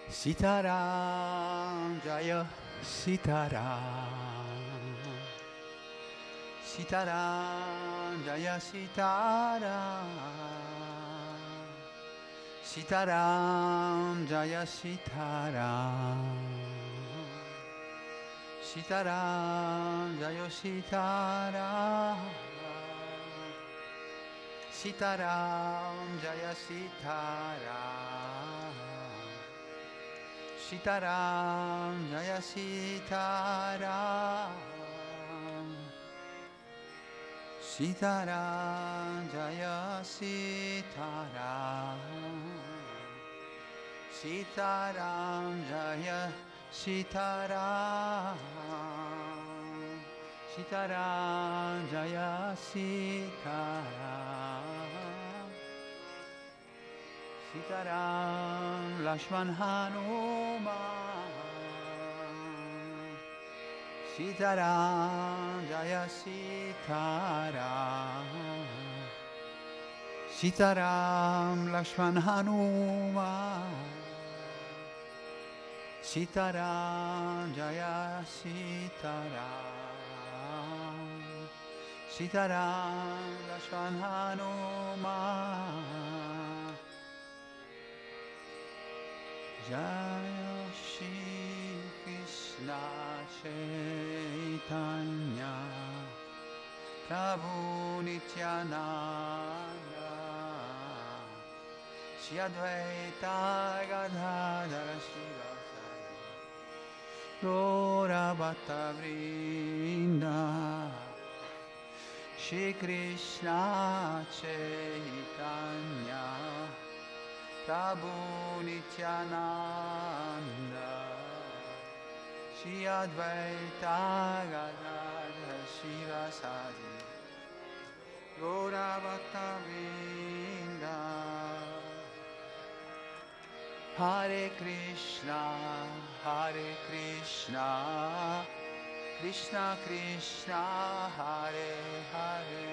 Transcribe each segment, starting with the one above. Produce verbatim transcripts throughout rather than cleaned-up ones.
Sitaram Jaya Sitaram Sitaram Jaya Sitaram Sitaram Jaya Sitaram Sitaram Jaya Sitaram Sitaram Jaya Sitaram Sitaram Jaya Sitaram Sitaram Jaya Sitaram Sitaram Jaya Sitaram Sitaram Jaya Sitaram Sitaram Lakshman Hanuman Sitaram Jaya Sitaram Sitaram Lakshman Hanuman Sitaram Jaya Sitaram Sitaram Lakshman Hanuman Jaya Shri Krishna Chaitanya Prabhu Nityananda Shri Advaita Gadadhara Shivasari Gaura Bhatta Vrinda Shri Krishna Chaitanya Prabhu Nityananda Shri Advaita Gadadhara Shivasari Gaura Bhatta Vrinda Hare Krishna Hare Krishna Krishna Krishna Hare Hare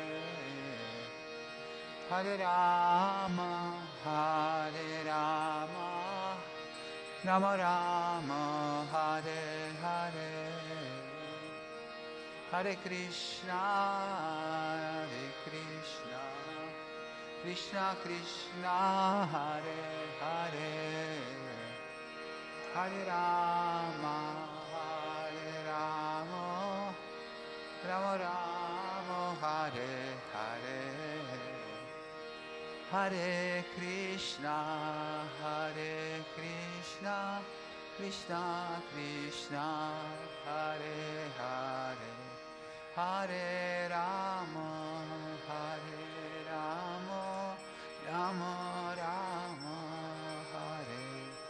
Hare Rama Hare Rama Rama Rama Hare Hare Hare Krishna Hare Krishna Krishna Krishna Hare Hare Hare Rama Hare Rama Rama Rama Hare Hare Hare Krishna Hare Krishna Krishna Krishna Hare Hare Hare Rama Hare Rama Rama Rama Hare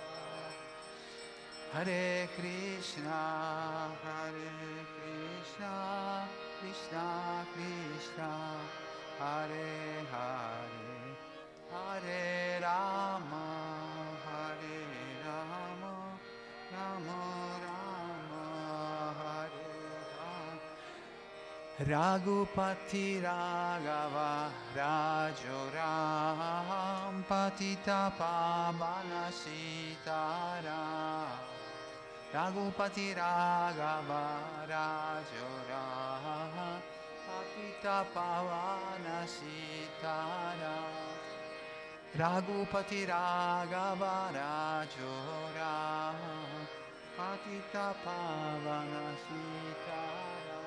Hare Krishna Hare Krishna Krishna Krishna Hare Hare Hare Rama Hare Rama Rama Rama Hare Hare Raghupati Raghava Rajo Ram Patita Pavana Sitaram Raghupati Raghava Rajo Ram Patita Pavana Sitaram Raghupati Raghava Rajo Ram Patita Pavana Sitaram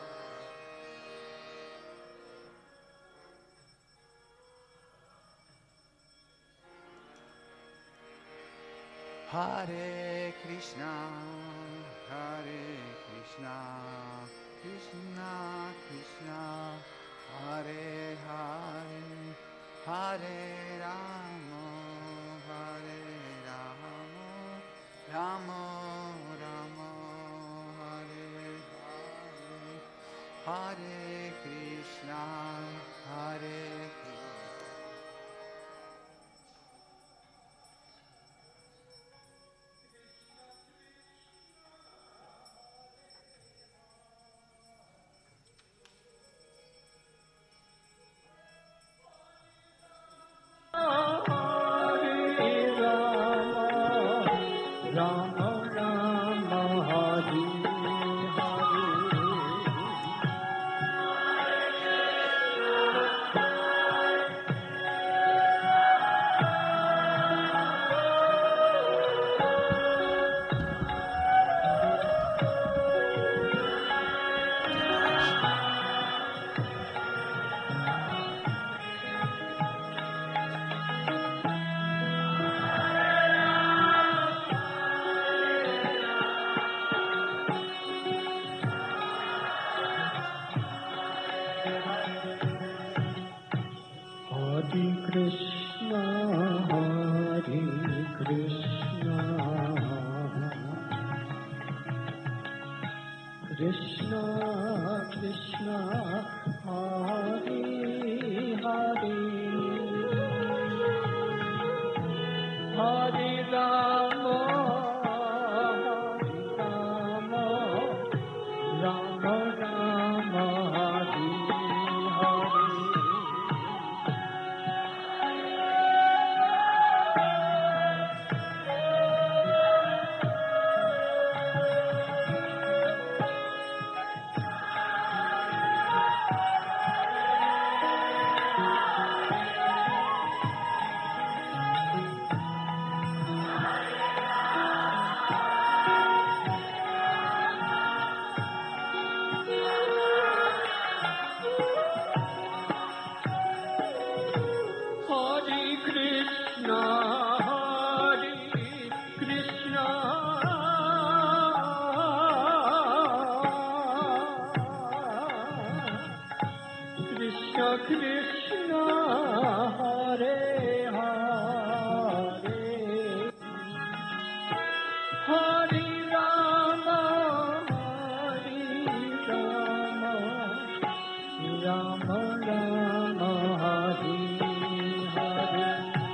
Hare Krishna Hare Krishna Krishna Krishna Hare Hare Hare Rama Hare Rama Rama Rama Hare Hare Hare Krishna Hare Krishna, Hare Krishna, Krishna Krishna, Hare Hare, Hare Rama, Rama Rama, Hare Hare. Krishna, Hare Hare, Hare Rama, Hare Rama, Rama Rama, Hare Hare.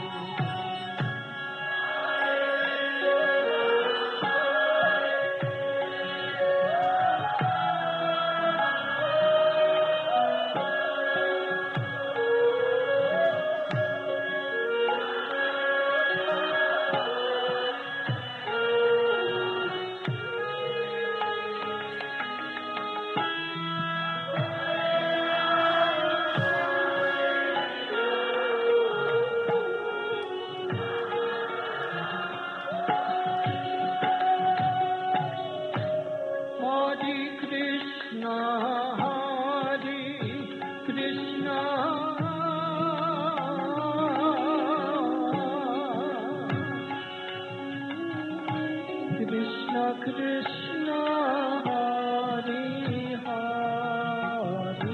Krishna, Hare Hare,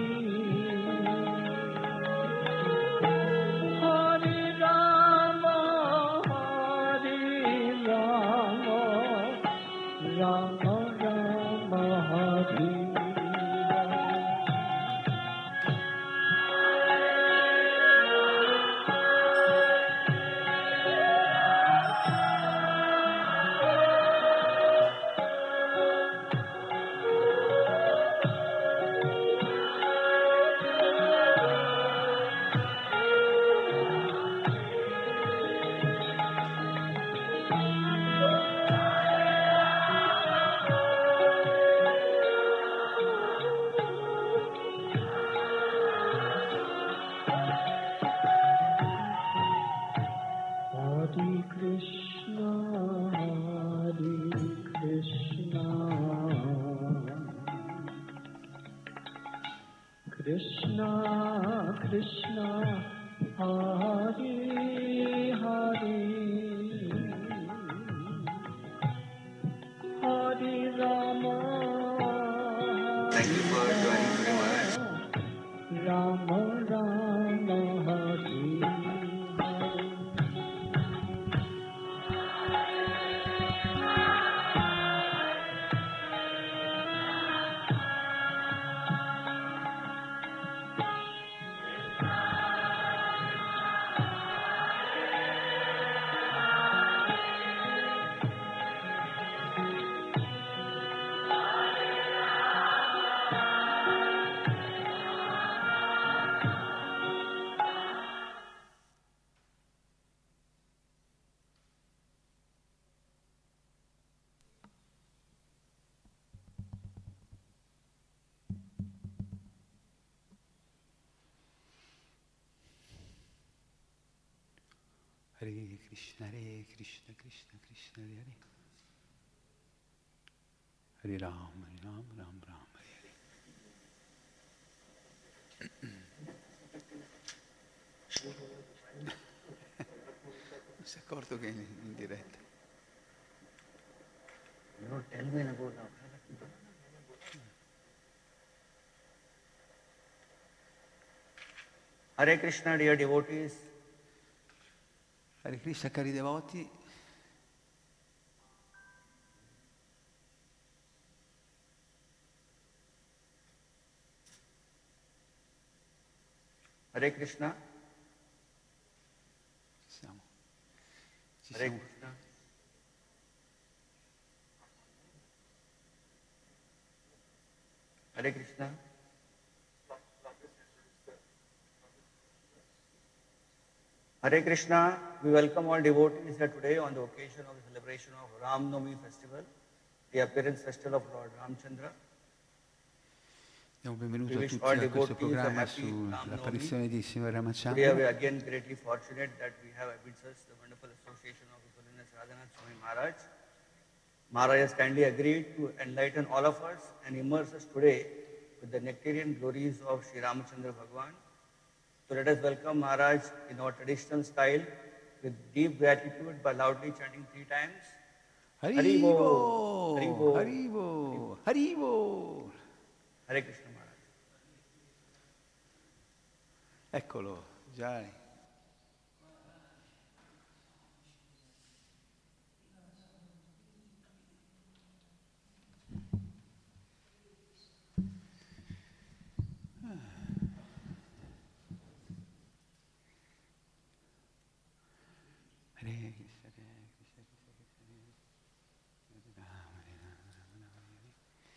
Hare Rama, Hare Rama, Rama Rama, Hare Krishna, Krishna, Hare Hare, Hare Rama. Thank you for joining today, Maharaj. Rama Rama, Hare Hare. Hare Krishna, Hare Krishna, Krishna Krishna, Hare Hare. Hare Ram, Hare Ram, Ram Ram, Hare Hare. Non si è accorto che è in, in diretta. No, tell me about that. Hare Krishna, dear devotees. Hare Krishna, cari devoti. Hare Krishna. Ci siamo. Ci Hare siamo. Krishna. Hare Krishna. Hare Krishna. We welcome all devotees here today on the occasion of the celebration of Ram Navami festival, the appearance festival of Lord Ramchandra. Diamo benvenuto We a wish all tutti a questo devotees a programma happy Ram Navami. sull'apparizione di Signore Today we Ramachandra. are again greatly fortunate that we have amidst us the wonderful association of His Holiness Radhanath Swami Maharaj. Maharaj has kindly agreed to enlighten all of us and immerse us today with the nectarian glories of Sri Ramachandra Bhagwan. So let us welcome Maharaj in our traditional style with deep gratitude by loudly chanting three times. Haribo! Haribo! Haribo! Haribo! Hare Krishna Maharaj. Eccolo, già. Hare Krishna, Hare Krishna, Krishna Krishna, Hare Rama, Hare Rama, Rama Rama, Hare Hare.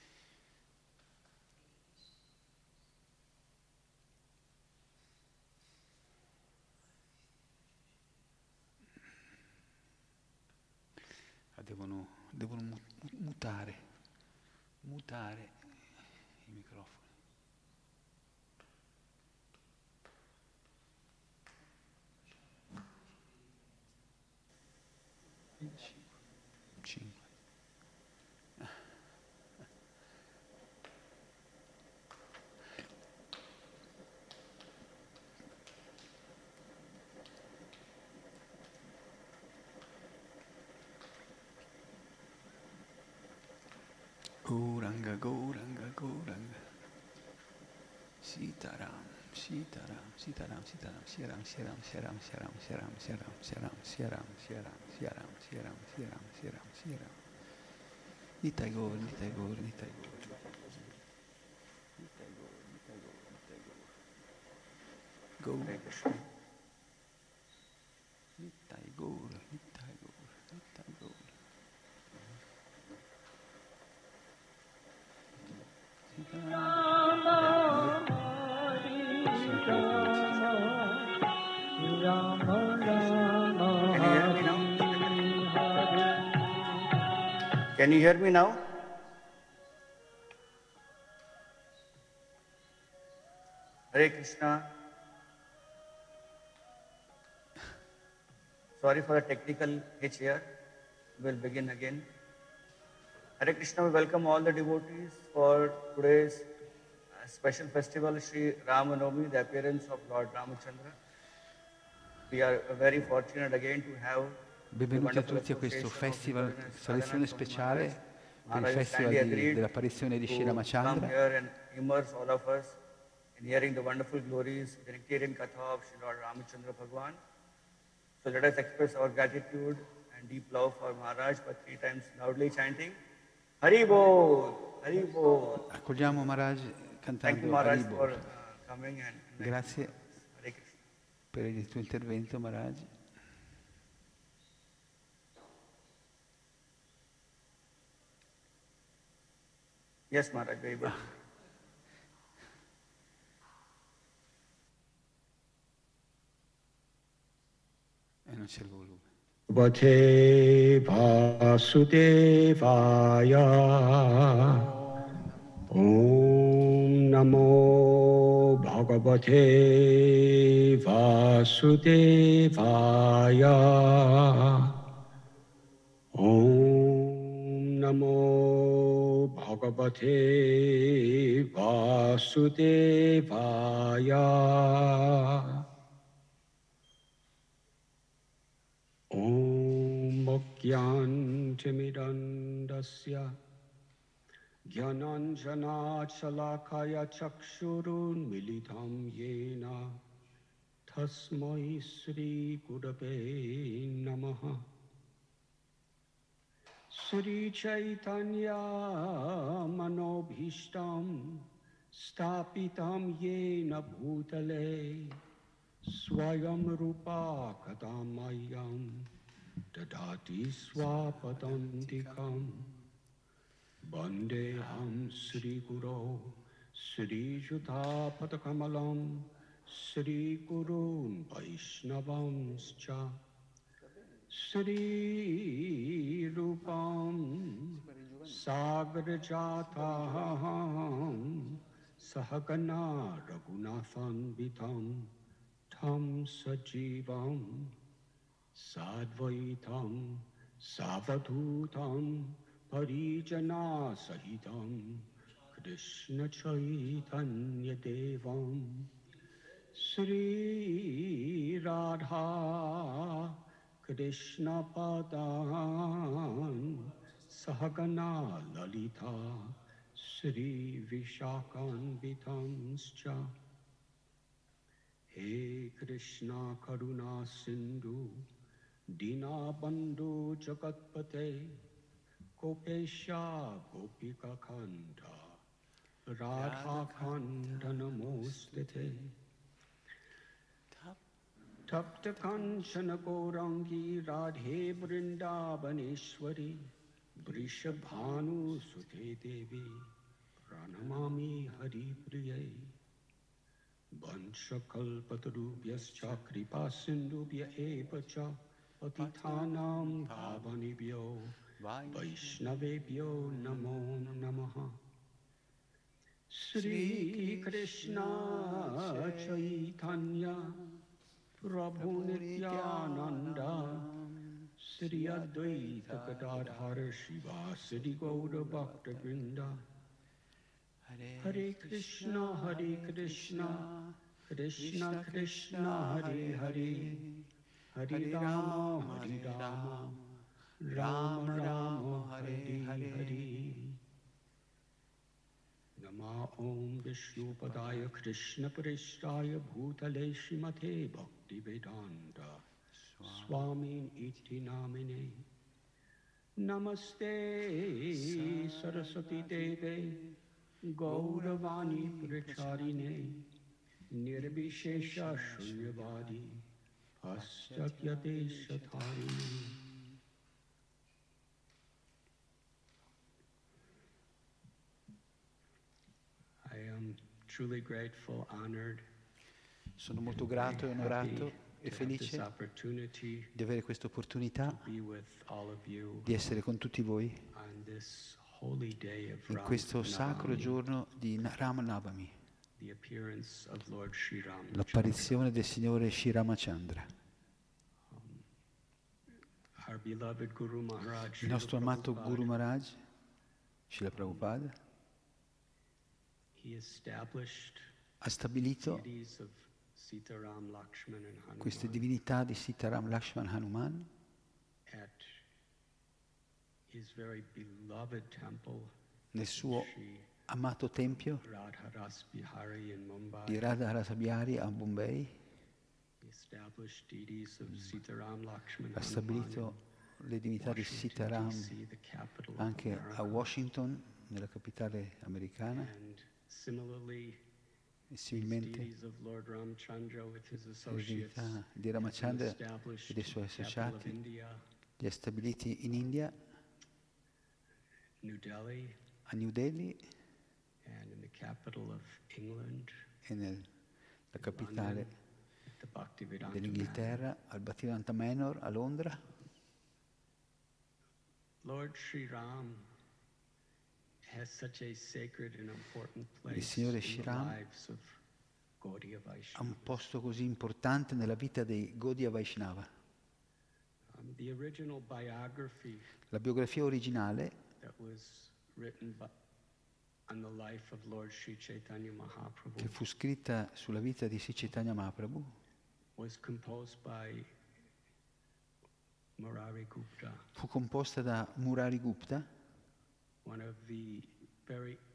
Ah, Devono, devono mu- mutare, mutare i microfoni. Cinque. Gauranga, Gauranga, Gauranga. Sitaram, Sitaram, Sitaram, Sitaram, Siaram, Siaram, Siaram, Siaram, Siaram, Siaram, Siaram, Siaram, Siaram, Siaram, Siaram, Siaram, Siaram, Siaram. Nitai Gaur, Nitai Gaur, Nitai Gaur. Nitai Gaur, Nitai Gaur, Nitai Gaur. Gaur, Hare Krishna. Nitai Gaur, Nitai Gaur, Nitai Gaur. Can you hear me now? Can you hear me now? Hare Krishna. Sorry for the technical hitch here. We'll begin again. Hare Krishna, we welcome all the devotees for today's uh, special festival, Sri Rama Navami, the appearance of Lord Ramachandra. We are uh, very fortunate again to have Benvenuti a tutti a questo festival, selezione speciale per il festival di, dell'apparizione di Sri come Ramachandra. here and immerse all of us in hearing the wonderful glories, the nectarian katha of Sri Lord Ramachandra Bhagwan. So let us express our gratitude and deep love for Maharaj by three times loudly chanting Haribo, Haribo. Accogliamo Maharaj Thank you cantando Maharaj Haribo. for uh, coming and and Grazie Hare Krishna. per il tuo intervento, Maharaj. Yes, Maharaj, very good. E non c'è il volume. Bhagavate Vasudevaya Om Namo Bhagavate Vasudevaya Om Namo Bhagavate Vasudevaya Om Mokyantimirandasya Gyananjana Chalakaya Chakshurun Militam Yena Tasmai Sri Gurave Namaha. Sri Chaitanya Manobhishtam Stapitam Yena Bhutale Swayam Rupa Kadamayam Dadati Swapadantikam Bandeham Sri Guru Sri Judha Padakamalam Sri Gurun Vaishnavamscha Sri Rupam Sagarajataham Sahagana Raghunathan Vitam Tam Sajivam Sadvaitam Savadhutam Parijana Sahitam Krishna Chaitanya Devam Sri Radha Krishna Padan Sahagana Lalita Sri Vishakan Vitamscha He Krishna Karuna Sindhu Dina Bandhu Jagatpate Gopesha Gopika Kanda Radha Kanda Namostite Tapta Kanchana Gaurangi Radhe Vrindavaneshwari Vrishabhanu Sute Devi Pranamami Hari Priye Vanchakalpatarubhyascha Kripa Sindhubhya eva cha Patitanam Bhavanibhyo Vaishnavebhyo Namo Namaha Sri Krishna Chaitanya Prabhu Nityananda Sri Advaita Gadadhara Shiva Sri Gaura Bhakta Vrinda Hare Krishna Hare Krishna Krishna Krishna Hare Hare Hare Rama Hare Rama Rama Rama Hare Hare Nama Om Vishnu Padaya Krishna Parishthaya Bhutale Srimate Bhakti Vedanta Swami Iti Namine Namaste Saraswati Deve Gauravani Pracharine Nirbhishesha Shunyavadi Paschatya Shatharine. I am truly grateful, honored, Sono molto grato e onorato e felice di avere questa opportunità di essere con tutti voi in questo sacro giorno di Ram Navami, l'apparizione del Signore Sri Ramachandra. Il nostro amato Guru Maharaj, Srila Prabhupada, ha stabilito queste divinità di Sitaram, Lakshman, Hanuman nel suo amato tempio di Radha Rasa Bihari a Bombay. Ha stabilito le divinità di Sitaram anche a Washington, nella capitale americana. E similmente le divinità di Ramachandra e dei suoi associati li ha stabiliti in India, a New Delhi e nella capitale dell'Inghilterra, al Bhaktivedanta Manor a Londra. Il Signore Sri Ram ha un posto così importante nella vita dei Gaudiya Vaishnava. La biografia originale che fu scritta sulla vita di Sri Chaitanya Mahaprabhu fu composta da Murari Gupta,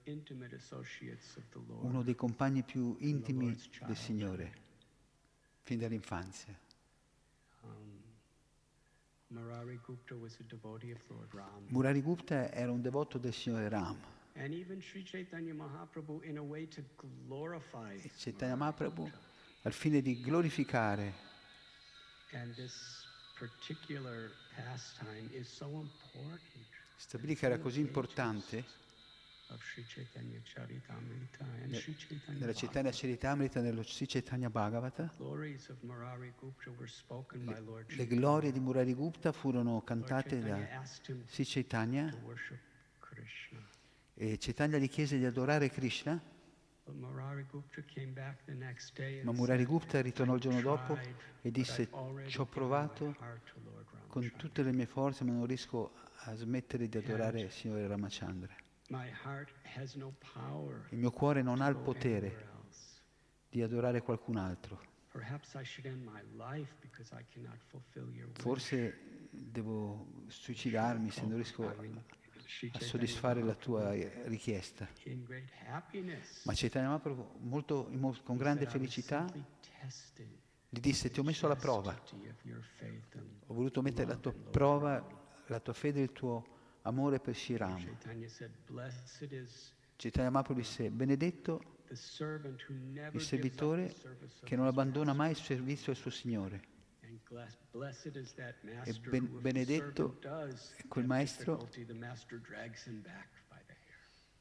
uno dei compagni più intimi del Signore, fin dall'infanzia. Um, Murari Gupta was a devotee of Lord Ram. Murari Gupta era un devoto del Signore Ram. And even Sri Chaitanya Mahaprabhu, in a way to glorify E Chaitanya Murari Mahaprabhu, Gupta. al fine di glorificare, And this particular pastime is so important. stabilì che era così importante Of Sri Chaitanya Charitamrita and ne- Sri Chaitanya nella Chaitanya Bhagavata. Charitamrita, nello Sri Chaitanya Bhagavata. Glories of Murari Gupta were spoken by Lord Le Chaitanya. glorie di Murari Gupta furono Lord cantate Chaitanya da asked him Sri Chaitanya to worship Krishna. e Chaitanya gli chiese di adorare Krishna, But Murari Gupta came back the next day and ma Murari said, Gupta ritornò il giorno dopo "Tried, e but disse: I've already ci ho given my provato heart to Lord con Ramachandra. tutte le mie forze, ma non riesco a smettere di adorare il Signore Ramachandra. My heart has no power Il mio cuore non ha il to go potere anywhere else. di adorare qualcun altro. Perhaps I should end my life because I cannot fulfill your wish." Forse devo suicidarmi se non riesco I mean, Sri a Chaitanya soddisfare la tua Mahaprabhu, richiesta. in great happiness, Ma Chaitanya Mahaprabhu, molto, con grande said, "I was felicità, simply testing gli disse: ti ho messo alla prova, chastity of your faith and ho voluto mettere la love tua in Lord prova, Ram." la tua fede e il tuo amore per Sri Ram. Chaitanya said, "Blessed is Chaitanya Mahaprabhu disse: benedetto the servant who never il gives up servitore the service of che non his abbandona master. mai il servizio al suo Signore. And bless- blessed is that master ben- who, if the benedetto servant does è quel have maestro difficulty, the master drags him back by the hair."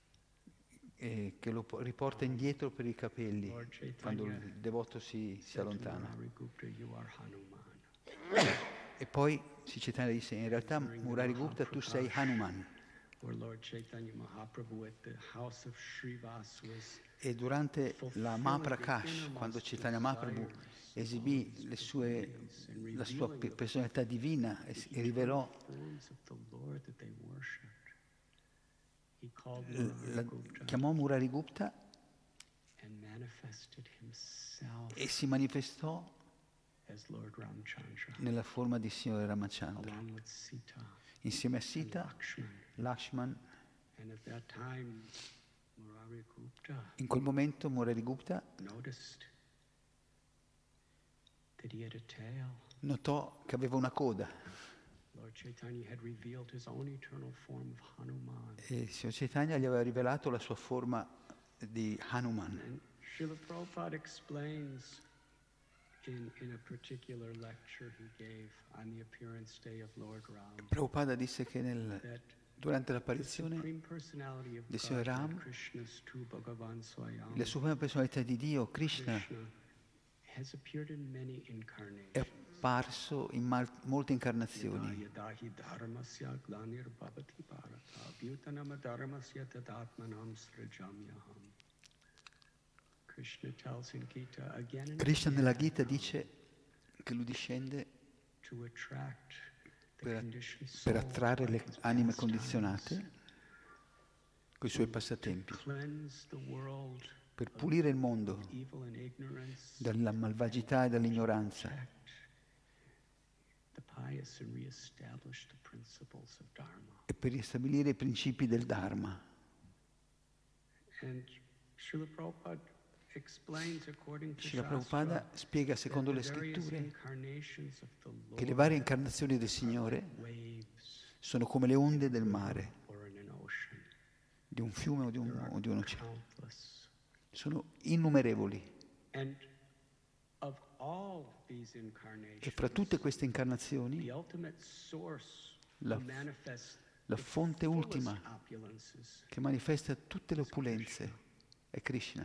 E che lo po- riporta indietro per i capelli Lord Chaitanya quando il devoto si, si said to allontana. Murari Gupta, "You are Hanuman." E poi Sri Chaitanya disse: in realtà Murari Gupta tu sei Hanuman. Where Lord Chaitanya Mahaprabhu at the house of Srivas was E durante la Mahaprakash, quando Chaitanya Mahaprabhu esibì le sue, la sua pe- personalità divina e, s- e rivelò, forms of the Lord that they worshipped, he called l- Murari la- Gupta chiamò Murari Gupta and manifested himself e si manifestò as Lord Ramchandra, nella forma di Signore Ramachandra, along with Sita insieme a and Sita, Lakshman. Lakshman. And at that time, Murari Gupta In quel momento Murari Gupta noticed that he had a tail. notò che aveva una coda Lord Chaitanya had revealed his own eternal form of Hanuman. e il Signor Chaitanya gli aveva rivelato la sua forma di Hanuman. And Srila Prabhupada explains in, in a particular lecture he gave on the appearance day of Lord Ram Prabhupada disse che nel, that durante the l'apparizione Supreme Personality of del Signor Godhead, Ram, Krishna's tu Bhagavan Swayam, la suprema personalità di Dio, Krishna, Krishna, has appeared in many è incarnations. apparso in mal- molte incarnazioni. Yada yadahi dharmasya glanirvavati bharata bhutanam dharmasya tadatmanam srajamyaham. Krishna tells in Gita again and Krishna nella again Gita dice che lui discende to attract the per, conditioned per soul attrarre by le his anime pastimes, condizionate con i suoi to passatempi, cleanse the world per pulire il mondo of evil and ignorance, dalla malvagità e dall'ignoranza protect the pious and reestablish the principles of Dharma. e per ristabilire i principi del Dharma. And Srila Prabhupada explains according to Srila Shastra Prabhupada spiega that secondo the le various scritture incarnations of the che le Lord varie incarnazioni del Signore waves sono come le onde del mare, or in an ocean. di un fiume o di un, There are o di un oceano. countless. Sono innumerevoli. And of all these E incarnations, fra tutte queste the incarnazioni, ultimate source La- who manifests la the fonte fullest ultima opulences. che manifesta tutte le opulenze, è Krishna.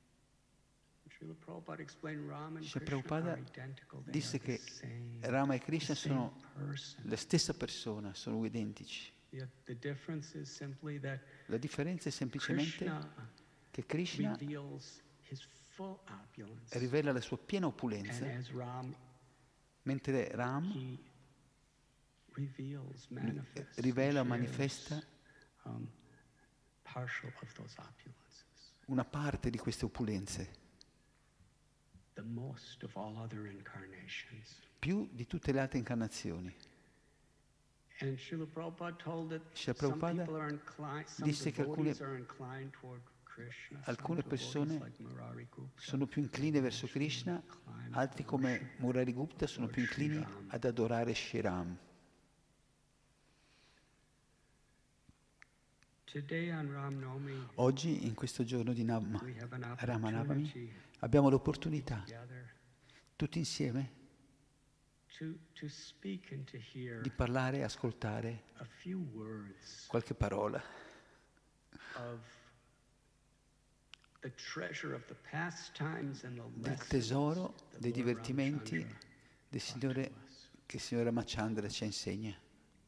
Srila Prabhupada explained Ram and Srila Krishna Prabhupada are identical. They disse are the che same, Rama e Krishna the same sono person. la stessa persona, sono identici. The, the difference is simply that La differenza è semplicemente Krishna che Krishna reveals his full opulence. rivela la sua piena And opulenza, as Ram, mentre Ram he reveals, manifests, rivela, shares, manifesta um, partial of those opulences. una parte di queste opulenze, The most of all other incarnations. più di tutte le altre incarnazioni. And Srila Prabhupada told that Srila some Prabhupada people are inclined, some disse che alcune devotees are inclined toward alcune persone sono più incline verso Krishna, altri come Murari Gupta sono più inclini ad adorare Shri Ram. Oggi, in questo giorno di Nam- Ramanavami, abbiamo l'opportunità, tutti insieme, di parlare e ascoltare qualche parola del tesoro dei divertimenti del Signore che il Signore Ramachandra ci insegna.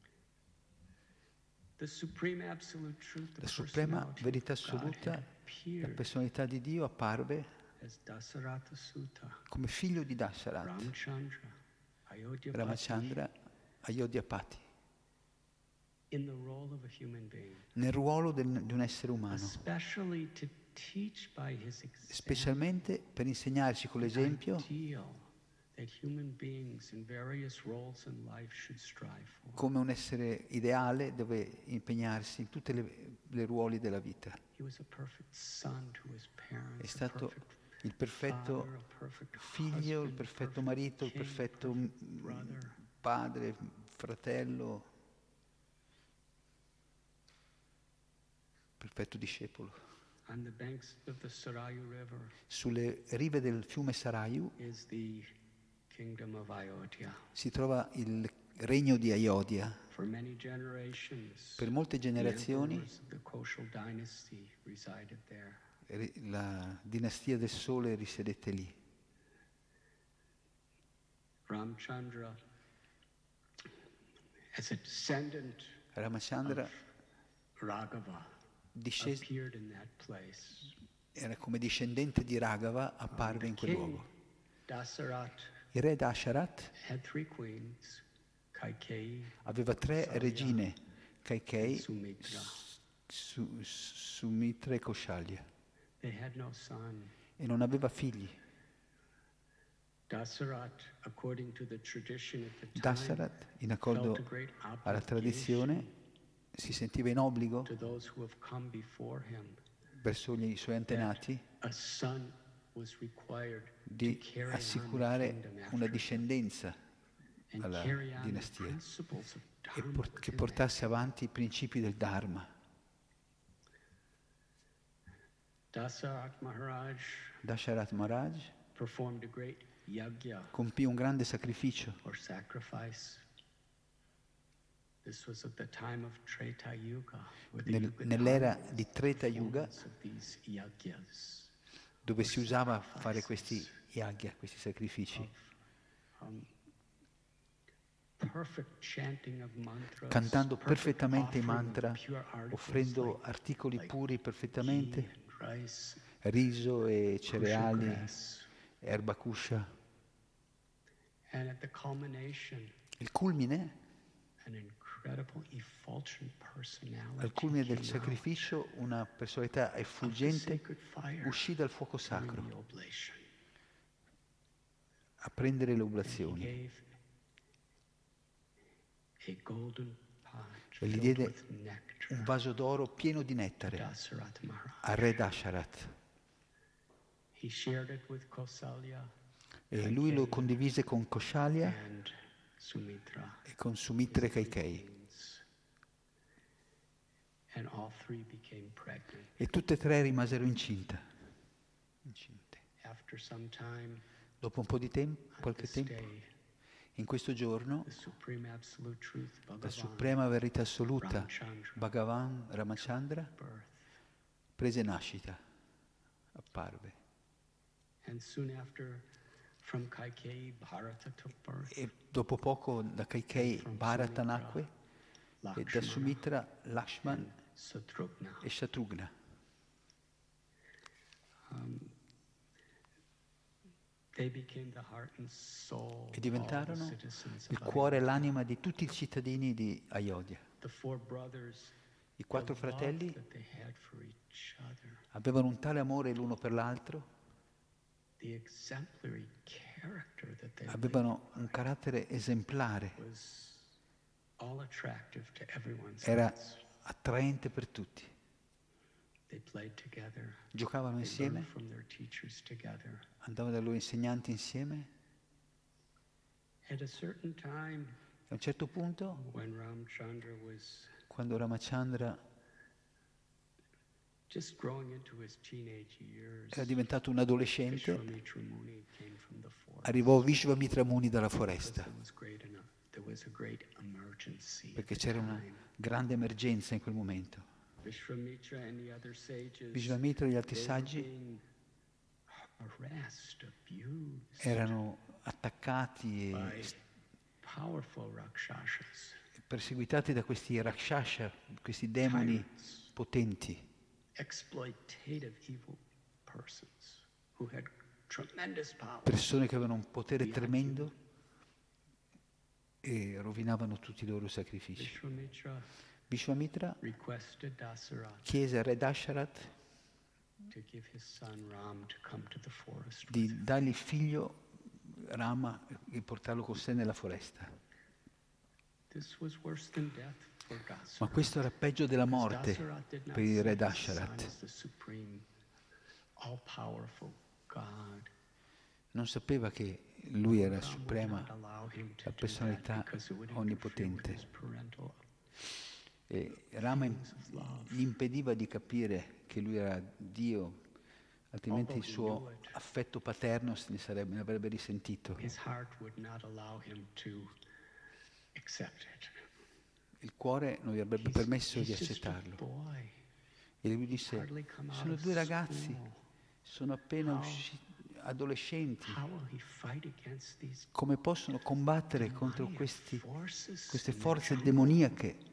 La suprema verità assoluta, la personalità di Dio apparve come figlio di Dasharatha, Ramachandra Ayodhyapati, nel ruolo del, di un essere umano, specialmente per insegnarci con l'esempio come un essere ideale dove impegnarsi in tutti i ruoli della vita. È stato il perfetto figlio, il perfetto marito, il perfetto padre, fratello, perfetto discepolo. Sulle rive del fiume Sarayu si trova il regno di Ayodhya. Per molte generazioni la dinastia del sole risiedette lì. Ramachandra discese, era come discendente di Raghava, apparve in quel luogo. Il re Dasharatha aveva tre regine, Kaikeyi, Su, Sumitra e Kaushalya, e non aveva figli. Dasharatha, in accordo alla tradizione, si sentiva in obbligo verso i suoi antenati di assicurare una discendenza alla dinastia e por- che portasse avanti i principi del Dharma. Dasharatha Maharaj compì un grande sacrificio. Nel, nell'era di Treta Yuga, dove si usava fare questi yagya, questi sacrifici, cantando perfettamente i mantra, offrendo articoli puri perfettamente, riso e cereali, erba kusha. Il culmine, al culmine del sacrificio, una personalità effulgente uscì dal fuoco sacro a prendere le oblazioni e gli diede un vaso d'oro pieno di nettare al re Dasharatha. E lui lo condivise con Kaushalya e con Sumitra e Kaikeyi. E tutte e tre rimasero incinta. incinte. Dopo un po' di tempo, qualche tempo, in questo giorno, la suprema verità assoluta, Bhagavan Ramachandra, prese nascita, apparve. E dopo poco da Kaikeyi Bharata nacque, e da Sumitra Lakshman e Shatrugna. E diventarono il cuore e l'anima di tutti i cittadini di Ayodhya. I quattro fratelli avevano un tale amore l'uno per l'altro, avevano un carattere esemplare, era attraente per tutti. They played together. giocavano They learned insieme, from their teachers together. andavano dai loro insegnanti insieme. At a certain time, A un certo punto, when Ramchandra was quando Ramachandra just growing into his teenage years, era diventato un adolescente, Vishwamitra Muni came from the forest. arrivò Vishvamitra Muni dalla foresta, There was great enough. There was a great emergency. perché at the c'era una time. grande emergenza in quel momento. Vishwamitra and the other sages, Vishvamitra e gli altri they were saggi being harassed, abused erano attaccati by e powerful rakshasas, perseguitati da questi rakshasha, questi demoni tyrants, potenti, exploitative evil persons who had tremendous power. persone che avevano un potere tremendo e rovinavano tutti i loro sacrifici. Vishwamitra Vishvamitra requested Dasarath chiese a Re Dasharat to give his son Ram to come to the forest with di him. dargli il figlio Rama e portarlo con sé nella foresta. This was worse than death for Ma Dasarath. questo era peggio della morte Dasarath did not per il see Re his son Dasharat. as the supreme, all-powerful God. Non sapeva che lui era Ram would suprema, not allow him to la do personalità that because it would interfere with onnipotente. his parental E Rama im- feelings of love. gli impediva di capire che lui era Dio, altrimenti il Although he suo knew it. affetto paterno se ne, sarebbe, ne avrebbe risentito. His heart would not allow him to accept it. Il cuore non gli avrebbe He's- permesso di he's just a accettarlo. boy. E lui disse, Hardly come out sono of due ragazzi, school. sono appena How- usciti, adolescenti. How will he fight against these Come possono combattere contro demoniac questi, forces queste in their forze child? demoniache?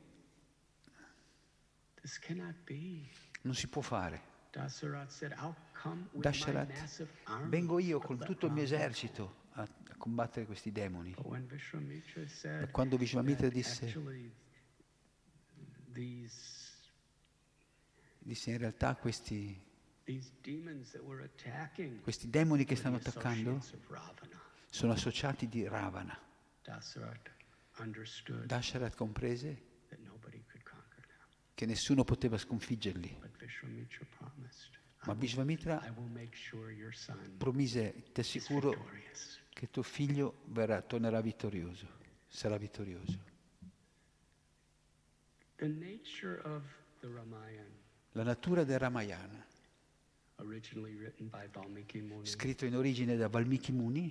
This cannot be. Non si può fare. Dasarath said, I'll come with my Dasharat, massive army. vengo io but con let tutto il mio Ram go." esercito a, a combattere questi demoni. But when Vishwamitra said Ma quando Vishvamitra that disse, actually these disse in realtà questi, these demons that were attacking questi demoni che were stanno the attaccando associates of Ravana, sono associati di Ravana. Dasarath understood Dasharat comprese that nobody could conquer them. che nessuno poteva sconfiggerli. But Vishwamitra promised, I Ma will, Vishvamitra I will make sure your son promise, ti is assicuro victorious. che tuo figlio verrà, tornerà vittorioso, sarà vittorioso. The nature of the Ramayana, La natura del Ramayana, originally written by Valmiki Muni, scritto in origine da Valmiki Muni,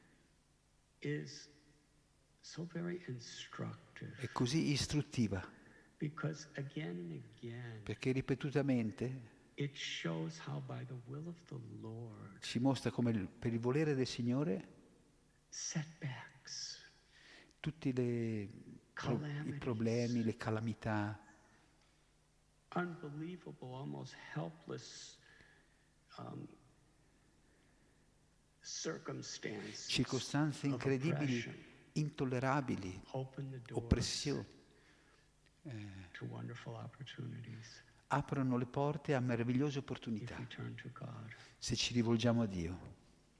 is so very instructive è così istruttiva, because again and again perché ripetutamente it shows how by the will of the Lord ci mostra come il- per il volere del Signore setbacks, tutti le pro- i calamities, problemi, le calamità, unbelievable, almost helpless um, circumstances, circostanze of incredibili, oppression intollerabili, open the doors oppressioni, to wonderful opportunities aprono le porte a meravigliose if opportunità we turn to God. se ci rivolgiamo a Dio.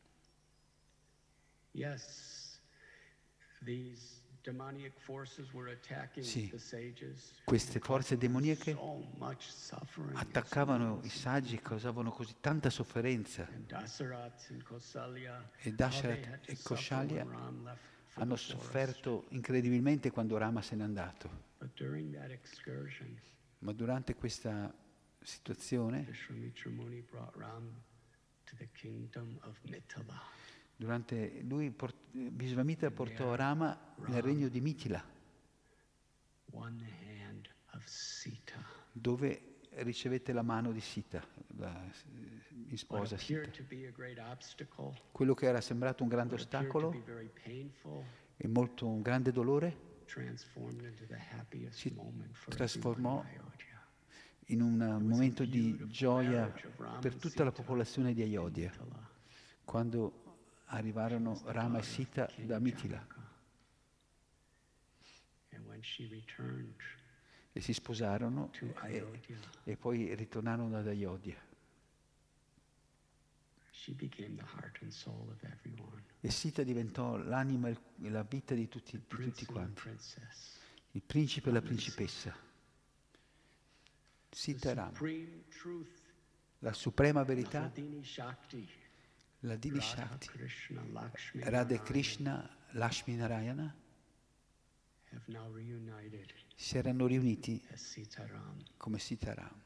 Yes, these demoniac forces were attacking Sì, the sages. queste and forze causing demoniache so much suffering and attaccavano i sadness. saggi e causavano così tanta sofferenza. And Dasarath and Kausalya, E how Dasharat they had to e suffer Kaushalya when Ram left for hanno the forest. sofferto incredibilmente quando Rama se n'è andato. But during that excursion, Ma durante questa situazione, Vishwamitra Muni brought Ram to the kingdom of Mithila. durante lui port- Visvamitra portò Rama nel regno di Mitila, One hand of Sita. dove ricevette la mano di Sita, la in What sposa appeared Sita. to be a great obstacle, Quello che era sembrato un grande what appeared to be ostacolo very painful, e molto un grande dolore, transformed into the happiest si moment for trasformò everyone in Ayodhya. in un momento di gioia per tutta la popolazione di Ayodhya, Mithila. quando arrivarono Rama e Sita da Mitila And when she returned e si sposarono to e, Ayodhya, e poi ritornarono ad Ayodhya. she became the heart and soul of everyone. E Sita diventò l'anima e la vita di tutti, The di prince tutti and the quanti, princess. il principe e la principessa. Sitaram, supreme truth, la suprema verità, Hladini Shakti, la Dini Radha Shakti, Krishna, Lakshmi Radha Narayana Krishna, Lakshmi Narayana, have now reunited si erano riuniti as Sitaram, come Sitaram.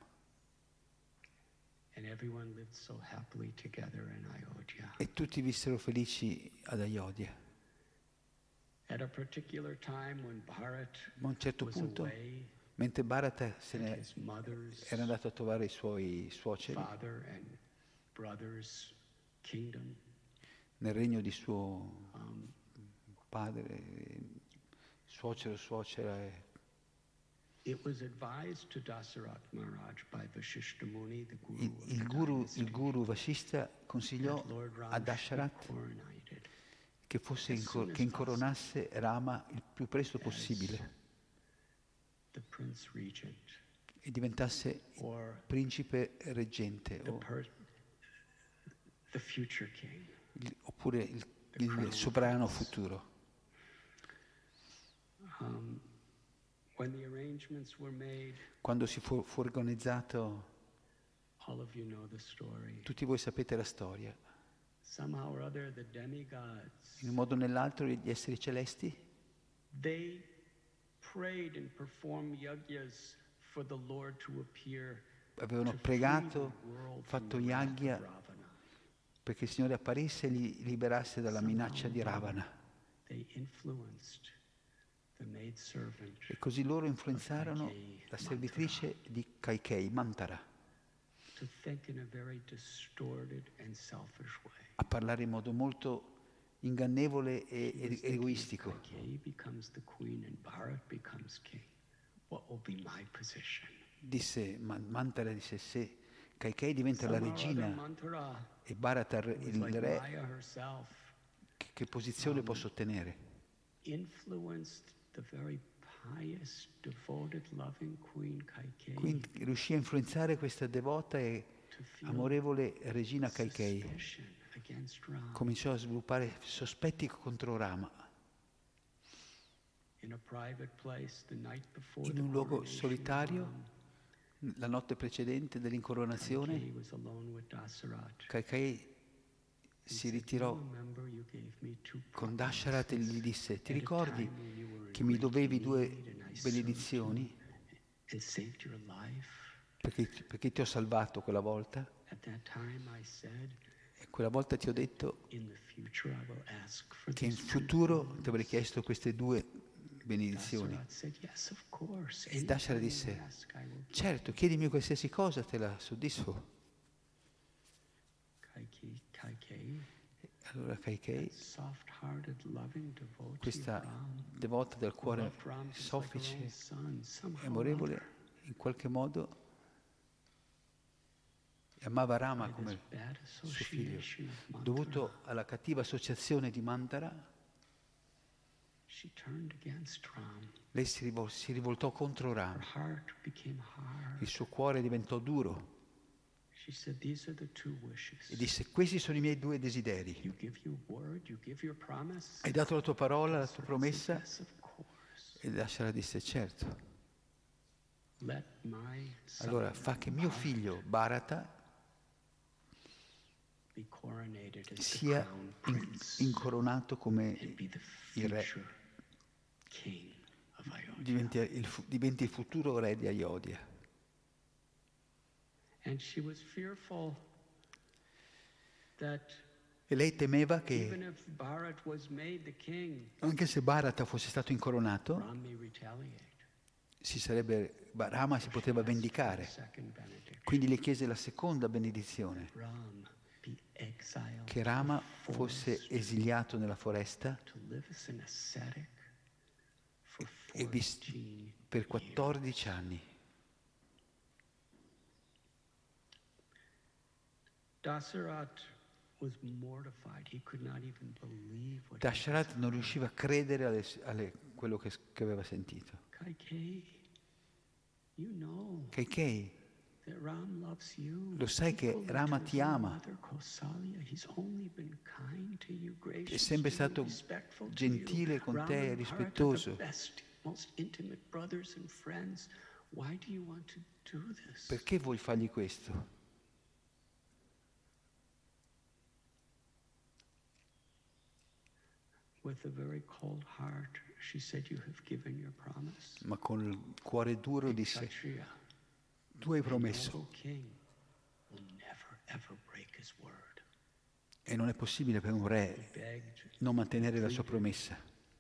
and everyone lived so happily together in Ayodhya. E tutti vissero felici ad Ayodhya. At a particular time when Bharat Ma a un certo was punto, away mentre Bharata se at ne his mother's, era andato a trovare i suoi suoceri father and brother's kingdom, nel regno di suo um, padre, suocero, suocera, e it was advised to Dasarath Maharaj by Vashishta Muni, the guru il, of il the guru, dynasty, il guru Vashishta consigliò that Lord Ram a should be Dasharat coronated che, fosse as inco- soon as che incoronasse Rama il più presto possibile as the prince regent, e diventasse or principe reggente the, o per- the future king. il- oppure il, il sovrano futuro. Um, when the arrangements were made, Quando si fu, fu organizzato, all of you know the story. tutti voi sapete la storia, Somehow or other, the demigods, in un modo o nell'altro gli esseri celesti they prayed and performed yajnas for the Lord to appear avevano to free pregato, the world from fatto the wrath of yagna Ravana. perché il Signore apparisse e li liberasse dalla minaccia di Ravana. They influenced the maidservant E così loro influenzarono la servitrice di Kaikei, Mantara, to think in a very distorted and selfish way. a parlare in modo molto ingannevole e, She was e thinking, egoistico. Kaikeyi becomes the queen and Bharat becomes king. What will be my position? Disse, Ma- Mantara disse, se Kaikei diventa la Somehow or other, regina Manthara e Bharata il was il like re, Maya herself, che, che posizione posso ottenere? influenced the very pious, devoted, loving queen Kaikeyi Quindi riuscì a influenzare questa devota e to feel amorevole regina Kaikei. suspicion against Ram. Cominciò a sviluppare sospetti contro Rama. In a private place the night before In the un luogo coronation of solitario, Ram, la notte precedente dell'incoronazione, Kaikeyi was alone with Dasarath. Kaikei He si said, ritirò "Do you remember you gave me two con Dasharat e promises gli disse, ti at a ricordi time when you were in che mi great dovevi due need and I served benedizioni you and saved your life? perché, perché ti ho salvato quella volta? At that time I said, E quella volta ti ho detto in the future I will ask for che in these two futuro things." ti avrei chiesto queste due benedizioni. Dasarath said, "Yes, of course. E Dasharat Anytime disse, you ask, I will give." certo, chiedimi qualsiasi cosa, te la soddisfo. Kaikeyi, Kaikeyi, Allora Kaikei, that soft-hearted, loving devotee of questa Ram, devota del cuore loved Ram just like her own soffice son, somehow e or amorevole, other. in qualche modo amava Rama By come this bad suo figlio. association of Manthara, Dovuto alla cattiva associazione di Mantara, she turned against Ram. lei si, rivol- si rivoltò contro Her Rama. heart became hard. Il suo cuore diventò duro She said, "These are the two wishes. e disse, questi sono i miei due desideri. You give your word, you give your promise." Hai dato la tua parola, la tua Dasarath said, promessa? "Yes, of course. E Dashara disse, certo. Let my son Allora fa che mio Bharat figlio Bharata be coronated as the sia crown in- prince incoronato come and be the il re, future king of Ayodhya." diventi il, fu- diventi il futuro re di Ayodhya. And she was fearful that E lei temeva even che, if Bharat was made the king, anche se Bharata fosse stato incoronato, Ram may retaliate. si sarebbe, Rama si poteva vendicare. Second benediction. Quindi le chiese la seconda benedizione, Ram be exiled che Rama to the fosse forest esiliato nella foresta to live as an ascetic for e vis- fourteen per years. quattordici anni. Dasarath was mortified. He could not even believe what he Dasharat non riusciva a credere alle, alle- quello che, che aveva sentito. Kaikeyi, you know Kaikei, that Ram loves you. lo sai che Equally Rama to ti his ama. mother Kausalya. He's only been kind to you, gracious È sempre to you, stato respectful to gentile you. con Ram te, and Bharat are rispettoso. the best, most intimate brothers and friends. Why do you want to do this? Perché vuoi fargli questo? With a very cold heart, she said, "You have given your promise." Ma con il cuore duro disse, Kshatriya, tu hai a promesso noble king will never ever break his word. e non è possibile per un He re begged. non mantenere la sua promessa.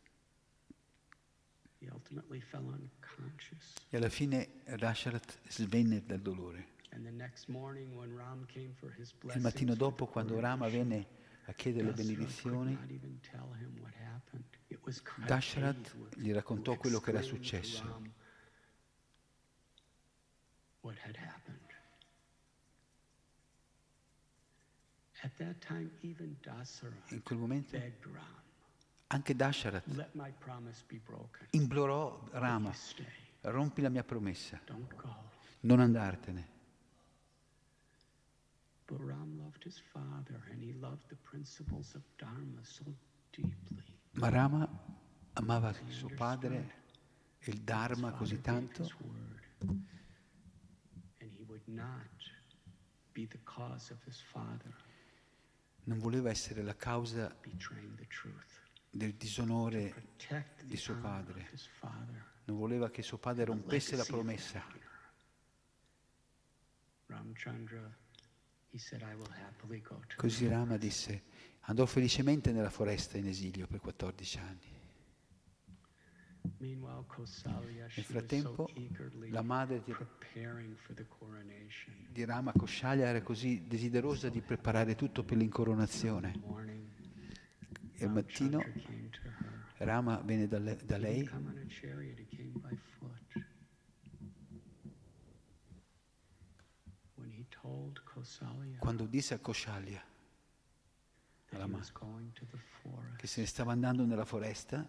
He ultimately fell unconscious. E alla fine Dasharat svenne dal dolore. And the next morning, when Ram came for his Il blessings mattino for the dopo, quando Rama coronation, venne a chiedere le Dasharat benedizioni, could not even tell him what happened. It was Dasharat Kaikeyi who- gli raccontò who quello che era explained to successo. Ram what had happened. At that time, even Dasharat In quel momento begged Ram, anche Dasharat "Let my promise be broken. implorò But Rama, you stay. rompi la mia promessa, Don't go." non andartene. But Ram loved his father, and he loved the principles of Dharma so deeply. Ma Rama amava He suo understood padre e il his Dharma father così gave tanto his word, and he would not be the cause of his father non voleva essere la causa betraying the truth. del To disonore protect di the suo honor padre. of his father, Non voleva che suo padre the rompesse la legacy of that promessa. honor. Ramchandra, he said, "I will happily go to Così the Rama forest." disse, andò felicemente nella foresta in esilio per quattordici anni. Meanwhile, Kausalya, she Nel was so frattempo, eagerly la madre di, preparing for the coronation. di Rama, Koshalya, era così desiderosa di preparare tutto per l'incoronazione. Morning, E al mattino Ramchandra came to her. Rama venne da, le- da He lei, didn't come on a chariot, he came by foot. When he told Kausalya quando disse a Koshalya, that alla he ma- was going to the che forest, se ne stava andando nella foresta,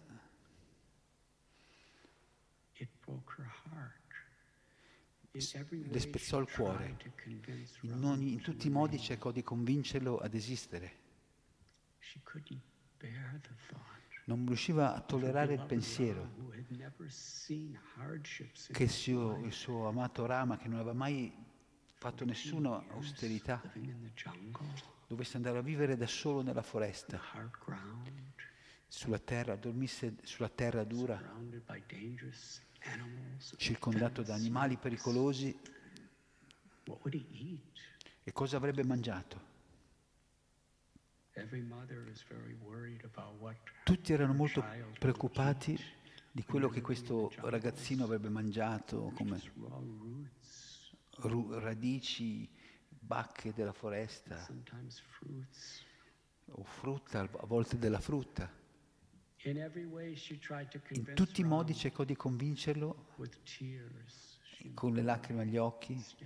it broke her heart. In every le way spezzò il she cuore. tried to convince in, Ram ogni- in to tutti i modi remain. cercò di convincerlo ad esistere. She couldn't bear the thought Non riusciva a of her tollerare il beloved pensiero Ram, who had never seen hardships in che il his suo, il life, suo amato Rama, che non aveva mai fatto nessuna years austerità, living in the jungle, dovesse andare a vivere da solo nella the foresta, hard ground, sulla terra, dormisse sulla terra dura, surrounded by dangerous animals, circondato da venomous animali snakes. pericolosi. What would he eat? E cosa avrebbe mangiato? Every mother is very worried about what Tutti erano her molto child will preoccupati eat di quello che when they're living in questo the jungles. ragazzino avrebbe mangiato, come Just raw roots, ru- radici, bacche della foresta sometimes fruits. o frutta, a volte della frutta. In every way she tried to In convince tutti i modi Ram cercò di convincerlo with tears. She con le lacrime agli occhi stay.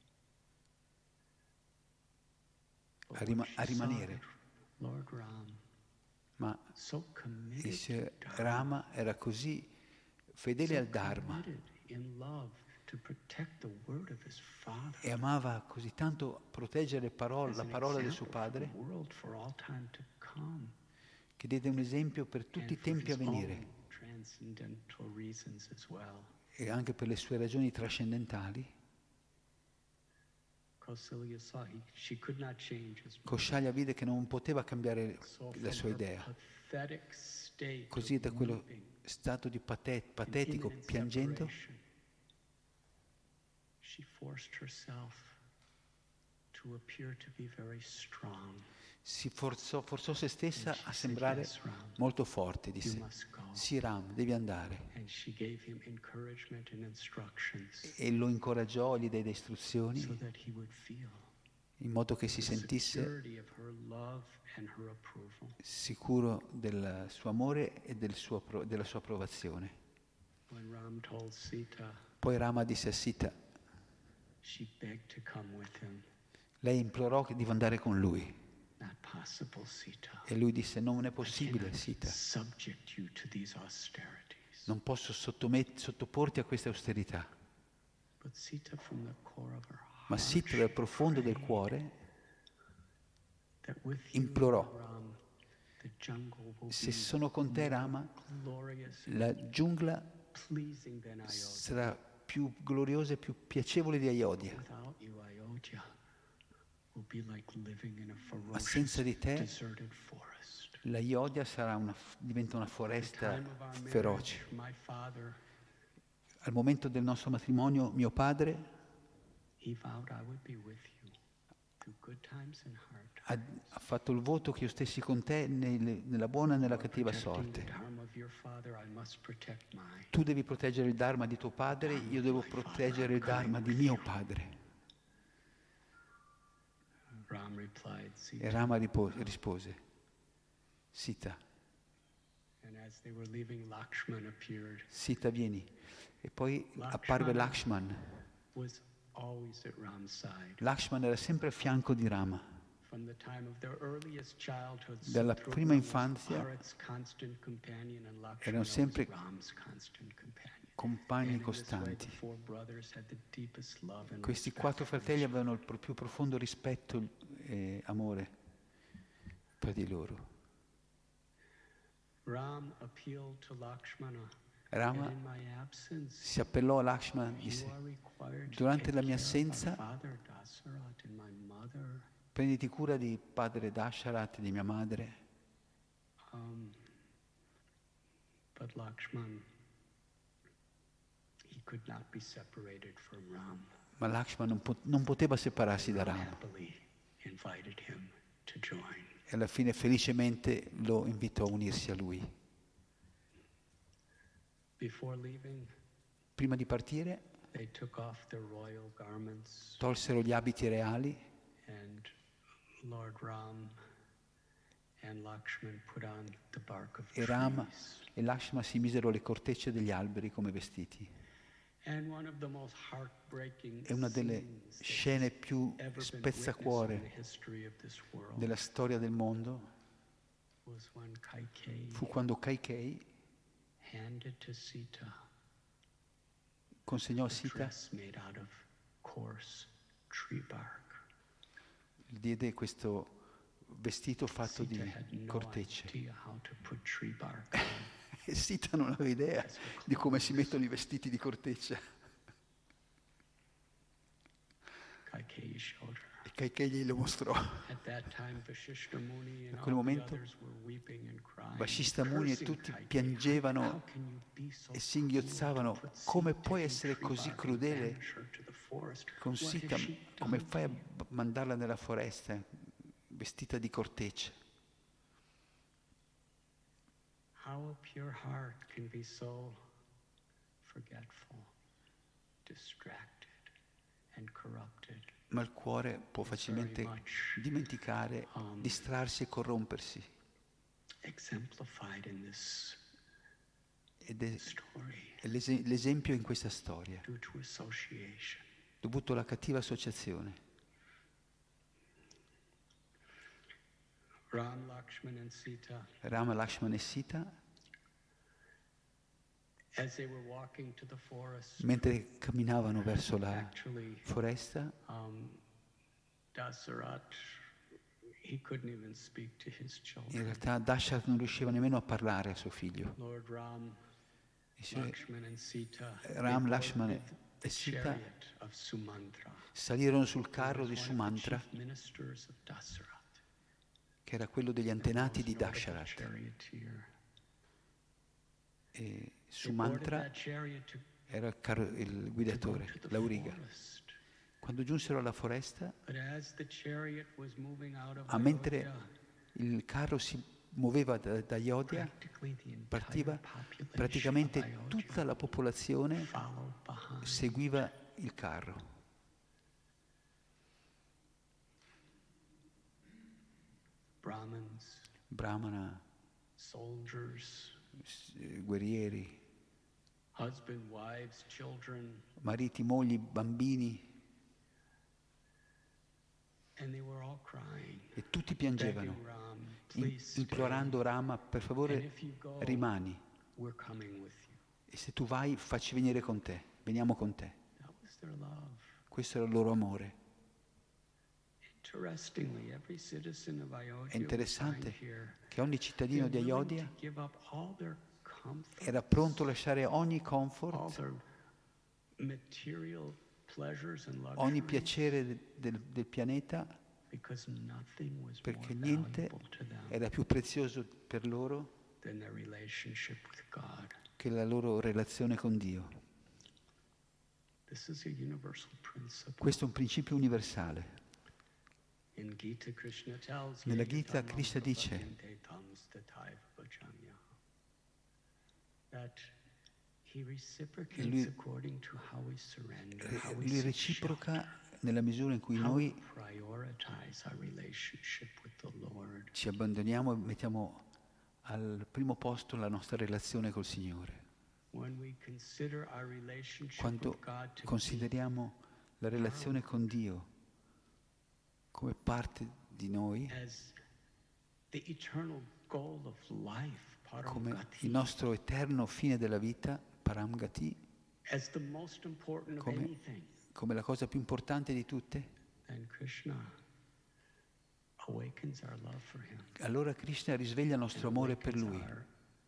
But a, when rima- she a saw rimanere, that Lord Ram, ma so committed il signor to Dharma, Rama era così fedele so al Dharma committed in love to protect the word of his father, e amava così tanto proteggere parole- as la an parola del suo example for the padre, world for all time to come, che diede un esempio per tutti and i for tempi a his venire own transcendental reasons as well. e anche per le sue ragioni trascendentali. Kausalya saw he, she could not change his mind. Koshalya vide che non poteva cambiare So la from sua her idea. pathetic state Così of da quello weeping stato di pate- and patetico, imminent piangendo, separation, she forced herself to appear to be very strong. si forzò, forzò se stessa And she a said, sembrare "Yes, Ram, molto forte. you Disse, must go." sì Ram, devi andare. And she gave him encouragement and instructions E lo incoraggiò, gli diede so istruzioni that he would feel in modo che si the sentisse security of her love and her approval. sicuro del suo amore e del suo appro- della sua approvazione. When Ram told Sita, Poi Rama disse a Sita, she begged to come with him. lei implorò di andare con lui Not possible, Sita. e lui disse, non è I possibile cannot Sita, subject you to these austerities. non posso sottomet- sottoporti a queste austerità. But Sita, from the core of her Ma heart, Sita dal she profondo del prayed cuore that with you, implorò, Ram, the jungle will se be sono con te more Rama, glorious la giungla and pleasing than Ayodhya. sarà più gloriosa e più piacevole di Ayodhya. Without you, Ayodhya will be like living in a Ma senza ferocious, di te, deserted forest. la Ayodhya sarà una, diventa una At the foresta time of our feroce. marriage, my father, Al momento del nostro matrimonio, mio padre he vowed I would be with you through good times and hard times. ha, ha fatto il voto che io stessi con te nelle- nella buona e nella For cattiva protecting the sorte. dharma of your father, I must protect mine. Tu devi proteggere il Dharma di tuo padre, io devo proteggere il Dharma di mio padre. Ram replied, E Sita. Rama ripo- rispose, Sita, And as they were leaving, Lakshman appeared. Sita vieni. E poi apparve Lakshman. Was always at Ram's side. Lakshman era sempre a fianco di Rama. From the time of their earliest childhood, Dalla Sutrudna prima was infanzia Bharat's constant companion and Lakshmana erano was sempre Ram's constant companion. compagni And in this way, the costanti. four brothers had the deepest love and Questi respect quattro for fratelli each other. avevano il pro- più profondo rispetto e amore per di loro. Ram appealed to Lakshmana. Rama And in my absence, si appellò a Lakshman e you disse, are required to durante take la mia care of our assenza father Dasarath and my mother. prenditi cura di padre Dasharat e di mia madre. Um, but Lakshman, he could not be separated from Ram. Ma Lakshman non, po- non poteva separarsi da Ram Rama. happily invited him to join. E alla fine felicemente lo invitò a unirsi a lui. Before leaving, Prima di partire they took off their royal garments, tolsero gli abiti reali and Lord Ram and Lakshman put on the bark of e Rama trees. e Lakshman si misero le cortecce degli alberi come vestiti. And one of the most heartbreaking È una delle scenes that's scene più ever been witnessed in spezzacuore the history of this world della storia del mondo was when Kaikeyi fu quando Kaikei handed to Sita consegnò a a Sita, dress made out of coarse tree bark. diede questo vestito fatto Sita di had no cortecce. idea how to put tree bark on. E Sita non aveva idea di come si mettono i vestiti di corteccia. Kaikeyi showed her. E Kaikei glielo mostrò. At that time, Vashishta Muni and A quel all the momento, others were weeping and crying, Vasishta Muni e cursing tutti Kaikeyi. piangevano How can you be so e singhiozzavano. cruel to put Come Sita puoi in essere tree così bark and crudele banish her to the forest? con What has Sita? she Come done fai a to you? b- mandarla nella foresta vestita di cortecce? How a pure heart can be so forgetful, distracted, and corrupted. Ma il cuore può facilmente dimenticare, distrarsi e corrompersi. Exemplified in this Ed è story è l'ese- l'esempio in questa storia, due to association. dovuto alla cattiva associazione. Ram, Lakshman, and Sita, Rama, Lakshman e Sita, as they were walking to the forest, mentre camminavano verso la actually, foresta, um, Dasarath, he couldn't even speak to his in children. realtà Dasharat non riusciva nemmeno a parlare a suo figlio. Lord Ram, I suoi Lakshman, and Sita, they Ram, boarded Lakshman the e Sita chariot of Sumantra. salirono sul Who carro was di one of the Sumantra, chief ministers of Dasarath. che era quello degli antenati di Most notable Dasharat. charioteer. E They boarded Sumantra that chariot to era il, carro- il to go guidatore, to the l'auriga. forest. Quando giunsero alla foresta, But as the chariot was moving out of ah, mentre Ayodhya, il carro si muoveva da, da Ayodhya, practically the entire partiva, population praticamente of Ayodhya tutta la popolazione followed behind. seguiva il carro. Brahmins, Brahmana, soldiers, s- eh, guerrieri, husband, wives, children, mariti, mogli, bambini, and they were all crying, e tutti piangevano, begging Ram, in- please stay. implorando Rama, per And favore if you go, rimani, we're coming with you. e se tu vai facci venire con te, veniamo con te. That was their love. Questo era il loro amore. Interestingly, every citizen of Ayodhya È interessante we find here, che ogni cittadino di they're willing Ayodhya to give up all their comfort, era pronto a lasciare ogni all comfort, their material pleasures and ogni luxuries, piacere de- del, del pianeta, because nothing was more perché niente valuable to them era più prezioso per loro than their relationship with God. che la loro relazione con Dio. This is a universal principle. Questo è un principio universale. In Gita, Krishna tells Nella "Ye Gita yatamam Krishna dice prapayante tams tataiva bhajamya", that he reciprocates lui- according to how we surrender, how we Lui seek reciproca nella misura in cui shelter, how we noi prioritize our relationship with the Lord. ci abbandoniamo e mettiamo al primo posto la nostra relazione col Signore. When we consider our relationship Quando with God to be consideriamo la relazione con Dio come parte di noi, as the eternal goal of life, come paramgati, il nostro eterno fine della vita, Paramgati, as the most important of come, anything, come la cosa più importante di tutte, then Krishna awakens our love for him. allora Krishna risveglia il nostro and amore per awakens Lui our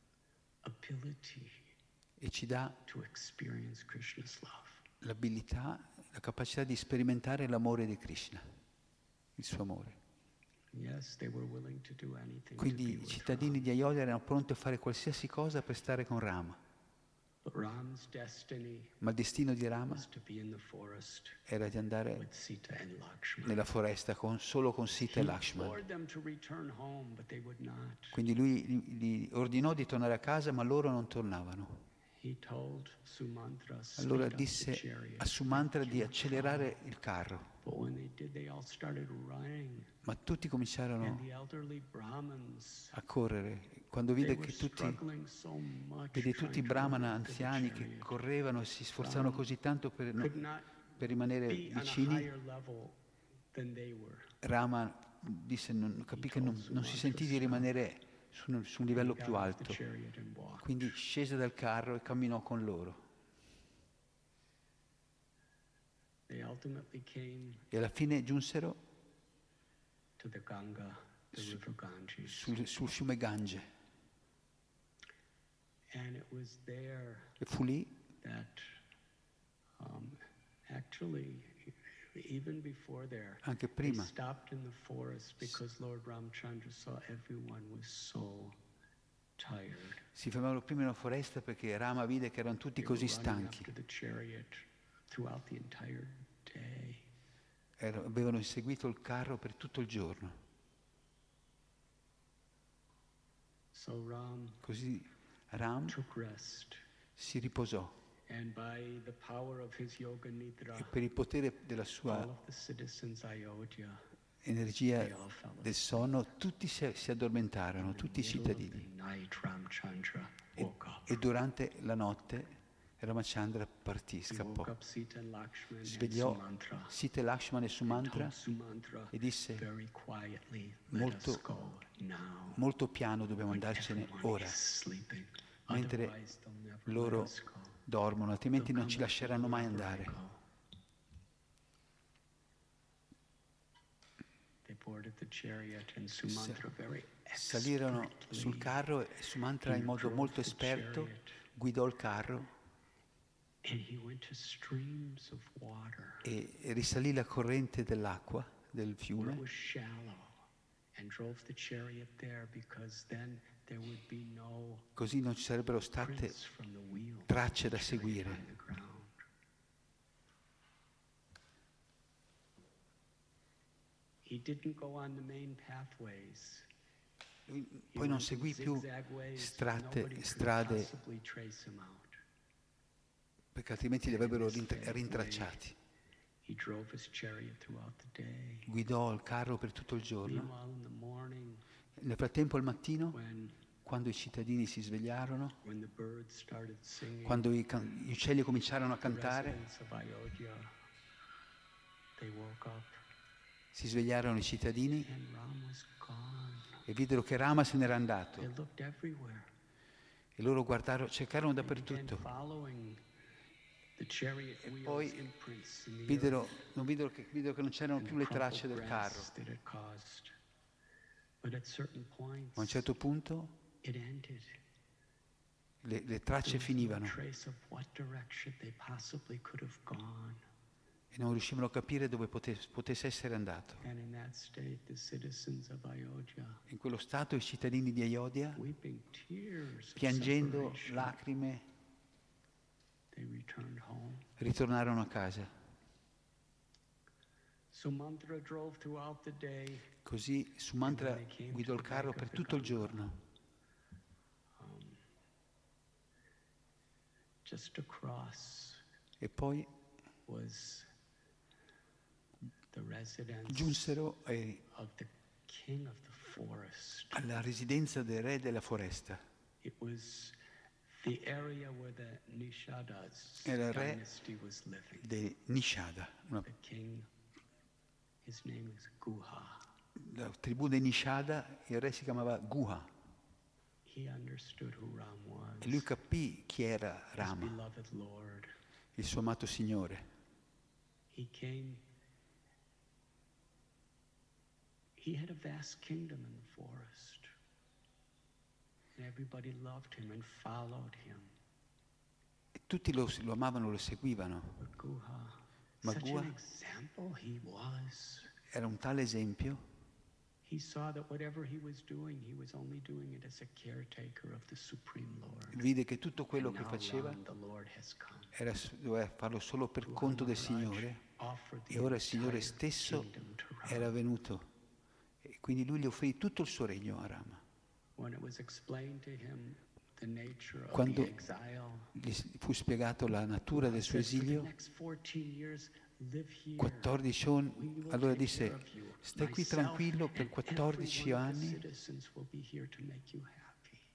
ability e ci dà to experience Krishna's love. l'abilità, la capacità di sperimentare l'amore di Krishna, il suo amore. Yes, they were willing to do anything to Quindi be i with cittadini Ram. di Ayodhya erano pronti a fare qualsiasi cosa per stare con Rama, But Ram's destiny ma il destino di Rama was to be in the forest era di andare with Sita and Lakshmana. nella foresta con- solo con Sita He e Lakshman. implored them to return home, but they would not. Quindi lui gli gli ordinò di tornare a casa, ma loro non tornavano. He told Sumantra, Allora "Speed up the disse chariot, a Sumantra make di your accelerare power." il carro, But when they did, they all started running. ma tutti And cominciarono the elderly Brahmins, a correre. Quando they vide were che tutti, struggling so much vede tutti i trying to brahmana run after the anziani che chariot. correvano e si sforzavano così tanto per, no- Could not per rimanere be on a vicini, higher level than they were. Rama disse, non, capì che non, non si sentì di rimanere su un, su un livello He got più off alto. the chariot and walked. Quindi scese dal carro e camminò con loro. They ultimately came E alla fine giunsero to the Ganga, the river Ganges. sul, sul fiume Gange. And it was there E fu lì, that um, actually, even before there, anche they prima, stopped in the forest because Lord Ramchandra saw everyone was so tired. si fermarono prima in una foresta perché Rama vide che erano tutti They were così running stanchi. after the chariot throughout the entire day. Era- avevano inseguito il carro per tutto il giorno. So Ram Così Ram took rest, si riposò and by the power of his yoga nidra, e per il potere della all sua of the citizens Ayodhya, energia they all fell del asleep. sonno, tutti si, si addormentarono, In the tutti i middle of the cittadini. night, Ramchandra E, woke up. e durante la notte Ramachandra partì, He scappò. woke up Sita and Lakshman and Svegliò Sumantra. Sita, Lakshman e and Sumantra told Sumantra e disse, very quietly, let molto, us go now. molto piano dobbiamo When andarcene everyone ora, is sleeping. mentre Otherwise they'll never loro let us go. dormono, altrimenti They'll non ci come lasceranno mai wherever I andare. go. They boarded the chariot and Sumantra very Salirono expertly sul carro e Sumantra in modo drove molto the esperto chariot. guidò il carro And he went to streams of water e e risalì la corrente dell'acqua del where it fiume was shallow and drove the chariot there because then there would be no così non ci sarebbero state prints from the wheel tracce da of the chariot seguire. on the ground. He didn't go on the main pathways. Lui He poi non went in seguì più zigzag ways that strade, nobody could strade possibly trace him out. perché altrimenti li avrebbero rintra- rintracciati. He drove his chariot throughout the day. Guidò il carro per tutto il giorno. Meanwhile, in the morning, Nel frattempo al mattino, when quando i cittadini si svegliarono, when the birds started singing, quando i, can- gli uccelli cominciarono a the cantare, residents of Ayodhya, they woke up si svegliarono i cittadini and Ram was gone. e videro che Rama se n'era They andato. looked everywhere. E loro guardarono, cercarono They began dappertutto. following the chariot E wheels poi imprints in the Videro, earth non videro che, videro che non c'erano and più the le tracce crumpled del grass carro. that it caused. But at certain points, Ma a un certo punto it ended. le, le tracce There was no finivano trace of what direction they possibly could have gone. e non riuscivano a capire dove potesse, potesse essere andato. And in that state, the citizens of Ayodhya, In quello stato i cittadini di Ayodhya, weeping tears of piangendo separation, lacrime, they returned home. ritornarono a casa. Sumantra drove throughout the day. Così Sumantra guidò il carro per tutto il giorno. Um, just across E poi was the residence giunsero ai- of the king of the forest. alla residenza del re della foresta. It was the area where the Nishadas Era il re dynasty was living. di Nishada, una, The king, his name is Guha. la tribù dei Nishada, il re si chiamava Guha He understood who Ram was, e lui capì chi era his Rama, beloved Lord. il suo amato Signore. He came. He had a vast kingdom in the forest. And everybody loved him and followed him. E tutti lo, lo amavano, lo seguivano. But Guha, Ma such Guha an example he was. era un tale esempio. He saw that whatever he was doing, he was only doing it as a caretaker of the Supreme Lord. Vide che tutto quello And che now faceva Ram, the Lord, has come. era, doveva farlo solo per Guha conto del Maharaj Signore, offered the e ora il Signore entire stesso kingdom to Ram. era venuto e quindi lui gli offrì tutto il suo regno a Rama. When it was explained to him the nature of Quando the exile, gli fu spiegato la natura del suo said, "For the esilio, next fourteen years, live here. quattordici anni, We will allora take disse: care of you. stai qui Myself tranquillo per and quattordici every one of the anni citizens will be here to make you happy."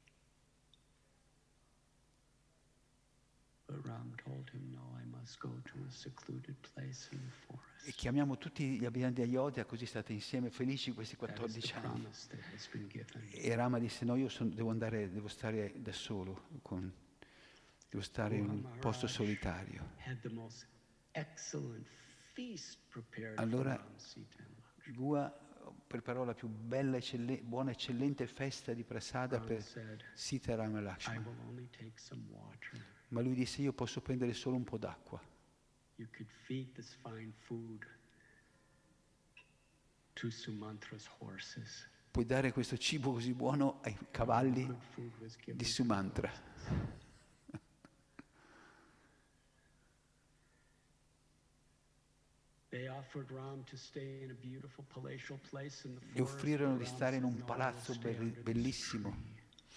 But Ram told him, "No, I must go to a secluded place in the e forest." chiamiamo tutti gli abitanti di Ayodhya, così state insieme felici questi That is the quattordici anni. promise that has been given. E Rama disse: no, io son- devo andare, devo stare da solo, con- devo stare in un posto solitario. Had the most excellent feast prepared Allora, for Ram, Sita, and Lakshmana. Gua preparò la più bella, eccelle- buona, eccellente festa di prasada Ram per said, Sita, Rama e "I Lakshmana. will only take some water. Ma lui disse: io posso prendere solo un po' d'acqua. You could feed this fine food to Sumantra's horses." Puoi dare questo cibo così buono ai cavalli Good food was given di to the Sumantra. horses. They offered Ram to stay in a beautiful palatial place in the Gli forest. offrirono but di Ram stare in said, un "No, I will palazzo stay belli- under this bellissimo, tree."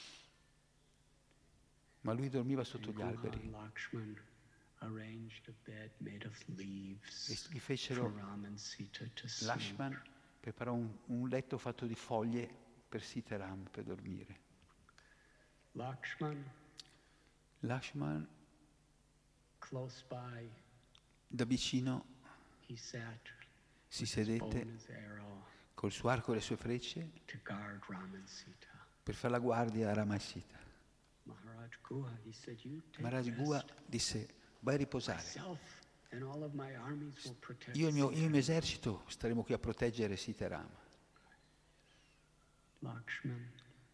ma lui dormiva sotto And gli Guha alberi. and Lakshman arranged a bed made of leaves E gli for fecero, Ram and Sita to sleep. Lakshman preparò un, un letto fatto di foglie per Sita e Ram per dormire. Lakshman, Lakshman close by, da vicino he sat si with his bow sedette and his arrow col suo arco e le sue frecce to guard Ram and Sita. per fare la guardia a Rama e Sita. Maharaj Guha, he said, "You take Maharaj rest. Gua disse: vai a riposare. Myself and all of my armies will protect Io e il mio, io e il Sita." mio esercito staremo qui a proteggere Sita e Rama. Lakshman,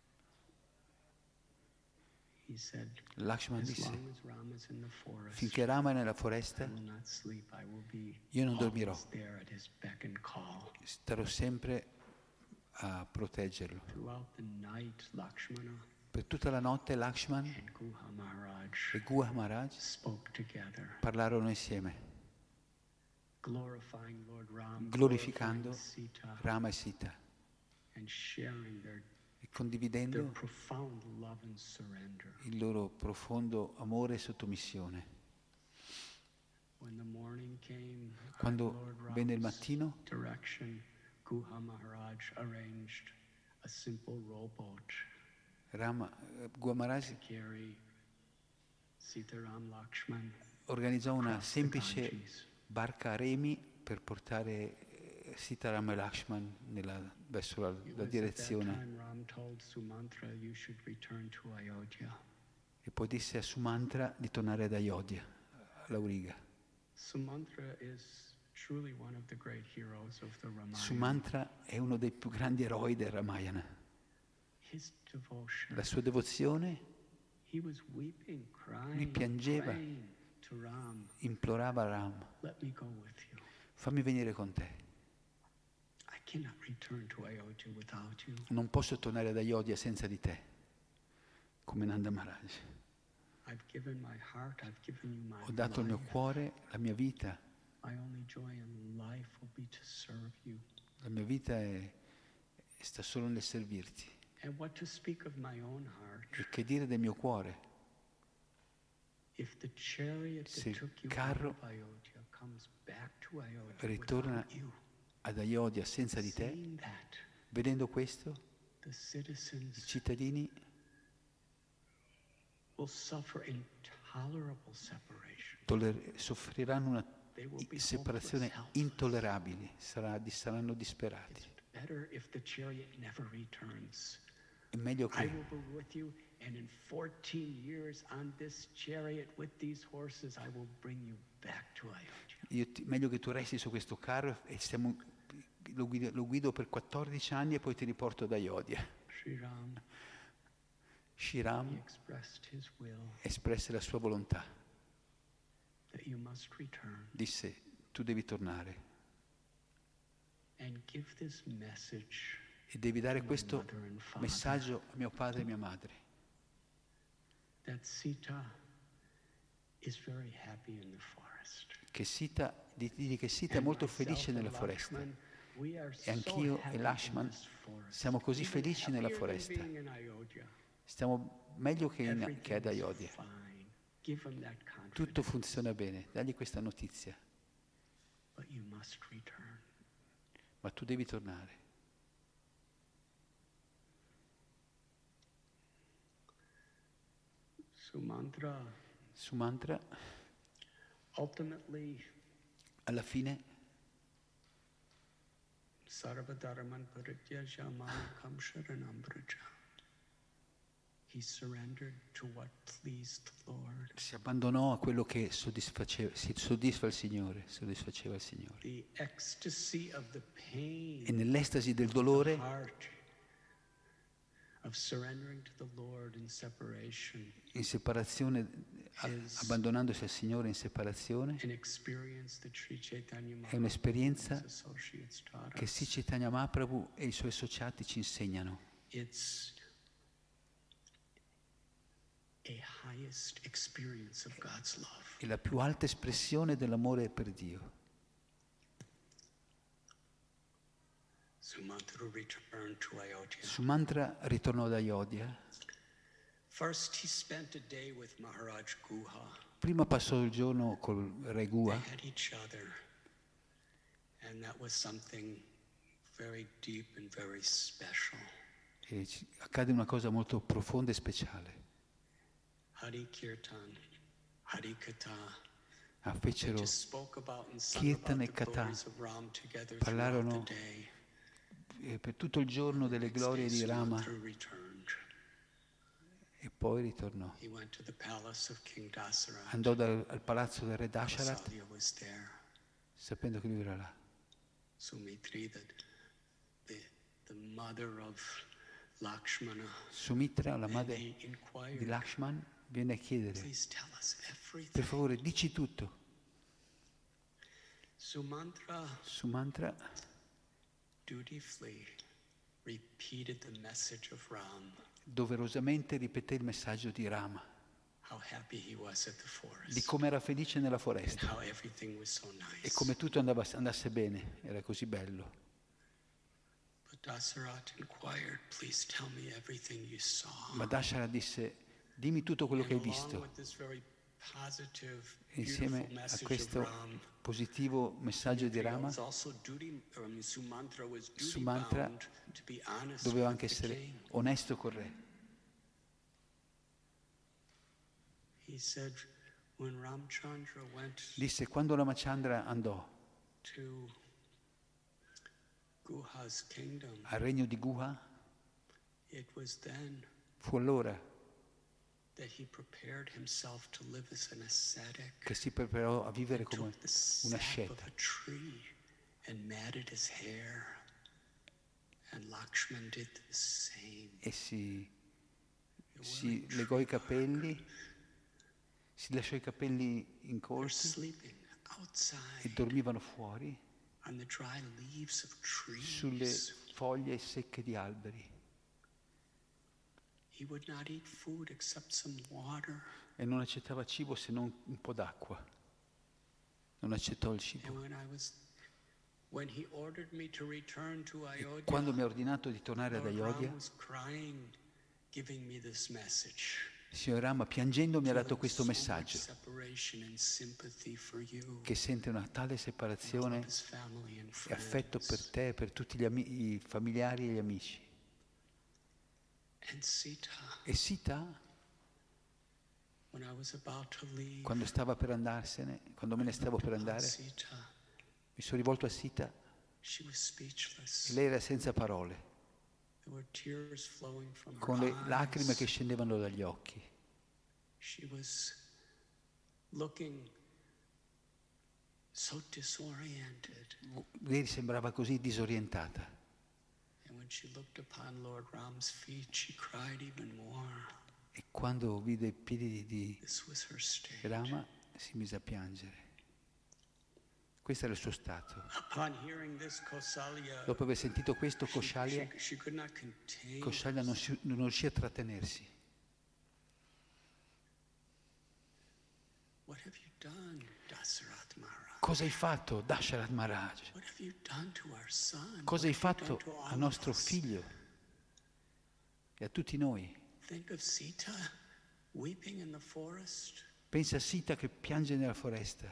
he said, Lakshman "As disse: long as Ram is in the forest, finché Rama è nella I foresta, will not sleep. I will be io non dormirò. always there at his beck and call." starò sempre a proteggerlo. Throughout the night, Lakshmana Per tutta la notte Lakshman and Guha Maharaj e Guha Maharaj spoke together, parlarono insieme, glorifying Lord Ram, glorificando glorifying Sita, Rama e Sita and sharing their, e their condividendo profound love and surrender. il loro profondo amore e sottomissione. When the morning came, at Quando Lord venne il Ram's mattino, direction, Guha Maharaj arranged a simple rowboat Rama, eh, Guha Maharaj to carry Sitaram Lakshman organizzò una across the semplice Ganges. barca a remi per portare eh, Sita, Rama e Lakshman nella- verso la, It la was at that direzione. time Ram told Sumantra, "You should return to Ayodhya." E poi disse a Sumantra di tornare ad Ayodhya, all'Auriga. Sumantra is truly one of the great heroes of the Ramayana. Sumantra è uno dei più grandi eroi del Ramayana. His devotion, La sua devozione, He was weeping, crying, Lui piangeva, praying to Ram, implorava Ram, let me go with you. fammi venire con te. I cannot return to Ayodhya without you. Non posso tornare ad Ayodhya senza di te, come Nanda Maharaj. I've given my heart, I've given you my Ho dato il mio life. cuore, la mia vita. My only joy in life will be to serve you. La mia vita è, sta solo nel servirti. And what to speak of my own heart? E che dire del mio cuore? If the chariot Se that il took you out carro of Ayodhya comes back to Ayodhya ritorna without you, ad Ayodhya senza di te, seeing that, vedendo questo, the i citizens cittadini will suffer intolerable separation. toller- soffriranno una They will be separazione hopeless, helpless. intollerabile, sarà- saranno disperati. It's better if the chariot never returns. È meglio I che will be with you, and in fourteen years on this chariot with these horses, I will bring you back to Ayodhya. io ti- meglio che tu resti su questo carro e stiamo- lo, guido, lo guido per quattordici anni e poi ti riporto ad Ayodhya. Sri Ram, he Shiram expressed his will espresse la sua volontà, that you must return disse tu devi tornare and give this message e devi dare to my questo mother and father messaggio a mio padre e mia madre, that Sita is very happy in the forest. che Sita, di, di che Sita è molto felice nella foresta. E anch'io e Lakshman siamo così felici nella foresta. Stiamo meglio che, in, che ad Ayodhya. Tutto funziona bene, dagli questa notizia. Ma tu devi tornare. Sumantra, Sumantra, ultimately, alla fine, Sarvadharman Parityajya Mamekam Sharanam Vraja. He surrendered to what pleased the Lord. si abbandonò a quello che soddisfaceva, si soddisfa il Signore, soddisfaceva il Signore. The ecstasy of the pain, E nell'estasi del the dolore, heart of surrendering to the Lord in separation, in separazione, a- abbandonandosi al Signore in separazione, an experience that Sri Chaitanya è un'esperienza Mahaprabhu and his associates taught che us. Sri Chaitanya Mahaprabhu e i suoi associati ci insegnano. It's a highest experience of God's love. È la più alta espressione dell'amore per Dio. Sumantra returned to Ayodhya. Sumantra ritornò ad Ayodhya. First, he spent a day with Maharaj Guha. Prima passò il giorno col re Gua They had each other, and that was something very deep and very special. e ci- accade una cosa molto profonda e speciale. Hari Kirtan, Hari Katha. Ah, They fecero, just spoke about and sung Kirtan about e the Katha. glories of Ram together Parlarono throughout the day. eh, per tutto il giorno delle glorie di Rama Sumantra returned. e poi ritornò. He went to the palace of King Dasarath. Andò dal, al palazzo del re Dasharat Kausalya was there. sapendo che lui era là. Sumitri, the, the, the mother of Lakshmana, Sumitra, la and madre he di inquired, Lakshman, viene a chiedere, please tell us per everything. favore dici tutto. Sumantra Sumantra dutifully repeated the message of Ram, doverosamente ripeté il messaggio di Rama, how happy he was at the di forest, come era felice nella and foresta how everything was so e nice. come tutto andava, andasse bene, era così bello. But Dasarath inquired, please tell me everything you saw. Ma Dasharat disse, dimmi tutto quello che hai And along visto. with this very positive, E insieme beautiful a message questo of Ram, positivo messaggio di Sumitra Rama, was also duty, I mean, Sumantra was duty Sumantra bound to be honest doveva with anche the essere king. onesto col re. He said, when Ramchandra went Disse, quando Ramachandra andò to Guha's kingdom, al regno di Guha, it was then fu allora that he prepared himself to live as an ascetic. che si preparò a vivere He come took the una sap of asceta a tree and matted his hair, and Lakshman did the same. e si si legò i capelli, si lasciò i capelli They're incolti sleeping e outside dormivano fuori on the dry leaves of sulle trees. foglie secche di alberi He would not eat food except some water. e non accettava cibo se non un po' d'acqua. Non accettò il And cibo. when I was, when he ordered me to return to Ayodhya, Quando mi ha ordinato di tornare ad Lord Ayodhya, Ram was crying, giving me this message. il signor Rama piangendo mi ha dato Feeling questo so much messaggio, separation and sympathy for you, che sente una tale and all of separazione his family and e affetto per friends. te e per tutti gli ami- i familiari e gli amici. And Sita, E Sita, when I was about to leave, quando stava per andarsene, quando me ne stavo per upon andare, Sita, mi sono rivolto a Sita she was speechless. e lei era senza parole, There were tears flowing from her con le lacrime che eyes. scendevano dagli occhi. She was looking so disoriented. Lei sembrava così disorientata. And when she looked upon Lord Ram's feet, she cried even more. E quando vide i piedi di This was her state. Rama si mise a piangere. Questo era il suo stato. Upon hearing this, Kausalya, Dopo aver sentito questo, she, Kaushalya, she, she could not contain. Kaushalya non, si- non riuscì a trattenersi. What have you done, Dasarath Maharaj? Cosa hai fatto, Dasharat Maharaj? What have you done to our son? Cosa hai What have you fatto done to all al of nostro us? figlio e a tutti noi? Think of Sita weeping in the forest. Pensa a Sita che piange nella foresta.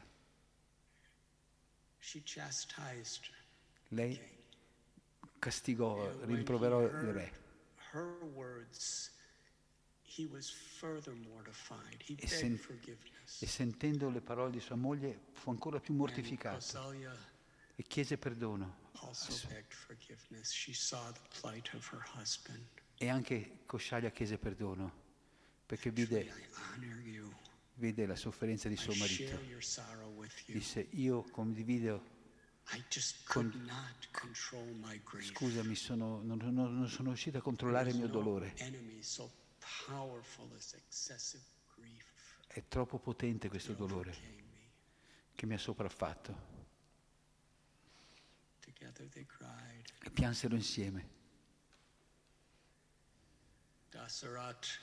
She chastised Lei King. castigò, And when he rimproverò il heard re. her words, he was further mortified. He E, begged sen- forgiveness. e sentendo le parole di sua moglie fu ancora più And mortificato Kausalya e chiese perdono. also begged forgiveness. She saw the plight of her husband. E anche Kaushalya chiese perdono perché Truly, vide, I honor you. vide la sofferenza di I suo share marito. your sorrow with you. Disse, io condivido, I just con- could not control my grief. scusami, sono, non, non- non sono riuscito a controllare il There mio is no dolore. enemy so powerful as excessive grief. È troppo potente questo It dolore overcame me. che mi ha sopraffatto. Together they cried. E piansero insieme. Dasarath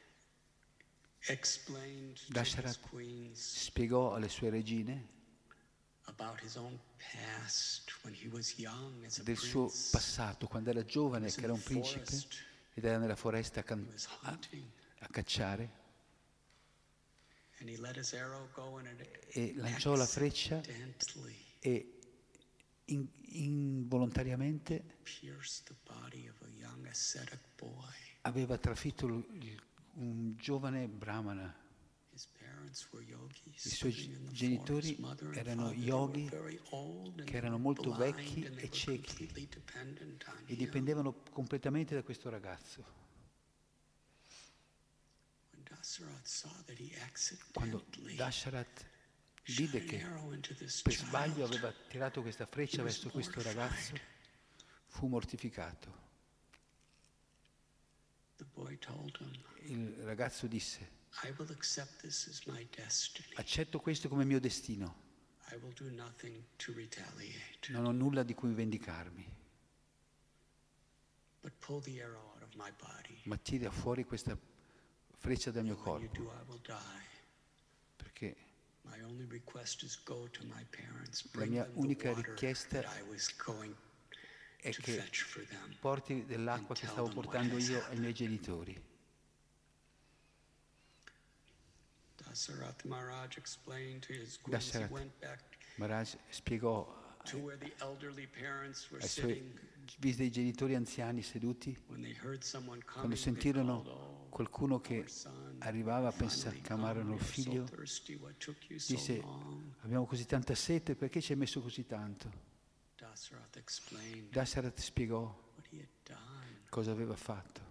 explained to his Dasharat queens spiegò alle sue regine about his own past when he was young as a del suo prince. passato quando era He giovane, was che in era the un principe forest. ed era nella foresta a, He can- was a- hunting, a cacciare and he let his arrow go, and it e lanciò la freccia accidentally e in- involontariamente pierced the body of a young ascetic boy. aveva trafitto il- il- un giovane brahmana. His parents were yogis I suoi living in the genitori forest. Mother and erano father, they yogi were very old and che erano they were molto blind, vecchi and they e were ciechi completely dependent on e him. dipendevano completamente da questo ragazzo. When Dasarath saw that he Quando accidentally Dasharat shot vide an che arrow into this per sbaglio child, aveva tirato questa freccia he was verso questo mortified. ragazzo, fu mortificato. The boy told him, Il ragazzo disse, I will accept this as my destiny. accetto questo come mio destino, I will do nothing to retaliate, non ho nulla di cui vendicarmi, but pull the arrow out of my body. ma tira fuori questa freccia dal mio And when you corpo, do, I will die. perché My only request is go to my parents, la bring mia them the unica water richiesta that I was going è to che fetch for them. porti dell'acqua che stavo portando io ai miei genitori. Dasarath Maharaj explained to his queens. He Dasharat went back Maharaj spiegò to where the elderly parents were ai suoi sitting. vide i genitori anziani seduti, When they heard someone quando coming, they sentirono called, "Oh, qualcuno che our son, arrivava, finally pensa- come, chiamarono il we are so figlio, thirsty. What took you so disse, long?" abbiamo così tanta sete, perché ci hai messo così tanto? Dasarath explained Dasharat spiegò what he had done. cosa aveva fatto.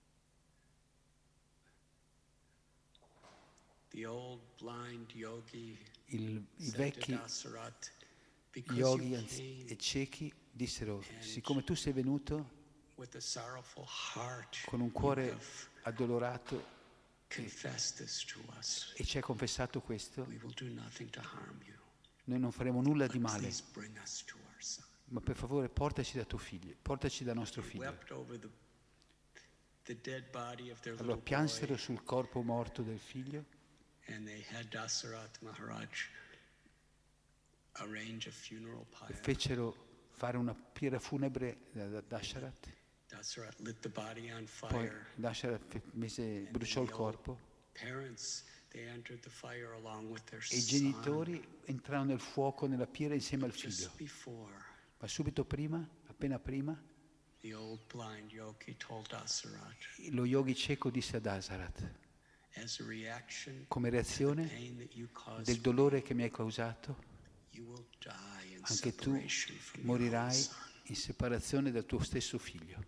The old blind yogi Il- I said to vecchi Dasarath, because yogi you anzi- came e ciechi dissero, siccome tu sei venuto with a sorrowful heart, con un you cuore have addolorato confessed this to us. e ci hai confessato questo, We will do nothing to harm you. noi non faremo nulla di But male, please bring us to our son. ma per favore portaci da tuo figlio, portaci da nostro They figlio. wept over the, the dead body of their Allora little piansero boy, sul corpo morto del figlio and they had Dasarath Maharaj arrange a funeral e pyre. fecero fare una pira funebre da da Dasharat. Dasarath lit the body on Poi fire. Dasharat fe- mise, bruciò il corpo Parents, they entered the fire along with their e i son. genitori entrarono nel fuoco, nella pira insieme al figlio. Just before, Ma subito prima, appena prima, the old blind yogi told Dasarath, lo yogi cieco disse a Dasharat, as a reaction come to the reazione pain that you caused del dolore che mi hai causato, you will die in anche tu separation from your own morirai son. in separazione dal tuo stesso figlio.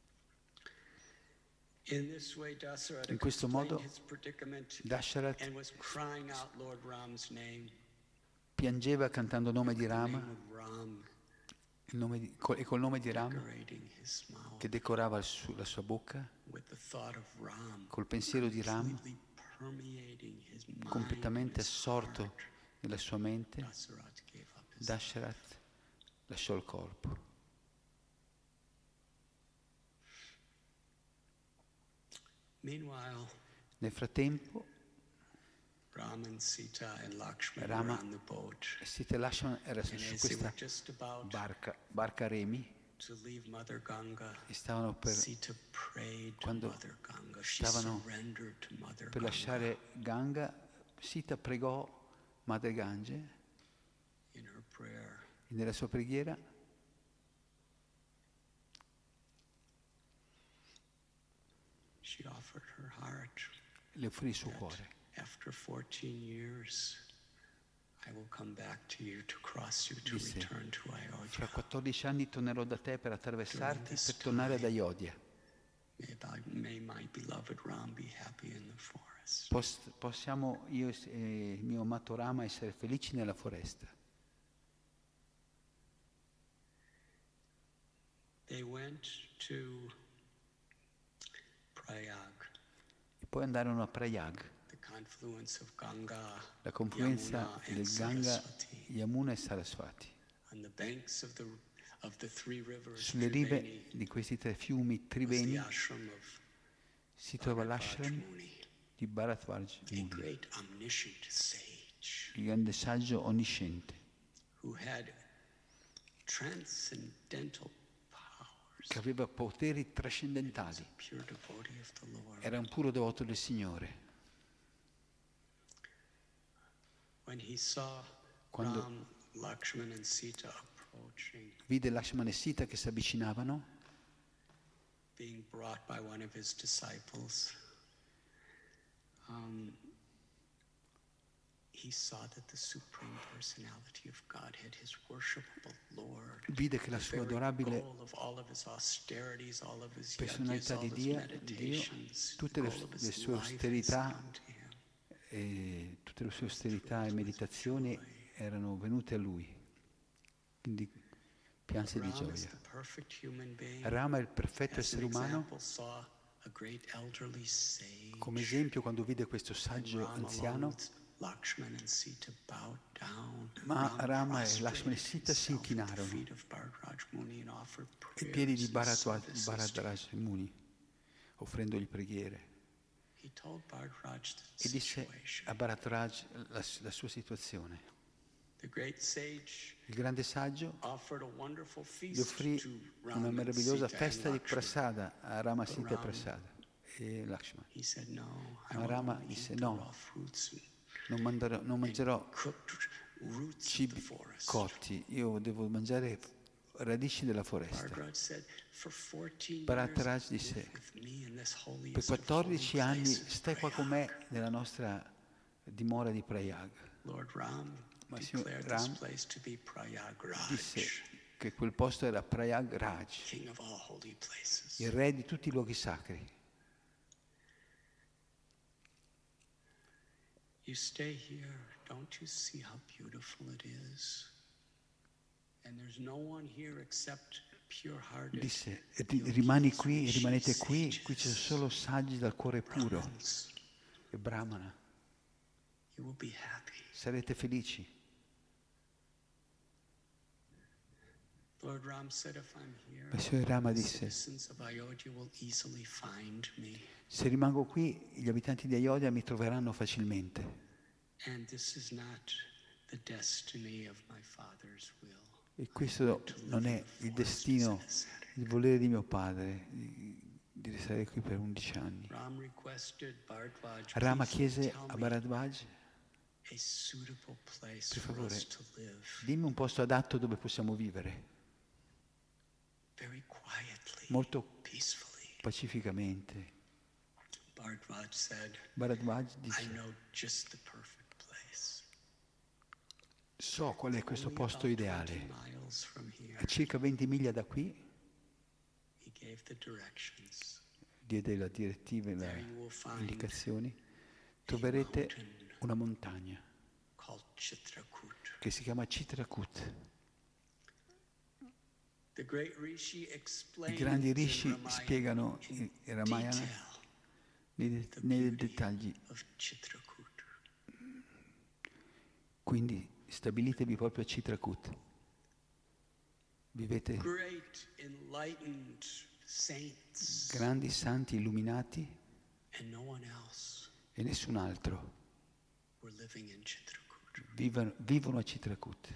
In this way, Dasarath In questo explained modo, his predicament Dasharat and was crying out Lord Ram's name. piangeva cantando il nome di The name Rama of Ram il nome di- col- e col nome di Rama decorating his mouth che decorava il su- la sua bocca, with the thought of Ram col pensiero di Ram completely permeating his mind completamente and his assorto heart. nella sua mente. Dasarath gave up his Dasharat lasciò il corpo. Meanwhile, Nel frattempo Ram and Sita and Lakshman Rama were on the boat. Sita e Lakshman era And su as they questa were just about barca, barca a remi, to leave Mother Ganga, e stavano per, Sita prayed to quando Mother Ganga. She stavano surrendered to Mother per Ganga. lasciare Ganga. Sita pregò Madre Gange In her prayer, e nella sua preghiera she offered her heart. le offrì il suo that cuore. After fourteen years, I will come back to you to cross you to Disse, return to fra Ayodhya. quattordici anni tornerò da te per attraversarti, During this per tornare ad time, Ayodhya. May, thy- may my beloved Ram be happy in the forest. Pos- possiamo io e il mio amato Rama essere felici nella foresta. They went to Prayag, E poi andarono a Prayag, the confluence of Ganga, la confluenza Yamuna, and del Ganga, Saraswati, Yamuna e Saraswati. on the banks of the of the three rivers. Sulle rive Triveni di questi tre fiumi was Triveni the ashram of si trova Bharadwaj l'ashram Muni, di Bharadwaj a Muni, great omniscient sage il grande saggio onnisciente, who had transcendental powers. che aveva poteri trascendentali. Pure devotee of the Lord. Era un puro devoto del Signore. When he saw Quando- Ram, Lakshman and Sita approaching, Vide Lakshmana e Sita che si avvicinavano, being brought by one of his disciples, um, he saw that the Supreme Personality of Godhead, his worshipable Lord, vide che la the sua very adorabile goal of all of his austerities, all of his yajnas, personalità all di of his Dio, meditations, tutte the le- goal of le his sue life has austerità come to him. e tutte le sue austerità e meditazioni erano venute a lui. Quindi pianse di Ram is gioia. the perfect human being. Rama è il perfetto As an essere umano. example, saw a great elderly sage. Come esempio, quando vide questo saggio And Ram, along anziano, with Lakshman and Sita bowed down. ma Ram Rama e prostrated Lakshman e Sita si himself at the inchinarono feet of Bharadwaj Muni and offered ai piedi di prayers and Bharadwaj services to Bharadwaj Muni, offrendogli preghiere. He told Bharadwaj the E disse situation. a Bharadwaj la, la sua situazione. The great sage Il grande saggio offered a wonderful gli feast offrì to una Ram and meravigliosa Sita festa and di Lakshman. prasada a Rama, Sita e Ram- Prasada e Lakshman. He said, no, I Ma will Rama only disse, eat the no. raw fruits and Non, manderò- non mangerò cooked roots of the cibi forest. cotti, io devo mangiare radici della foresta. Bharadwaj said, for fourteen Bharadwaj years, disse, live with me in this holiest per of holy quattordici anni places, stai qua con me Prayag. nella nostra dimora di Prayag. Lord Ram Ma signor declared Ram this place to be Prayagraj, Disse che quel posto era Prayag Raj, king of all holy places. il re di tutti i luoghi sacri. You stay here, don't you see how beautiful it is? And there's no one here except pure-hearted, disse, rimani qui, rimanete qui, qui ci sono solo saggi dal cuore puro. E Brahmana, you will be happy. sarete felici. Lord Ram said, if I'm here, Il Signore Rama the disse, citizens of Ayodhya will easily find me. se rimango qui, gli abitanti di Ayodhya mi troveranno facilmente. And this is not the destiny of my father's will. E questo non è il destino, il volere di mio padre, di, di restare qui per undici anni. Ram requested Bharadwaj, Rama "Please chiese tell a me Bharadwaj, a suitable place per for favore, us to live, dimmi un posto adatto dove possiamo vivere, very quietly, molto peacefully." pacificamente. Bharadwaj said, Bharadwaj "I disse, know just the perfect place. so qual è questo Only posto about ideale. twenty miles from here." A circa venti miglia da qui, He gave the directions. diede la direttiva e There le you will find indicazioni, troverete una montagna called Chitrakoot. che si chiama Chitrakoot. The great Rishi I explains grandi in rishi Ramayana spiegano in in in Ramayana detail nei, de- the nei beauty dettagli. of Chitrakoot. Quindi stabilitevi proprio a Chitrakoot. Vivete Great enlightened saints grandi santi illuminati and no one else e nessun altro were living in Chitrakoot. vivono, vivono a Chitrakoot.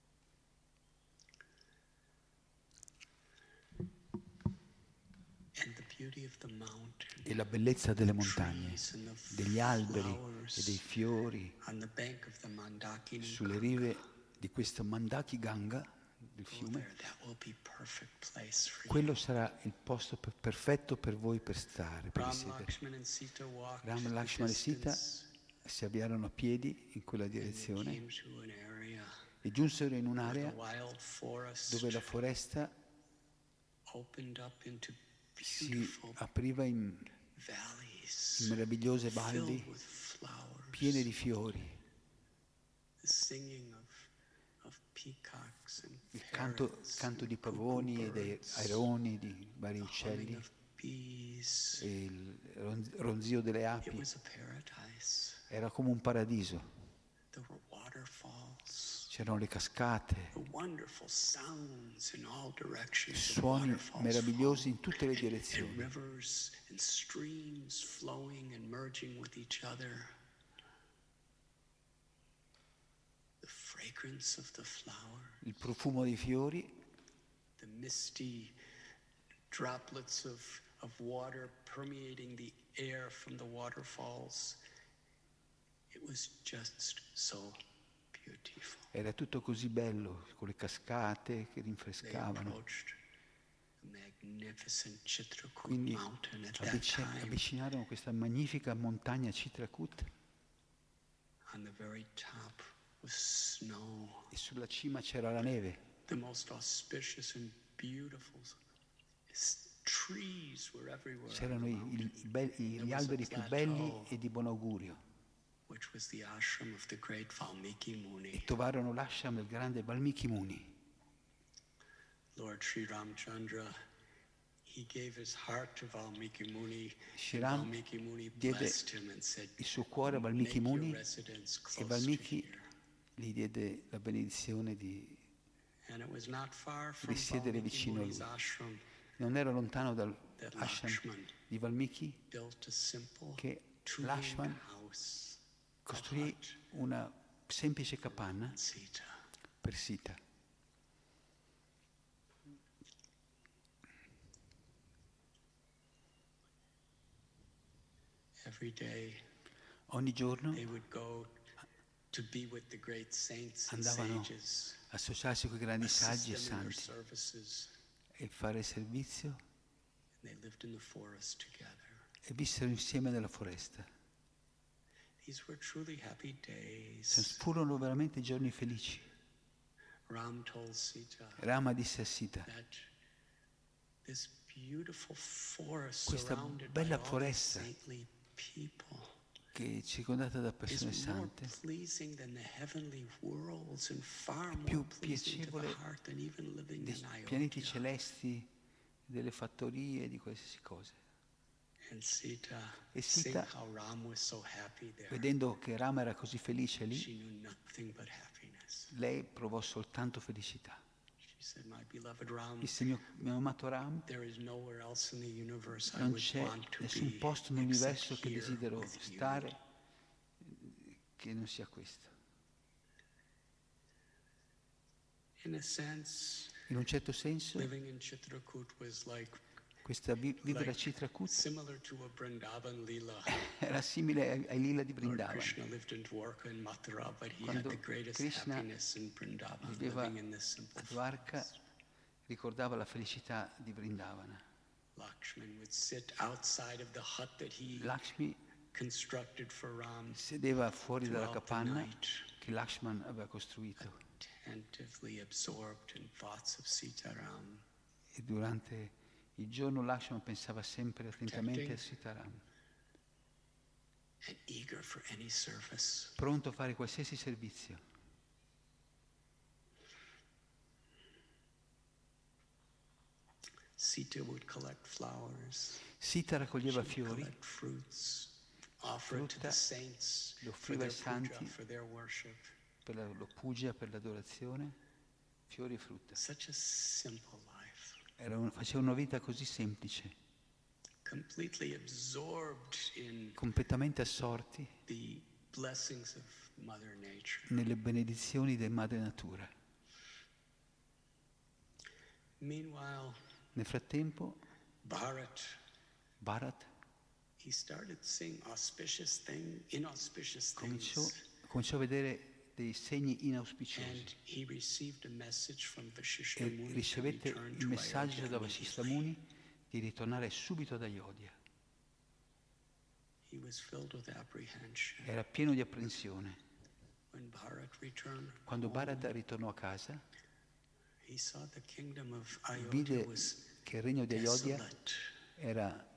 And the beauty of the mountain, E la bellezza delle montagne, trees and the degli alberi flowers e dei fiori on the bank of the Mandakini sulle rive di questo Mandaki Ganga, del Go fiume, there, that will be perfect place for you. quello sarà il posto per- perfetto per voi per stare, per Ram, risiedere. Lakshman and Sita walked Ram, the Lakshman e Sita distance, si avviarono a piedi in quella and they direzione came to an area e giunsero in where the un'area wild forest dove la foresta opened up into si beautiful apriva in, valleys in meravigliose filled valli with flowers. piene di fiori. The singing of, of peacocks and Il canto, parrots canto and di pavoni e dei birds, aironi, di vari the uccelli, humming of bees. e il ron- ronzio delle It api. was a paradise. Era come un paradiso. There were waterfalls. C'erano le cascate, The wonderful sounds in all directions. of suoni waterfalls meravigliosi in flowing, tutte le and direzioni. rivers and streams flowing and merging with each other. The fragrance of the flower, Il profumo dei fiori, the misty droplets of, of water permeating the air from the waterfalls. It was just so beautiful. era tutto così bello, con le cascate che They rinfrescavano. approached the magnificent Chitrakoot Quindi mountain at that avvic- time. avvicinarono questa magnifica montagna Chitrakoot On the very top was snow, e sulla cima c'era la neve. the most auspicious and beautiful s- trees were everywhere, on C'erano the i- mountain, i- i be- i- gli alberi più belli e di buon augurio. which was the ashram of the great Valmiki E Muni. trovarono l'ashram del grande Valmiki Muni. Lord Sri Ramchandra, he gave his heart to Valmiki Muni. Shri and Ram Valmiki Muni diede blessed him and said, il suo cuore a Valmiki "Make your Muni residence e close to Valmiki here." gli diede la benedizione di And it was not far from risiedere Valmiki vicino a Muni's lui. ashram Non era lontano that dall'ashram Lakshman di Valmiki built a simple che two-wing Lakshman house costruì of una semplice capanna Sita. per Sita. Every day Ogni giorno they would go to be with the great saints and andavano sages, a associarsi con i grandi assist saggi e them in their santi services, e fare servizio, and they lived in the forest together. e vissero insieme nella foresta. These were truly happy Se days. furono veramente giorni felici. Ram told Sita Rama disse a Sita, that this beautiful forest questa surrounded by bella all these foresta saintly people, che è circondata da is persone more sante, pleasing than the heavenly worlds and far more più pleasing to the piacevole heart than even living dei in pianeti Ayodhya. celesti, delle fattorie, di qualsiasi cosa. And Sita, E seeing Sita, how Ram was so happy there, vedendo che Rama era così felice lì, she knew nothing but happiness. lei provò soltanto felicità. She said, "My beloved Ram, Disse, mio, mio amato Ram, there is nowhere else in the universe I non would c'è want to nessun be posto except nell'universo che here desidero with you." stare che non sia questo. In a sense, In un certo senso, living in Chitrakoot was like questa vi- vivere a like Chitrakoot similar to a Vrindavan Leela. era simile ai, ai lila di Lord Vrindavan. Krishna lived in Dwarka and Mathura, but he Quando had the greatest Krishna happiness in Vrindavan, viveva living in this simple a Dwarka, forest. ricordava la felicità di Vrindavana. Lakshman would sit outside of the hut that he Lakshmi constructed for Ram, sedeva fuori dalla throughout the capanna night, che Lakshman aveva costruito attentively absorbed in thoughts of Sitaram, e durante il giorno Lakshman pensava sempre attentamente a Sitaram, and eager for any service. pronto a fare qualsiasi servizio. Sita would collect flowers. Sita raccoglieva She would fiori, collect fruits, offer it to frutta, the saints lo for offriva their ai santi puja, for their worship. per la lo puja, per l'adorazione, fiori e frutta. Such a simple life, Era un- faceva una vita così semplice, completely absorbed in completamente assorti the blessings of Mother Nature. nelle benedizioni del Madre Natura. Meanwhile, Nel frattempo, Bharat, Bharat he started seeing auspicious thing, inauspicious cominciò, things. cominciò a vedere dei segni inauspiciosi And he received a message from Vashishta e Muni to ricevette return il to messaggio Ayodhya da Vasistha immediately. Muni di ritornare subito ad Ayodhya. He was filled with apprehension. Era pieno di apprensione. When Bharat returned Quando home, Bharat ritornò a casa, he saw the kingdom of Ayodhya vide was che il regno di Ayodhya desolate. era,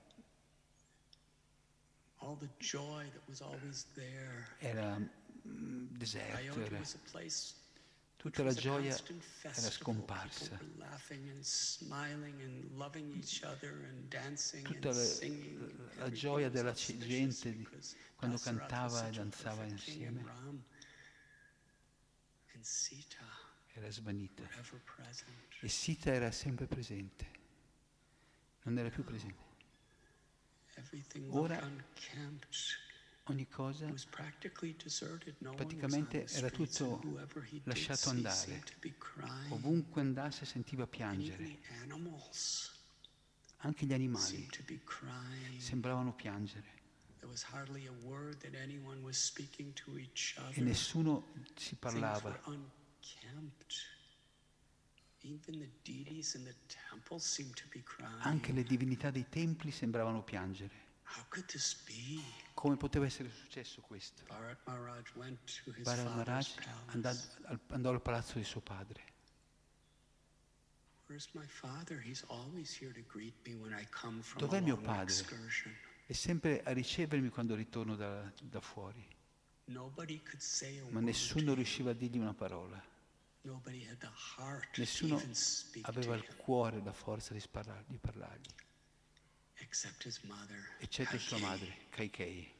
All the joy that was always there. era mm, deserto, Ayodhya era, was a place tutta which la was a gioia constant era festival. scomparsa. People were laughing and smiling and loving each other and dancing Tutta and la, singing. la Everything gioia was della auspicious gente di- because quando Dasarath was cantava e such a danzava perfect king, and insieme Ram and Sita era svanita. were ever present. E Sita era sempre presente, non era più presente. Everything Ora- looked unkempt. Ogni cosa It was practically deserted. No one was on praticamente the era streets, and tutto whoever he did lasciato see andare. seemed to be crying. Ovunque andasse sentiva And even piangere. the animals Anche gli animali seemed to be crying. sembravano piangere There was hardly a word that anyone was speaking to each e other. nessuno si Things parlava. were unkempt. Even the deities in the temple seemed to be crying. Anche le divinità dei templi sembravano piangere. How could this be? Come poteva essere successo questo? Bharat Maharaj went to his Bharat father's Maharaj andò palace. al, andò al palazzo di suo padre. Where's my father? He's always here to greet me when I come from Dov'è a mio long padre? excursion. È sempre a ricevermi quando ritorno da, da fuori, Nobody could say a ma word nessuno to him. riusciva a dirgli una parola. Nobody had the heart to Nessuno even speak aveva to il him, cuore, la forza di, sparlar- di parlargli, except his mother. eccetto sua Kaikeyi. madre, Kaikei.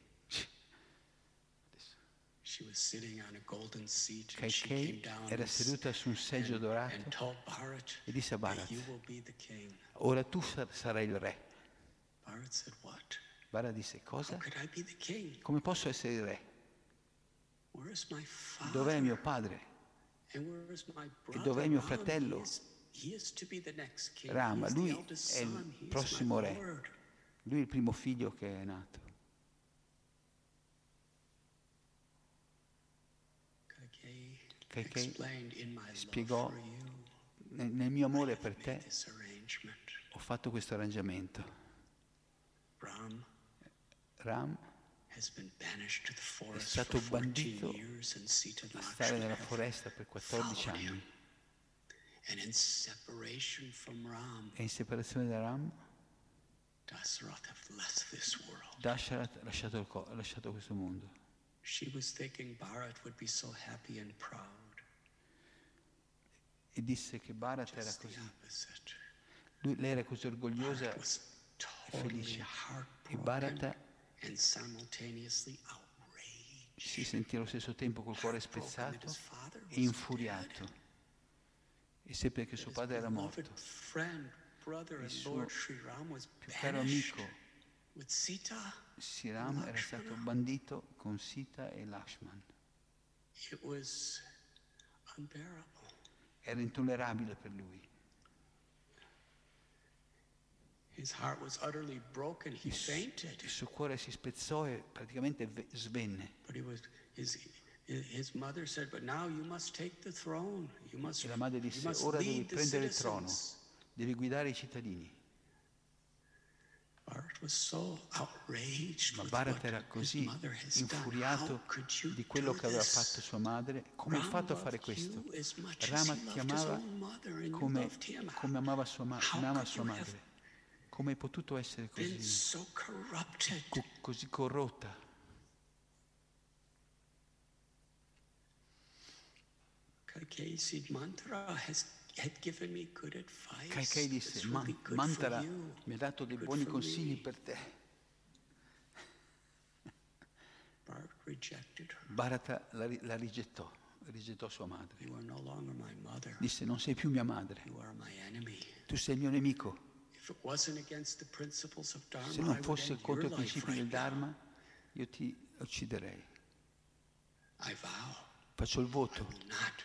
She was sitting on a golden seat and she came Kaikei down era and, seduta su un seggio and, dorato and told Bharat e disse a that Bharat, you will be the king. ora tu sar- sarai il re. Bharat said, what? Bharat disse, How cosa? could I be the king? Come posso essere il re? Where is my father? Dov'è mio padre? And where is my brother? dov'è mio Ram? fratello? He is, he is to be the next king. Rama, He is the lui eldest è il son. He is prossimo my re. Lord. Lui è il primo figlio che è nato. Kaikeyi Kaikeyi explained, in my love spiegò, for you, nel, nel mio amore I per have made te this arrangement. ho fatto questo arrangiamento. Ram Ram has been banished to the forest stato for fourteen bandito years, and Sita and a stare Lakshman nella have foresta per quattordici followed him. anni And in separation from Ram, e in separazione da Ram Dasarath have left this world. Dasharat ha lasciato, il co- ha lasciato questo mondo. She was thinking Bharat would be so happy and proud. E disse che Bharat era Just the così. opposite. Lui, lei era così orgogliosa Bharat was totally felice. E heartbroken Bharat and simultaneously outraged. si sentì allo stesso tempo col cuore Heartbroken that spezzato his father was e infuriato. E seppe che dead. suo His padre era beloved morto. friend, brother, Il and suo Lord Sri Ram was più caro banished amico with Sita. Siram era stato bandito con Sita e Lakshman. It was unbearable. Era intollerabile per lui. His heart was utterly broken. He Il, su- fainted. il suo cuore si spezzò e praticamente ve- svenne. But he was his his mother said, "But now you must take the throne. You must E la madre you disse, must ora devi lead the prendere il trono, citizens." devi guidare i cittadini. Bharat was so outraged Ma with Bharat what era his così mother has done. infuriato How could you di quello do che aveva this? fatto sua madre. Come hai Ram fatto a fare loved questo? you as much as Rama he ti loved his amava own mother and you come, loved him. come amava sua, ma- How come ama could sua you have madre. Come hai potuto essere been così, so corrupted? co- così corrotta? Kaikeyi said, Mantra has had given me good advice. Kaikai disse, It's "Man- really good Mantara for you. mi ha dato dei Good buoni for consigli me." per te. Bharat rejected her. Bharata la, ri- la rigettò, rigettò sua madre. You are no longer my mother. Disse, non sei più mia madre, You are my enemy. tu sei il mio nemico. If it wasn't against the principles of Dharma, Se I non would fosse end contro your i life principi del right now. Dharma, io ti ucciderei. I vow Faccio il I voto will not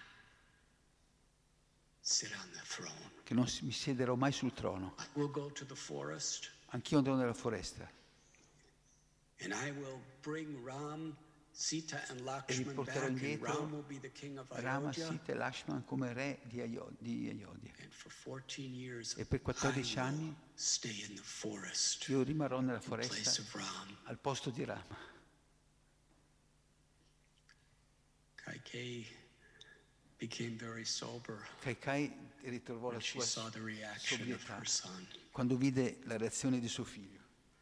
sit on the throne. che non si- mi siederò mai sul trono. I will go to the forest Anch'io andrò nella foresta and I will bring Ram, Sita and Lakshman back, riporterò and indietro Ram will be the king of Rama, Ayodhya. Sita e Lakshman come re di Ayo- di Ayodhya. And for fourteen years, E per quattordici I will anni stay in the forest io rimarrò nella in place foresta of Ram. al posto di Rama. Kaikeyi became very sober Kaikai ritrovò la when she sua saw the reaction of sobrietà her son. quando vide la reazione di suo figlio.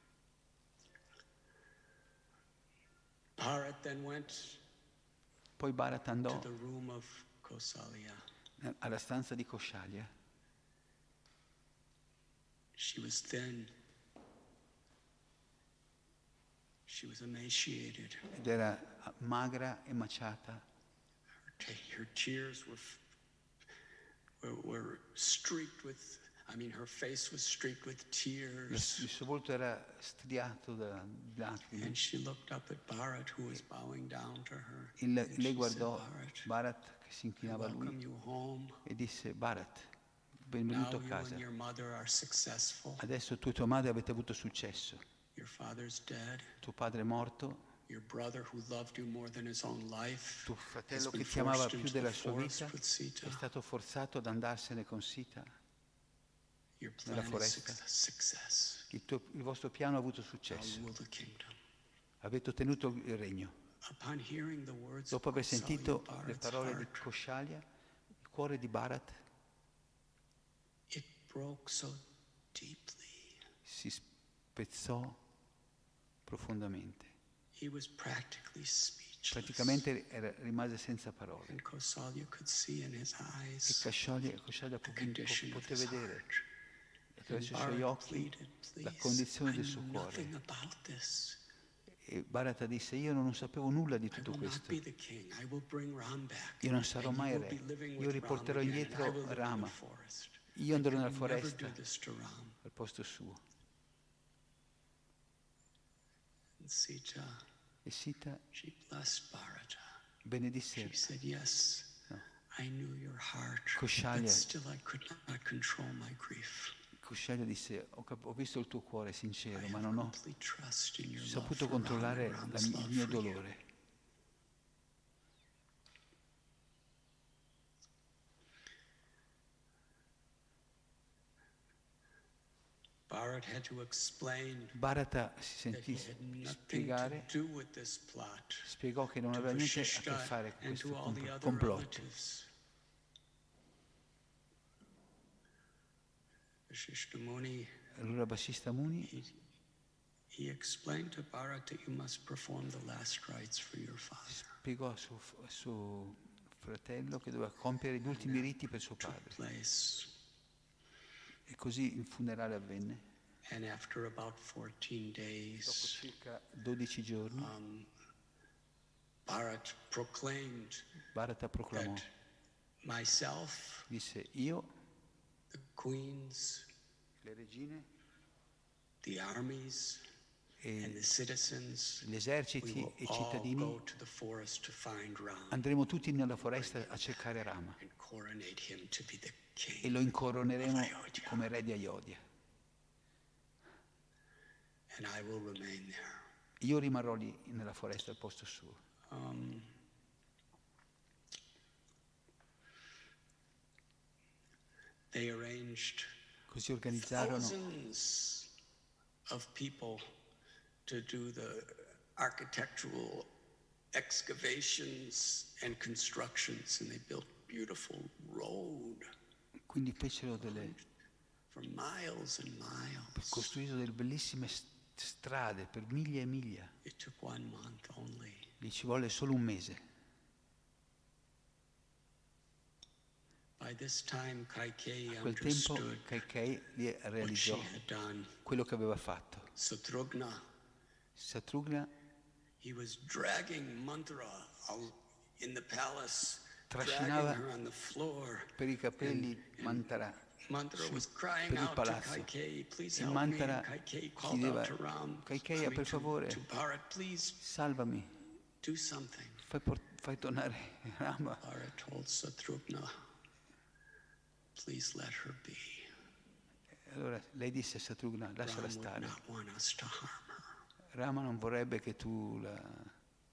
Bharat then went Poi Bharat to andò the room of Kausalya. alla stanza di Koshalya. She was thin. She was emaciated. Ed era magra e maciata. Her, ta- her tears were, f- were were streaked with. I mean, her face was streaked with Il, tears. il suo volto era striato da lacrime. And she looked up at Bharat, who was bowing down to her. Il- And lei she guardò said, Bharat, Bharat che si I inchinava a welcome lui you home. e disse, Bharat, Now benvenuto a you casa. and your mother are successful. Adesso tu e tua madre avete avuto successo. Your father's dead. Tuo padre è morto, Your brother, who loved you more than his own life, tuo has fratello been che ti amava forced più into della the sua forest vita with Sita. è stato forzato ad andarsene con Sita. Your nella plan is foresta. suc- success. Il, tuo- il vostro piano ha avuto Now successo. rule the kingdom. Avete ottenuto il regno. Upon hearing the words Dopo of aver sentito Kausalya, le Bharat's parole di heart, Koshalya, il cuore di Bharat it broke so deeply. si spezzò profondamente. He was practically speechless. Praticamente era- rimase senza parole. And Kausalya could see in his E eyes Koshalya, Koshalya the po- condition po- of poté his vedere heart. attraverso i And suoi Bharat occhi pleaded, la "Please, condizione I del knew suo cuore. nothing about this. E Bharata disse, io non sapevo nulla di I tutto will not questo. be the king. I will bring Ram back. Io non sarò and mai you will re. be living Io with riporterò Ram again, indietro and I will live in Rama. the forest. Io andrò I nella could never foresta do this to Ram. al posto suo. And Sita, E Sita she blessed Bharata. benedisse She said, yes, No. I knew your heart, Koshalya. but still I could not control my grief. Koshalya disse, ho, cap- ho visto il tuo cuore I sincero, ma have non ho complete trust in your love saputo for Ram controllare and la Ram's mi- love il mio for you. dolore. Bharat had to explain Bharata si that sentì he had nothing to spiegare, do with this plot. spiegò che non To aveva niente a che Vashishta fare con and questo to all the compl- other complotto. relatives. Vashishta Muni Allora Vasistha Muni he, he explained to Bharat that you must perform the last rites for your father. spiegò a suo, a suo fratello che doveva compiere gli ultimi riti per suo padre. Place. E così il funerale avvenne. And after about fourteen Dopo days, circa dodici giorni, um, Bharat proclaimed Bharata proclamò, that myself, disse, io, the queens, le regine the armies, and e the citizens, gli we eserciti will e i all cittadini go to the forest to find Ram andremo tutti nella foresta a cercare Rama and coronate him to be the e king lo incoroneremo of Ayodhya. come re di Ayodhya. And I will remain there. Io rimarrò lì nella foresta al posto suo. Um, they arranged Così organizzarono thousands of people to do the architectural excavations and constructions, and they built beautiful road quindi fecero delle, for miles and miles. costruisero delle bellissime st- strade per miglia e miglia. It took one month only. Gli ci volle solo un mese. By this time, Kaikeyi A quel tempo understood Kaikei li what she realizzò had done. quello che aveva fatto. Satrugna, Satrugna he was dragging Mantra out in the palace, dragging trascinava her on the floor. per i capelli And- and Mantara Mantra su- was crying per il out to palazzo. Kaikeyi, please E help me. Mantara And Kaikeyi called chiedeva, out to Ram, Kaikeyi, I mean, per to- favore, to Bharat, please salvami, do something. fai, por- fai tornare Rama. Bharat told Satrugna, please let her be. Allora lei disse a Satrugna, lasciala Ram would stare. not want us to harm her. Rama non vorrebbe che tu la...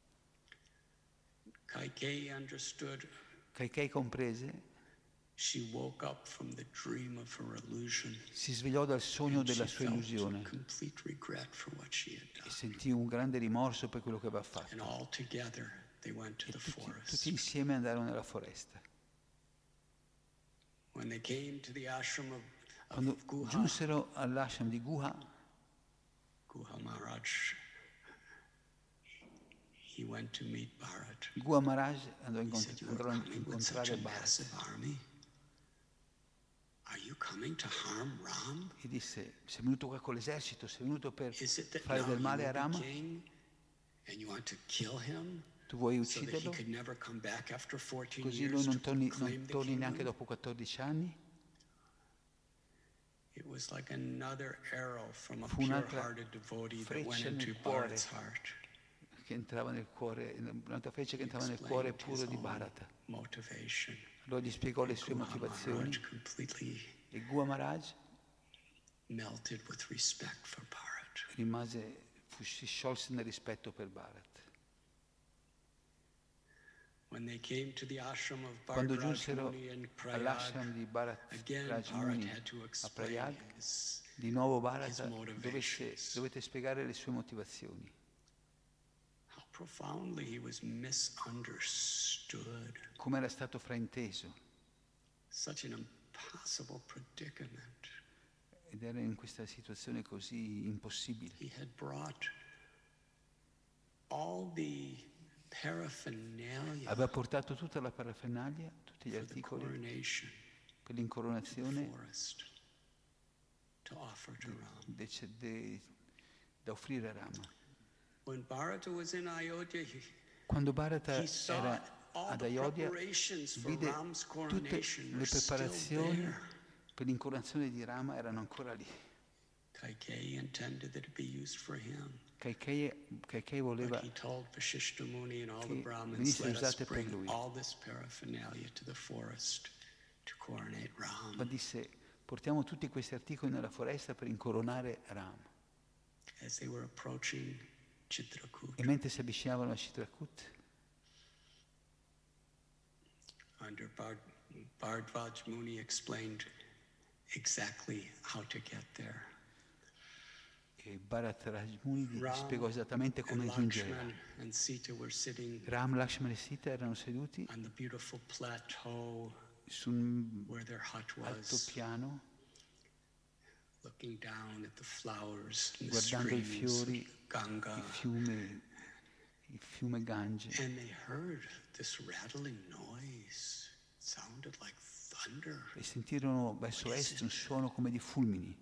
Kaikeyi understood. Kaikei comprese, She woke up from the dream of her illusion. si svegliò dal sogno And della she sua felt illusione complete regret for what she had e done. sentì un grande rimorso per quello che aveva And fatto. all together they went to E the tutti, forest. tutti insieme andarono nella foresta. When they came to the ashram of, Quando of Guha, giunsero all'ashram di Guha, Guha Maharaj, he went to meet Bharat. Guha Maharaj andò, a He incont- said, "You are andrò a coming with such incontrare a Bharat massive army. Are you coming to harm Ram? e disse, sei venuto qua con l'esercito, sei venuto per Is it that fare now del you male a are the Rama? king and you want to kill him Tu vuoi so that he ucciderlo? could never come back after fourteen Così years lui to non torni, proclaim non the torni neanche kingdom?" dopo quattordici anni? It was like another arrow from a Fu un'altra pure-hearted devotee that went freccia into nel cuore Bharat's heart. che entrava nel cuore, un'altra freccia che He entrava nel cuore explained puro his di own Bharata. motivation. Allora gli spiegò le sue Guha motivazioni Maharaj completely e Guha Maharaj melted with respect for Bharat. rimase, fu, si sciolse nel rispetto per Bharat. When they came to the ashram of Quando Bharat giunsero Muni in all'ashram Prayag, di Bharat again Raj Bharat Muni had to a explain Prayag, his, di nuovo his Bharata dovesse, motivations. dovete spiegare le sue motivazioni. How profoundly he was misunderstood. Come era stato frainteso Such an impossible predicament. ed era in questa situazione così impossibile. He had brought all the paraphernalia Aveva portato tutta la parafernalia, tutti gli for the articoli coronation per of the l'incoronazione forest to offer to Ram. de- de- da offrire a Rama. When Bharata was in Ayodhya, he, Quando Bharata he saw era all ad the Ayodhya, preparations for vide Ram's tutte coronation le were still preparazioni there. per l'incoronazione di Rama erano ancora lì. Kaikeyi intended that it be used for him. Kaikei, Kaikei voleva But he told Vashishta Muni and all the che Brahmins, venisse let us usate per bring lui. all this paraphernalia to the forest to coronate Ram. ma disse portiamo tutti questi articoli nella foresta per incoronare Rama. As they were approaching Chitrakoot, E mentre si avvicinavano a Chitrakoot, under Bard, Bhardvaj Muni explained exactly how to get there. e Bharat Raj Muni gli Ram spiegò esattamente come and giungere. Lakshman and Sita were sitting Ram, Lakshmana e Sita erano seduti on the beautiful plateau su un where their hut alto was. piano looking down at the flowers and the guardando i streams fiori, of Ganga. il fiume, il fiume Gange. And they heard this rattling noise. It sounded like thunder. E sentirono verso est un suono come di fulmini.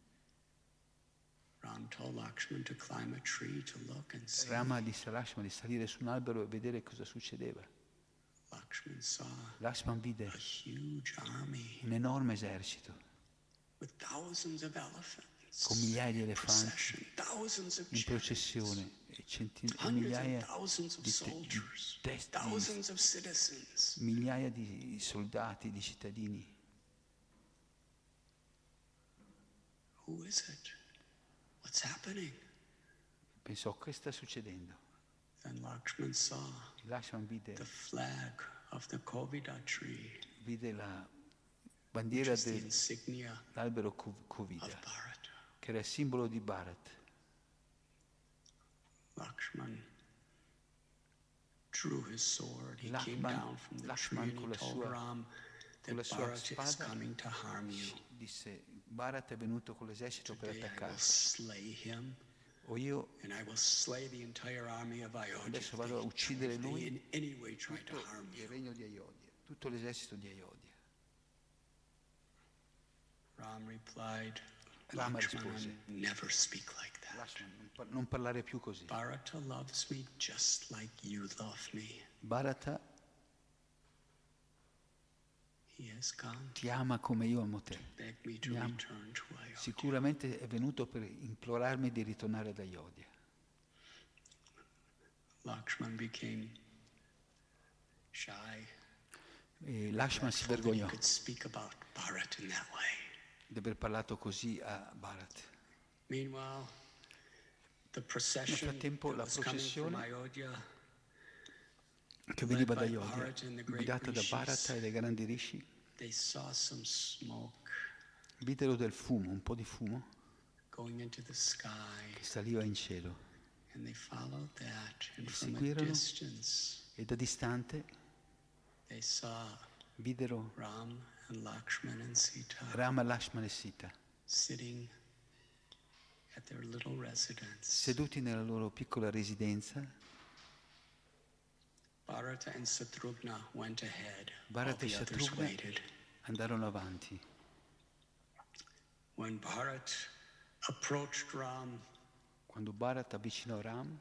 Ram told Lakshman to climb a tree to look and see. Rama disse a Lakshmana di salire su un albero e vedere cosa succedeva. Lakshman saw Lakshman vide a huge army un enorme esercito with thousands of elephants. con migliaia di Procession, elefanti thousands of in chariots, processione e centinaia, hundreds migliaia and thousands of di, te- di soldiers, testi, thousands of citizens. migliaia di soldati, di cittadini. Who is it? What's happening? Pensò, che sta succedendo? Then Lakshman saw Lakshman vide, the flag of the Kovida tree, vide la which bandiera is the del- insignia dell'albero Ko- of Kovida, Bharat. che era il simbolo di Bharat. Lakshman drew his sword. He came Lakshman- down from the Lakshman tree and con he la told sua- Ram con la that sua Bharat is spada coming to harm you. disse, Bharat è venuto con l'esercito per Today I will attaccarti, slay him, o io and I will slay the entire army of Ayodhya. adesso if vado a they- uccidere if they lui, in any way try to tutto harm il you. regno di Ayodhya, tutto l'esercito di Ayodhya. Ram replied, Rama Lakshmana, rispose, never speak like that. Lakshman, non par- non parlare più così. Bharata loves me just like you love me. Bharata He has come ti ama come io amo te. to beg me to Mi ama. return to Ayodhya. Sicuramente è venuto per implorarmi di ritornare ad Ayodhya. Lakshman became shy. E Lakshman si Told that he vergognò could speak about Bharat in that way. di aver parlato così a Bharat. Meanwhile, the procession frattempo that la was coming from processione Ayodhya, Che veniva da led by Ayodhya, Bharata and the great guidata da rishis. Bharata e dai grandi rishi, they saw some smoke videro del fumo, un po' di fumo, going into the sky, che saliva in cielo. and they followed that. And Li from a seguirono. distance, E da distante they saw videro Ram and Lakshman and Sita Rama, Lakshmana e Sita sitting at their little residence. seduti nella loro piccola residenza. Bharata and Satrughna went ahead, while Bharata e the others Satrughna waited. andarono avanti. When Bharat approached Ram, Quando Bharat avvicinò Ram,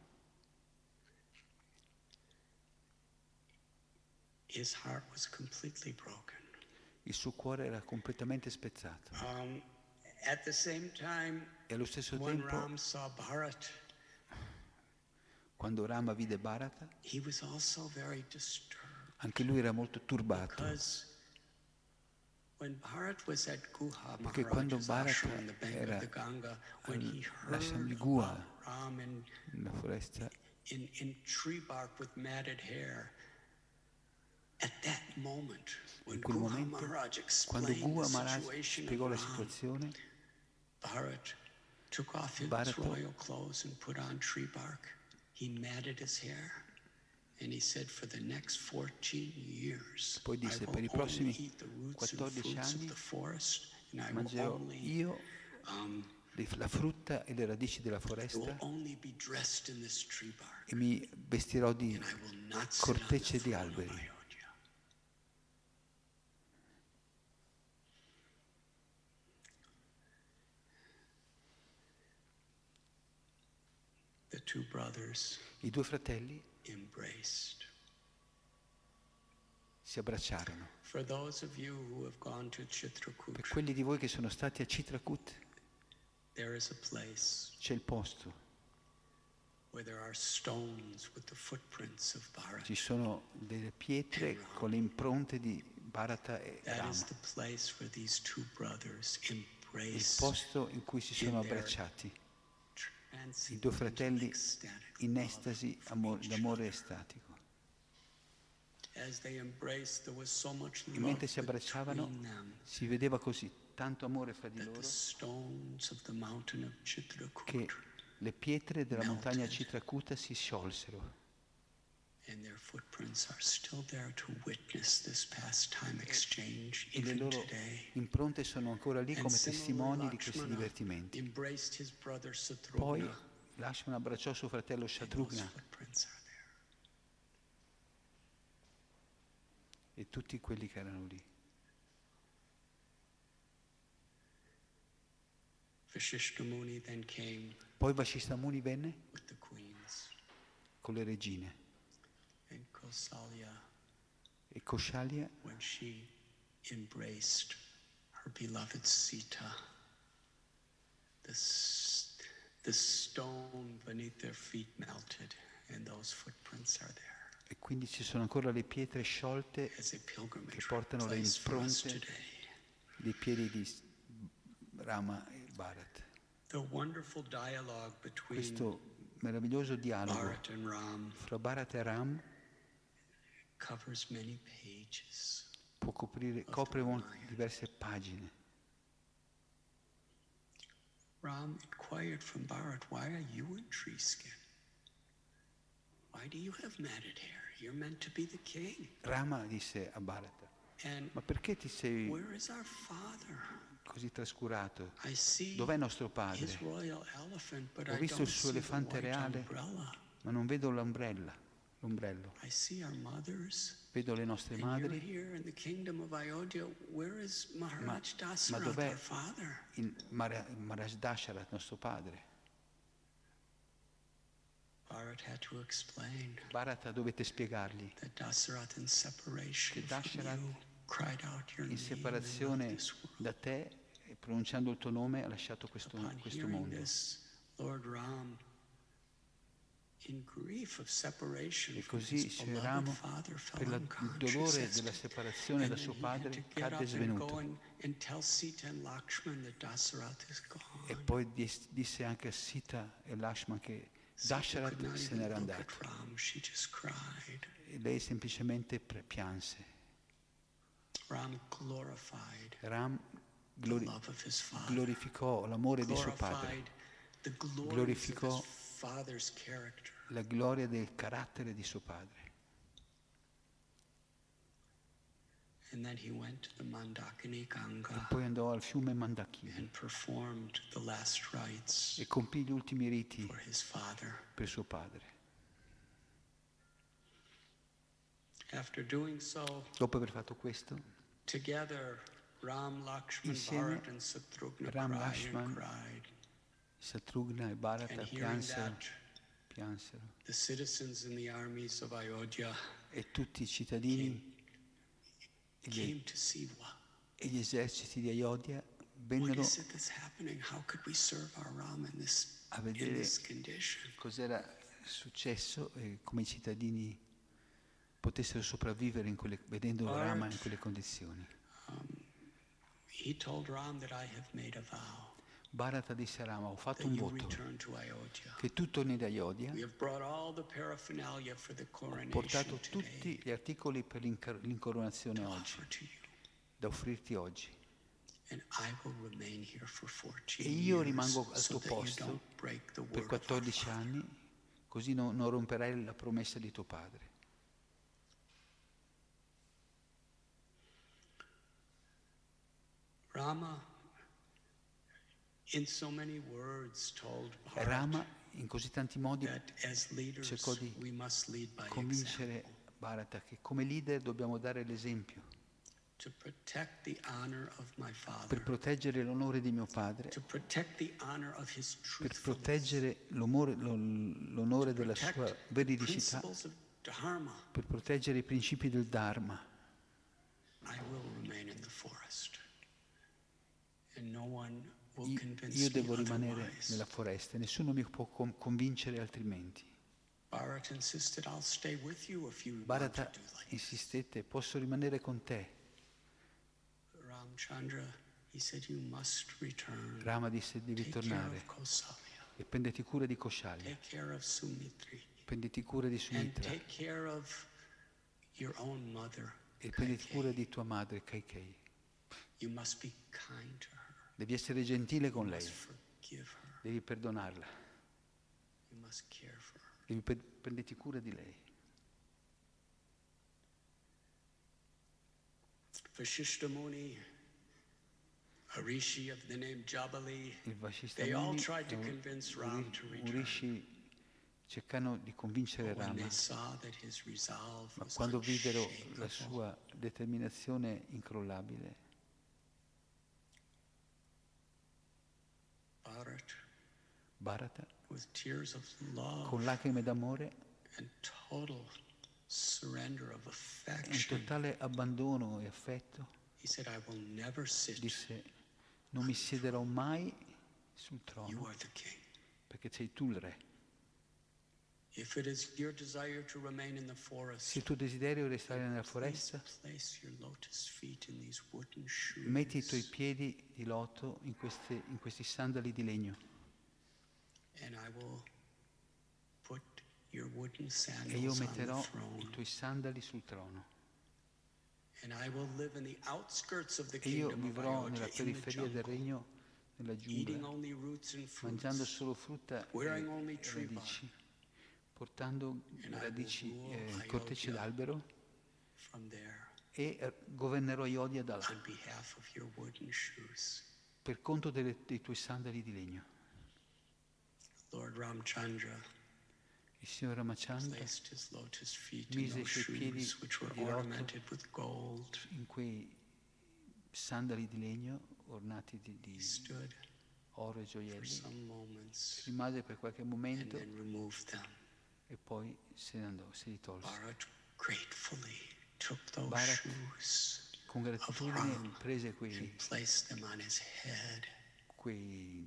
his heart was completely broken. il suo cuore era completamente spezzato. Um, at the same time, E allo stesso when tempo, Ram saw Bharat, quando Rama vide Bharata, he was also very disturbed anche lui era molto turbato, because when Bharat was at Guha, perché quando Maharaja's Bharata ashram on the bank era of the Ganga, when he all'ashram di heard Guha, about Ram in, nella foresta, in, in tree bark with matted hair, at that moment, when in quel Guha momento, Maharaj quando explained Guha the Maharaj situation spiegò of la Ram, situazione, Bharat took off his Bharata royal clothes and put on tree bark. He matted his hair. And he said, for the next fourteen years, Poi I disse, will per i only prossimi eat the roots and quattordici fruits of anni the forest, and I will mangerò only, io um, le- la frutta e le radici della I will foresta only be dressed in this tree bark, e mi vestirò di and I will not sit on the cortecce di throne of alberi. Ayodhya. The two brothers I due fratelli embraced. si abbracciarono. For those of you who have gone to Per Chitrakuta, quelli di voi che sono stati a Chitrakut, there is a place c'è il posto, where there are stones with the footprints of Bharat. ci sono delle pietre con le impronte di Bharata e That Rama, is the place where these two brothers il embrace posto in cui si sono abbracciati, i due fratelli in estasi amo- d'amore estatico. As they embraced, there was so much E love mentre si abbracciavano between them si vedeva così tanto amore fra di that loro the stones of the mountain of che Chitrakuta le pietre della montagna Chitrakuta si sciolsero And their footprints are still there to witness this pastime exchange E le even loro today. impronte sono ancora lì And come similarly, testimoni di questi Lakshmana divertimenti. embraced his brother Poi Satrugna, Lakshmana abbracciò suo fratello and those Shatrugna footprints are there. e tutti quelli che erano lì. Vashishta Muni then came Poi Vashishta Muni venne with the queens, con le regine and Kausalya, e Koshalya, when she embraced her beloved Sita, the, s- the stone beneath their feet melted, and those footprints are there e quindi ci sono ancora le pietre sciolte as a pilgrimage che portano le place for us impronte today. dei piedi di Rama e Bharat. The wonderful dialogue between Questo meraviglioso dialogo Bharat and Ram fra Bharat e Ram covers many pages. può coprire, copre molte, diverse pagine. Ram inquired from Bharat, why are you in tree skin? Why do you have matted hair? You're meant to be the king. Rama disse a Bharat, And ma perché ti sei where is our father? così trascurato? I see Dov'è nostro his padre? royal elephant, but Ho I visto don't il suo see the elefante white reale, umbrella. ma non vedo l'ombrella, l'ombrello. I see our mothers. Vedo le nostre And you're madri. here in the kingdom of Ayodhya. Where is Maharaj Ma Dasarath, dov'è our father? il Mara- Maharaj Dasharat, nostro padre? Bharat had to explain Bharata dovete spiegargli that Dasarath in separation che from Dasharat you cried out your in name and separazione left this world. da te e pronunciando il tuo nome ha lasciato questo, Upon questo hearing mondo. this, Lord Ram, in grief of separation E from così his Sri beloved Rama, father, fell per la- il unconscious dolore as della to- separazione and da then suo he had padre, to get cadde up and go svenuto. and, and tell Sita and Lakshman that Dasarath is gone. E poi dis- disse anche a Sita e Lakshman che Sita could Dasharat not se even n'era look andato. at Ram, she just cried. E lei semplicemente pre- pianse. Ram glorified Ram the glori- love of his father. glorificò l'amore di suo padre, Glorified the glories of Glorificò his father's character. la gloria del carattere di suo padre. And then he went to the Mandakini E Ganga poi andò al fiume Mandakini and performed the last rites e compì gli ultimi riti for his father. per suo padre. After doing so, Dopo aver fatto questo, together Ram, Lakshman, Insieme, Bharat, and Satrugna Ram, cried Lakshman, and cried. Satrugna e Bharata And hearing piansero, that, piansero the citizens in the armies of Ayodhya e tutti i cittadini e gli, came to see what, e gli eserciti di Ayodhya what vennero is it that's happening? How could we serve our Ram in this, a in vedere this condition? cos'era successo e come i cittadini potessero sopravvivere in quelle, vedendo Bharat. Rama in quelle condizioni. He told Ram that I have made a vow Bharata disse a Rama, ho fatto that un you voto return to Ayodhya. che tu torni da Ayodhya. We have brought all the paraphernalia for the Ho coronation portato today tutti gli articoli per l'incar- l'incoronazione to oggi, offer to you. da offrirti oggi. And I will remain here for fourteen E io years rimango al so tuo that you posto don't break the per word of our quattordici father. anni, così non, non romperai la promessa di tuo padre. Rama, in so many words, told Bharat Rama in così tanti modi that as leaders cercò di we must lead by convincere example. Bharata che come leader dobbiamo dare l'esempio To protect the honor of my per father, proteggere l'onore di mio padre, to protect the honor of his per truthfulness, proteggere l'onore, lo- l'onore della sua protect veridicità, principles of dharma. per proteggere i principi del Dharma. I will remain in the forest, and no one will Io, convince io me devo rimanere otherwise. nella foresta, nessuno mi può con- convincere altrimenti. Bharat insisted, I'll stay with you if you want Bharata to do like this. insistette, posso rimanere con te. Ramchandra, he said, you must return. Rama disse, devi Take care tornare of Kausalya. e prenditi cura di Koshalya, Take care of Sumitri. prenditi cura di And Sumitra take care of your own mother. e prenditi cura Kaikeyi. di tua madre Kaikei. You must be kind to her. Devi essere gentile con You lei, must forgive her. devi perdonarla, You must care for her. devi pre- prenditi cura di lei. Vashishta Muni, a rishi of the name Jabali, il Vashishta they all Muni tried to e un, convince un Ram ri- to un return. rishi cercano di convincere But when Rama, they saw that his resolve ma was quando videro la unshakable, sua determinazione incrollabile, Bharat, Bharata, with tears of love con lacrime d'amore and total surrender of e un affection, totale abbandono e affetto, he said, I will never sit. disse: non mi siederò mai sul You trono are the king. perché sei tu il re. If it is your desire to remain in the forest, Se il tuo desiderio è restare nella please foresta, place your lotus feet in these wooden shoes. metti i tuoi piedi di loto in, queste, in questi sandali di legno And I will put your wooden e io sandals on the metterò i throne. tuoi sandali sul trono And I will live in the outskirts of the e io kingdom of vivrò nella Ayodhya, in the periferia del jungle, regno, nella eating giungla, only roots and mangiando fruits, solo frutta e wearing only e tree radici, portando And I will radici, rule eh, Ayodhya. cortecce d'albero, from there e eh, governerò Ayodhya da là on behalf of your wooden shoes. per conto delle- dei tuoi sandali di legno. Lord Ramchandra Il Signore Ramachandra placed his lotus feet in mise i those suoi piedi shoes which were di loto ornamented with gold. in quei sandali di legno ornati di, di He stood oro e for gioielli, some moments rimase per qualche and momento then removed them. e poi se ne andò, se li tolse. Bharat gratefully took those Bharat, shoes Con of gratitudine Ram prese and quei, placed them on his head. quei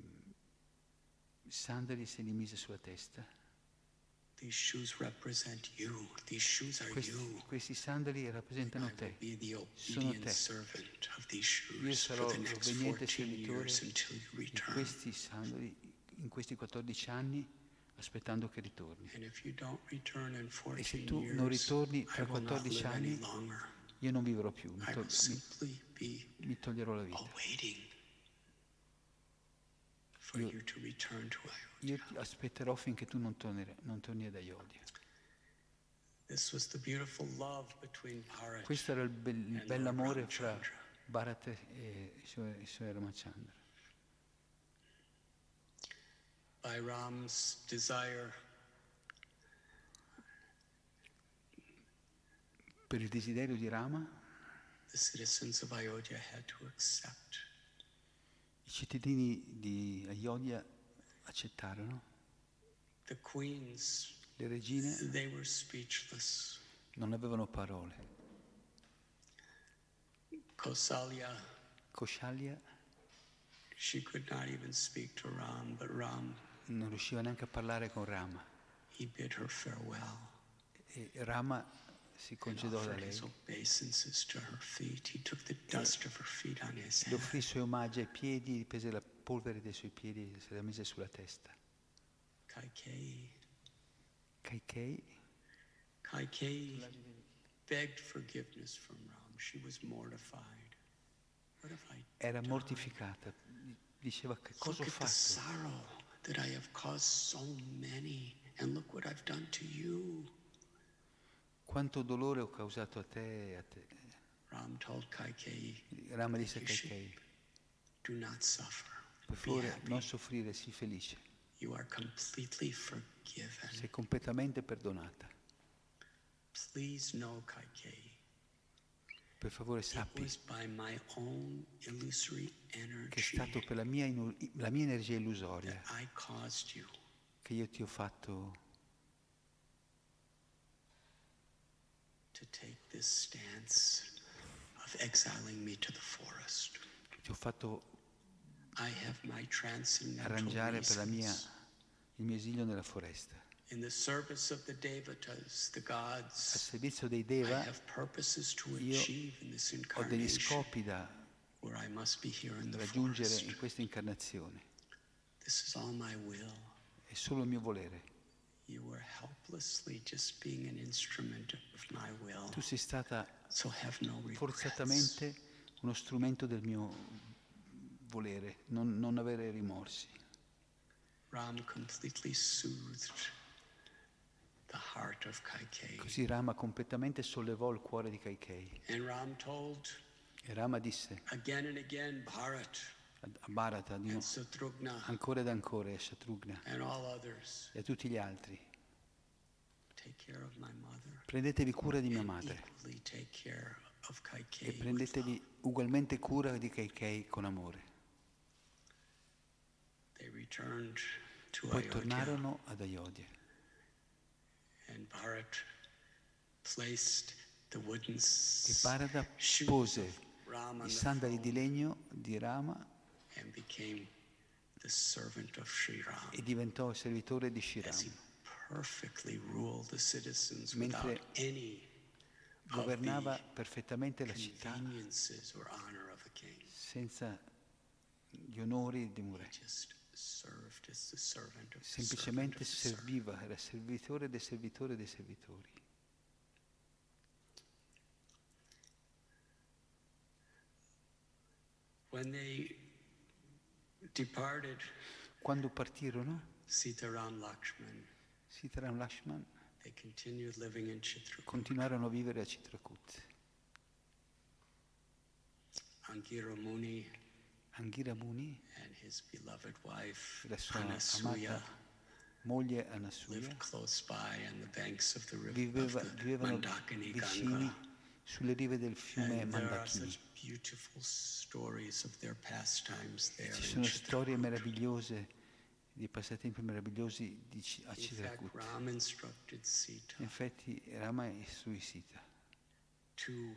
sandali e se li mise sulla testa. These shoes represent you. These shoes are Questi, you. questi sandali rappresentano I will te. be the Sono obedient te. servant of these Io shoes sarò for the next l'obbediente fourteen servitore years until you di return. questi sandali in questi quattordici anni, aspettando che ritorni. And if you don't return in E se fourteen tu non years, ritorni I tra will not quattordici live any anni, longer. io non vivrò più, mi, I to- will mi- simply be mi toglierò la vita. awaiting for Io- you to return to Ayodhya. Io ti aspetterò finché tu non torni, non torni ad Ayodhya. This was the beautiful love between Bharat Questo era il, bel, il and bell'amore Lord fra Ramchandra. Bharat e il suo, il suo Ramachandra. By Ram's desire, Per il desiderio di Rama, the citizens of Ayodhya had to accept i cittadini di Ayodhya accettarono. the queens. Le regine They were speechless. non avevano parole. Kausalya, Koshalya she could not even speak to Ram, but Ram, non riusciva neanche a parlare con Rama he bid her farewell e Rama si and congedò da offered lei. his obeisances to her feet. He took the dust of her feet on his Le head. offrì i suoi omaggi ai piedi, prese la polvere dei suoi piedi e se la mise sulla testa. Kaikeyi, Kaikei Kaikeyi begged forgiveness from Ram. She was mortified. What have I era done? mortificata, diceva: che cosa Look ho at the fatto? sorrow that I have caused so many, and look what I've done to you. Quanto dolore ho causato a te e a te. Ram told Kaikeyi, Rama disse a You should- Kaikei: do not suffer. per Be favore happy. non soffrire, sii felice, You are completely forgiven. sei completamente perdonata. Please know, Kaikeyi, Per favore it sappi was by my own illusory che è energy stato per la mia, inu- la mia energia illusoria that I caused you che io ti ho fatto to take this stance of exiling me to the forest. ti ho fatto I have my transcendental arrangiare per la mia, reasons. il mio esilio nella foresta. In the service of the Devatas, the Al gods, servizio dei I Deva have purposes to io achieve in this ho degli incarnation scopi da where I must be here in the raggiungere forest. in questa incarnazione. This is all my will. È solo il mio volere. You were helplessly just being an instrument of my will. Tu sei stata So have no regrets. forzatamente uno strumento del mio volere, non, non avere rimorsi. Ram completely soothed the heart of Kaikeyi. Così Rama completamente sollevò il cuore di Kaikei And Ram told E Rama disse again and again, Bharat a Bharata di and no, Satrugna ancora ed ancora, e a Shatrugna and all others, e a tutti gli altri: take care of my mother. prendetevi cura di mia And madre equally take care of e Kaikeyi with prendetevi love. ugualmente cura di Kaikeyi con amore. They returned to Poi Ayodhya, tornarono ad Ayodhya and Bharat placed the wooden e s- Bharata shoes pose of Rama on i the sandali di throne legno di Rama and became the servant of Sri Ram, e diventò servitore di Sri as he Rama. perfectly ruled the citizens Mentre without any of governava the perfettamente la città conveniences or honor of a king. senza gli onori di un He re. just served as the servant of the servant Semplicemente of the servant. serviva, era servitore del servitore dei servitori. When they departed, Quando partirono, Sitaram Lakshman, Sitaram Lakshman they continued living in Chitrakoot. continuarono a vivere a Chitrakoot. Angira Muni Anghira Muni, and his beloved wife, la sua Anasuya, amata moglie Anasuya, lived close by on the banks of the river viveva, of the vivevano Mandakini vicini Ganga. sulle rive del fiume And there are Mandakini. such beautiful stories of their pastimes there Ci in sono storie Chitrakoot. meravigliose, di passatempi meravigliosi di Ci- a In fact, Chitrakoot. Ram instructed Sita Infatti Rama istruì Sita to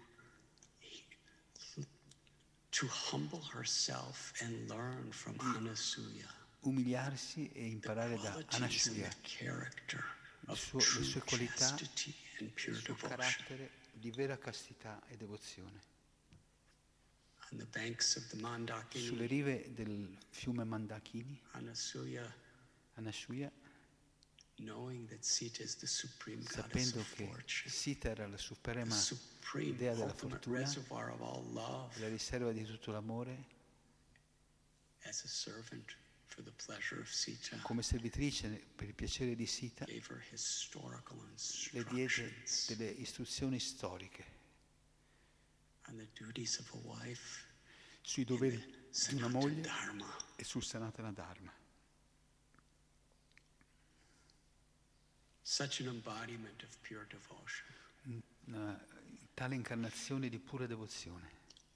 to humble herself and learn from Anasuya umiliarsi e the imparare da qualities and Anasuya the character il of suo- le true sue qualità, chastity and pure il suo devotion. carattere di vera castità e devozione. On the banks of the Sulle Mandakini, rive del fiume Mandakini, Anasuya, Anasuya, knowing that Sita is the supreme goddess sapendo of che fortune, Sita era la the suprema supreme idea della ultimate fortuna, reservoir of all love, la riserva di tutto l'amore, as a servant for the pleasure of Sita, come servitrice per il piacere di Sita, gave her historical le diede instructions delle istruzioni storiche on the duties of a wife sui in doveri the di una Sanatana moglie Dharma. e sul Sanatana Dharma. Such an embodiment of pure devotion. Una tale incarnazione di pura devozione.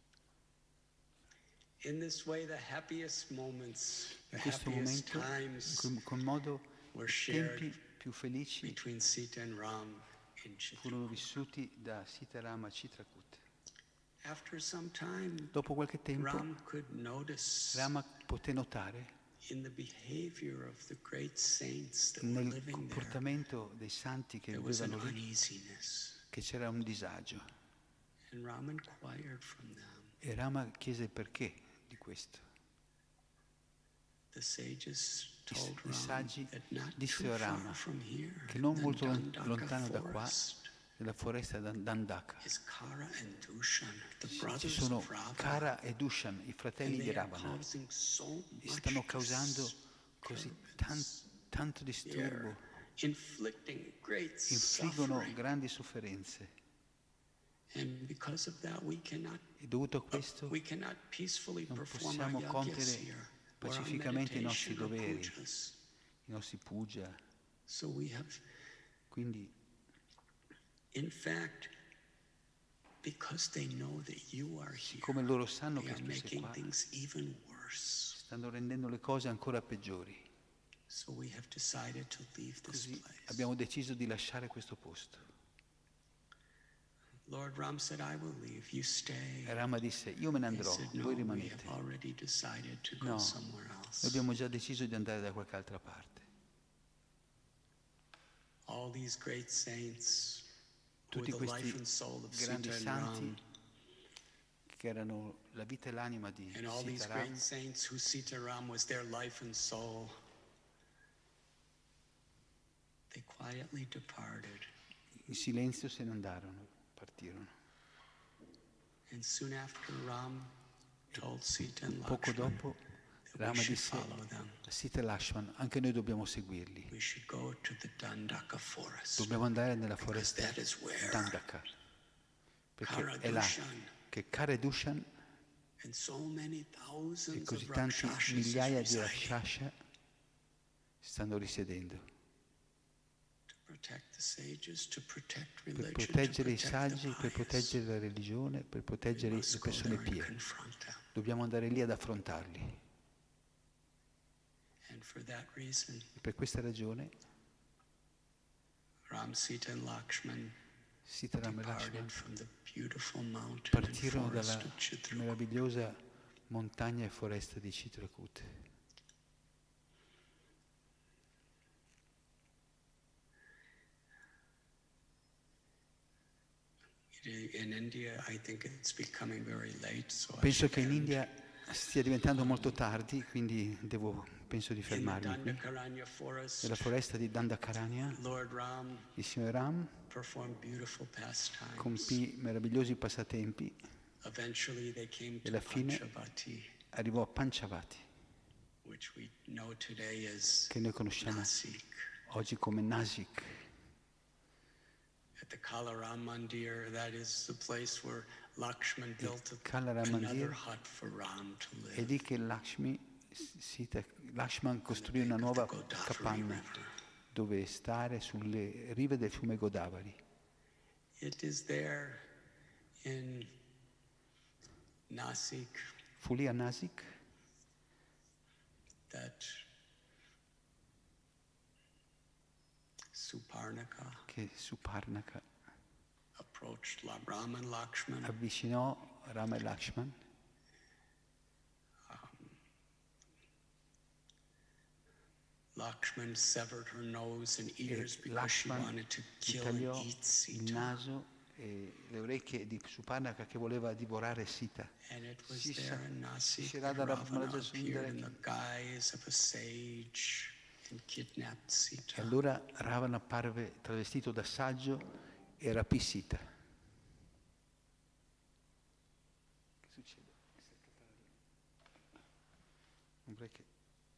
In this way, the happiest moments, the In questo happiest momento, in times cui- con modo were tempi shared più felici between Sita and Ram in furono Chitrakoot. vissuti da Sita Rama a Chitrakoot. After some time, Dopo qualche tempo Ram could notice Rama poté notare in the behavior of the great saints that were nel living there, comportamento dei santi che there was an vivevano lì uneasiness. che c'era un disagio. And Ram inquired from them. E Rama chiese il perché di questo. The sages I, told i Ram saggi that not dissero a too Rama far from here, che non in molto lon- Dandaka lontano da qua, forest, nella foresta Dan- Dandaka, is Kara and Dushan, the ci brothers sono of Rava. Kara e Dushan, i And fratelli di they are Ravana, causing so e much stanno causando così tan- disturbance. tanto They disturbo, are inflicting great infliggono suffering. grandi sofferenze. And because of that, we cannot, E dovuto a questo we cannot peacefully non perform our possiamo yagyas compiere here, or our pacificamente i nostri meditation or doveri, pujas. i nostri puja. So we have, Quindi, in fact, because they know that you are here, come loro sanno they che are tu sei making qua, things even worse. stanno rendendo le cose ancora peggiori. So we have decided to leave this Così place. abbiamo deciso di lasciare questo posto. Lord Ram said, I will leave, you stay. E Rama disse, io me ne They andrò, said, no, voi we rimanete. have already decided to go No, somewhere noi else. abbiamo già deciso di andare da qualche altra parte. All these great saints who were Tutti the life questi and soul of grandi Sita and Ram, santi che erano la vita e l'anima di and all these Sita Ram, great saints who Sita Ram was their life and soul, they quietly departed. in silenzio se ne andarono, partirono. And soon after, Ram told Sita and Poco Lakshman dopo that we Rama should disse follow them. a Sita e Lakshman, anche noi dobbiamo seguirli. We should go to the Dandaka forest, Dobbiamo andare nella because foresta that is where Dandaka, perché è là Karadushan che Kara e Dushan and so many e thousands così of tanti Rakshasas migliaia di residing Rakshasa stanno risiedendo to protect the sages, to protect per religion, to proteggere i protect saggi, the per pious. proteggere la religione, per We proteggere must le go persone there and pie. confront them. Dobbiamo andare lì ad affrontarli. And for that reason, E per questa ragione Ram, Sita, and Lakshman Sitaram e departed Lakshman from the beautiful mountain and partirono forest dalla of Chitrakoot. meravigliosa montagna e foresta di Chitrakoot. In India, I think it's becoming very late, so I Penso should che in end. India stia diventando molto tardi, quindi devo, penso di In the fermarmi qui. Dandakaranya forest, Nella foresta di Dandakaranya, Lord Ram il signore Ram performed beautiful pastimes. compì meravigliosi passatempi, Eventually, they came e to alla fine Panchavati, arrivò a Panchavati, which we know today as che noi conosciamo Nasik. oggi come Nasik. At the Kalaram Mandir, that is the place where Lakshman built a- Kalaram another Mandir hut for Ram to è live. lì che Lakshmi, Sita, Lakshman costruì una Bank nuova of the Godavari capanna River. dove stare sulle rive del fiume Godavari. It is there in Nasik Fu lì a Nasik that Suparnaka che Suparnaka approached La- Ram and Lakshman. avvicinò Rama e Lakshman. Lakshman severed her nose and E ears because she Lakshman wanted to gli kill and tagliò eat il Sita. naso e le orecchie di Suparnaka che voleva divorare Sita. And it was Sì, there sa- in Nasik si that Radha Ravana Ramanuja appeared in Sundara- the guise of a sage and kidnapped E Sita. allora Ravana apparve travestito da saggio e rapì Sita. Che succede? Non vorrei che...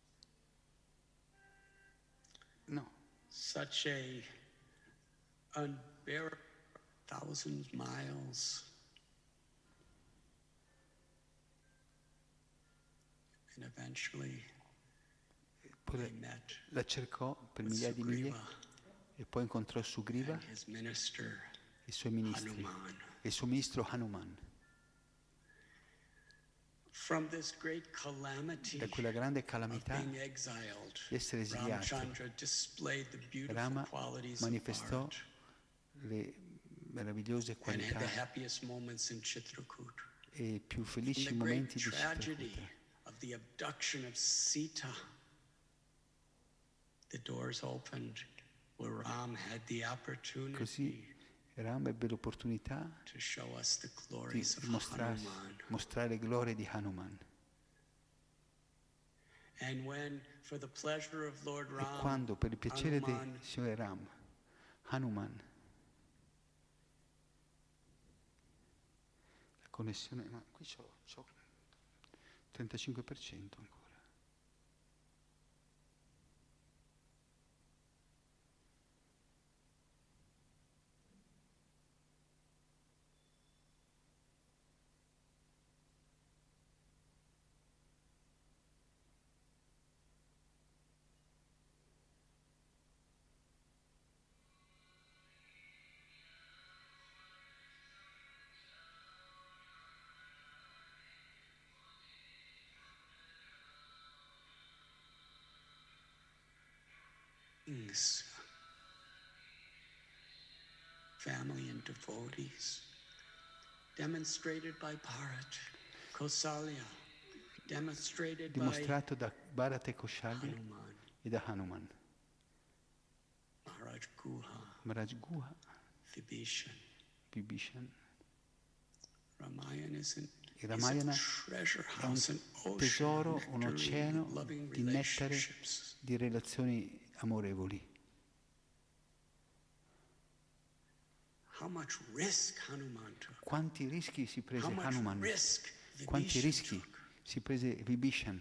No, Such a unbearable thousand miles. And eventually poi they la- met la cercò per with migliaia di miglia Sugriva e poi incontrò Sugriva, and his minister i suoi ministri, Hanuman. e il suo ministro Hanuman. From this great calamity Da quella grande of calamità being exiled, di essere esiliato, Ramchandra displayed the beautiful Rama qualities of manifestò art le meravigliose and had qualità the happiest moments in Chitrakoot. e i più From felici the great momenti di tragedy Chitrakuta. of the abduction of Sita, the doors opened where Ram had the opportunity Così Ram ebbe l'opportunità to show us the di glories of mostrare, Hanuman. mostrare le glorie di Hanuman. And when, for the pleasure of Lord E Ram, quando per il piacere Hanuman del Signore Ram, Hanuman, la connessione, ma qui c'ho, c'ho trentacinque per cento ancora. beings, family and devotees, demonstrated by Bharat, Kausalya, demonstrated by Dimostrato da Bharata e Kaushalya Hanuman, e da Hanuman, Maharaj Guha, Maharaj Guha, Vibhishan. Vibhishan. Ramayana is, an, Il is a Ramayana treasure è un house, an ocean tesoro, of un nectarine, oceano loving di nettare, relationships. di relazioni amorevoli. How much risk Hanuman took. Quanti rischi si prese How much Hanuman? risk Quanti Vibhishan rischi took. si prese Vibhishan?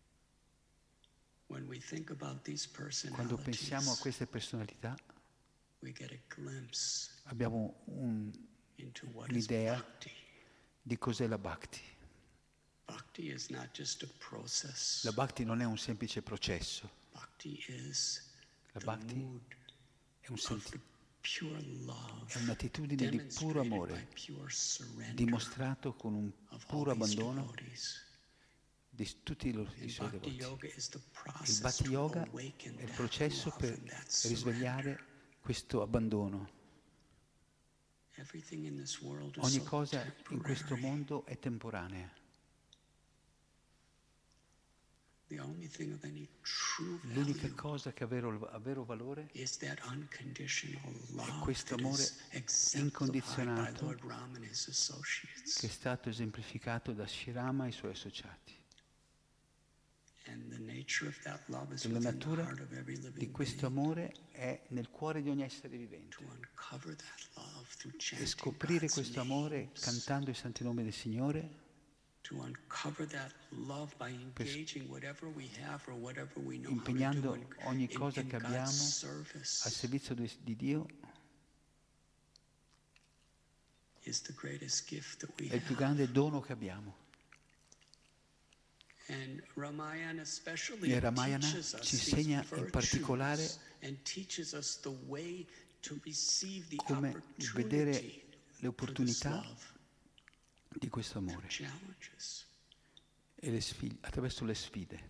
When we think about these Quando pensiamo a personalities, queste personalità, we get a glimpse abbiamo un, into what is un'idea bhakti. di cos'è la bhakti. Bhakti is not just a process. La bhakti non è un semplice processo. Bhakti is La the bhakti mood è, un of senti- the pure love, è un'attitudine di puro demonstrated by amore, pure surrender dimostrato con un of puro all these abbandono devotees. di tutti i loro- i And suoi Bhakti devoti. Yoga is the Il process Bhakti to Yoga awaken è il that processo love per and that risvegliare surrender. questo abbandono. Everything in this world is Ogni so cosa in questo temporary. mondo è temporanea. The only thing of any true L'unica value cosa che ha vero, ha vero valore is that unconditional love questo that amore is exemplified by incondizionato Lord Rama and his associates. che è stato esemplificato da Sri Rama e i suoi associati. And the nature of that love is E la within the natura heart of every di living questo being. amore è nel cuore di ogni essere vivente. To uncover that love through E chanting scoprire God's questo amore names. cantando i santi nomi del Signore, To uncover that love by engaging whatever we have or whatever we know how to do impegnando in, ogni in, cosa in che God's abbiamo service al servizio di di Dio, is the greatest gift that we è il più have. grande dono che abbiamo. And Ramayana especially E Ramayana teaches us ci these insegna in virtues particolare and teaches us the way to receive the come opportunity vedere le for this opportunità love, di questo amore challenges. e le sfide, attraverso le sfide.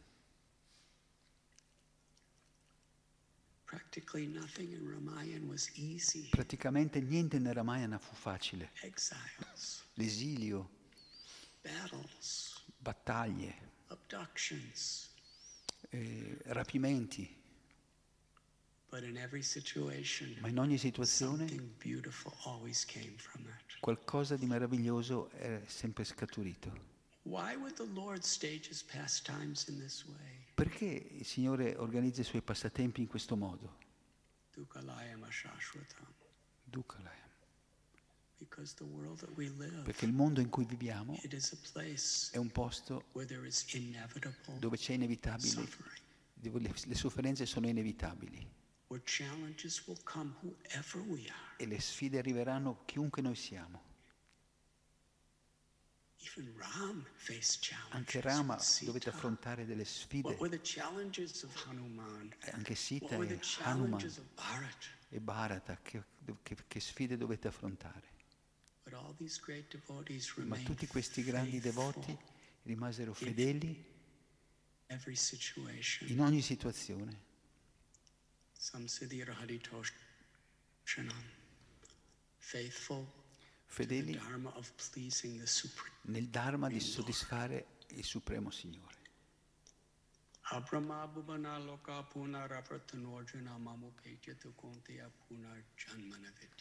Practically nothing in Ramayana was easy. Praticamente niente nel Ramayana fu facile. Exiles, L'esilio, battles, battaglie, abductions. eh, rapimenti, But in every situation, ma in ogni situazione something beautiful always came from it. qualcosa di meraviglioso è sempre scaturito. Why would the Lord stage his pastimes in this way? Perché il Signore organizza i suoi passatempi in questo modo? Dukalayam ashashvatam. Dukkhalaya. Because the world that we live, Perché il mondo in cui viviamo it is a place è un posto where there is inevitable dove c'è inevitabile, suffering, dove le, le sofferenze sono inevitabili where challenges will come whoever we are. e le sfide arriveranno chiunque noi siamo. Even Ram faced challenges. Anche Rama with Sita. dovete affrontare delle sfide, What were the challenges of Hanuman? e anche Sita What were e the Hanuman challenges of Bharat? e Bharata, che, che- che sfide dovete affrontare. But all these great devotees Ma remained tutti questi grandi faithful devoti rimasero fedeli every situation. in ogni situazione. Samsiddhir Haritoshanam. Faithful to the Fedeli dharma of pleasing the Supreme. nel Dharma di soddisfare il Supremo Signore. Abrahma Bhuvana Loka Puna Rapratanojana Mamupetya Kuntiya Puna Janmana Vidyate.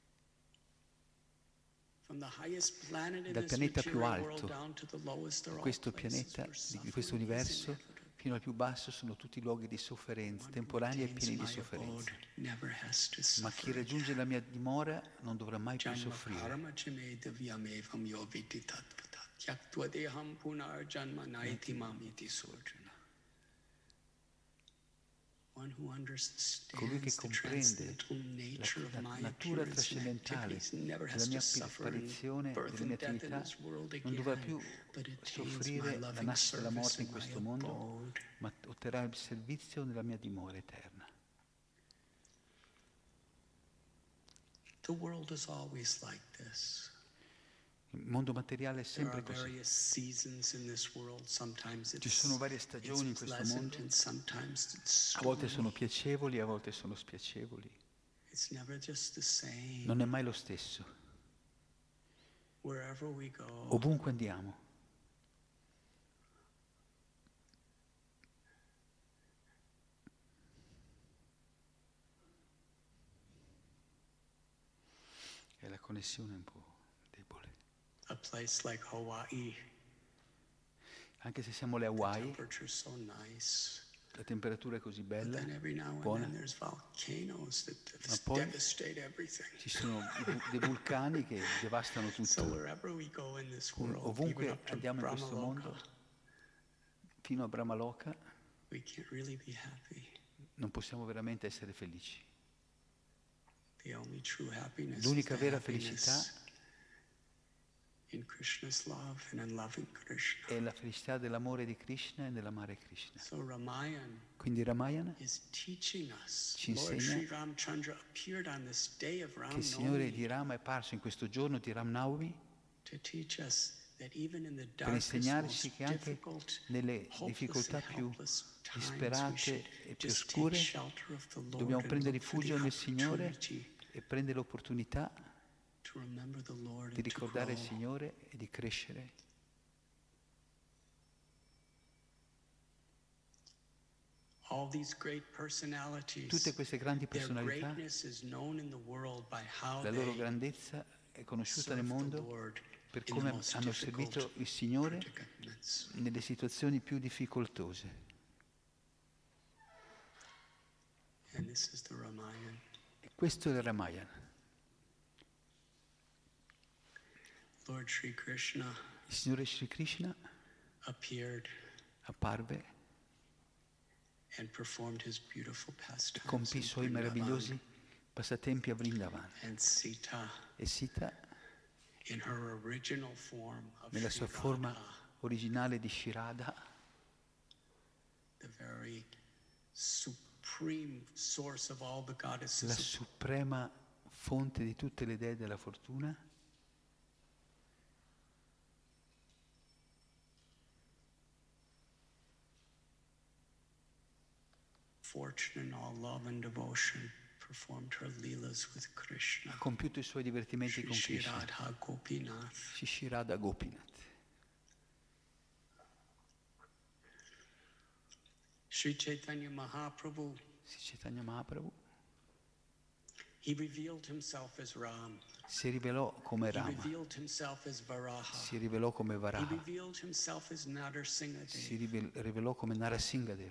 From the highest planet in Dal this pianeta più material alto, world down to the lowest, they're all questo places pianeta, where di suffering questo is universo, inevitable. fino al più basso sono tutti luoghi di sofferenza, temporanei e pieni di sofferenza. Never has to Ma chi suffer. raggiunge la mia dimora non dovrà mai più Janma soffrire. karma chame divyamevam yoviti tatpatat. Yaktva deham punar janma naiti mamiti sojana. One who Colui che understands the comprende transcendental nature of la, la my natura appearance and trascendentale activities never della has mia to suffer in apparizione, birth delle mie and death in attività, this world non dovrà again, più but attains my soffrire la loving nascita e la morte service in in my questo mondo, abode. ma otterrà il servizio nella mia dimora eterna. The world is always like this. Il mondo materiale è There are sempre così. various seasons in this world. Sometimes it's, Ci sono varie stagioni in it's questo pleasant mondo. and sometimes it's A volte stormy. sono piacevoli, a volte sono spiacevoli. It's never just the same. Non è mai lo stesso. Wherever we go, Ovunque andiamo. E la connessione è un po' debole. a place like Hawaii, Anche se siamo alle the Hawaii, temperature's so nice. la temperatura è così But bella, then every now and buona. then there's volcanoes that Ma poi devastate everything. ci sono i vu- dei vulcani che devastano So tutto. wherever we go in this world, even Ovunque up to andiamo in questo Brahmaloka, mondo, fino a Brahmaloka, we can't really be happy. non possiamo veramente essere felici. The only true happiness L'unica is the vera happiness felicità in Krishna's love and in loving Krishna. è la felicità dell'amore di Krishna e nell'amare Krishna. So Ramayana Quindi Ramayana is teaching us. ci Lord insegna Sri Ramchandra appeared on this day of che il Signore di Ramnavami Rama è apparso in questo giorno di Ram Navami to teach us that even in the per darkest, insegnarci most che anche difficult, nelle hopeless difficoltà and più helpless times, we disperate should e più just take oscure shelter of the Lord dobbiamo and prendere look for rifugio the nel Signore opportunity e prendere l'opportunità to remember the Lord di and to ricordare il grow. Signore e di crescere. All these great personalities, Tutte queste grandi their personalità, greatness is known in the world by how la loro they grandezza è conosciuta nel serve the mondo Lord per in the come most hanno difficult servito il Signore predicaments. nelle situazioni più difficoltose. And this is the Ramayana. E questo è il Ramayana. Lord Sri Krishna Il Signore Sri Krishna appeared apparve and performed his beautiful e pastimes compì i in suoi Vrindavan. meravigliosi passatempi a Vrindavan. And Sita, E Sita, in her original form of nella Sri sua forma Radha, originale di Shirada, the very supreme source of all the la goddesses, suprema fonte di tutte le dee della fortuna, fortune and all love and devotion, performed her leelas with Krishna. ha compiuto i suoi divertimenti Shri con Shri Krishna. Radha Gopinath. Shri Shirada Gopinath. Sri Chaitanya Mahaprabhu, Sri Chaitanya Mahaprabhu he revealed himself as Ram. si rivelò come He Rama, revealed himself as Varaha. si rivelò come He Varaha, revealed himself as si Nadarsingadev. rivel- rivelò come Narasimhadev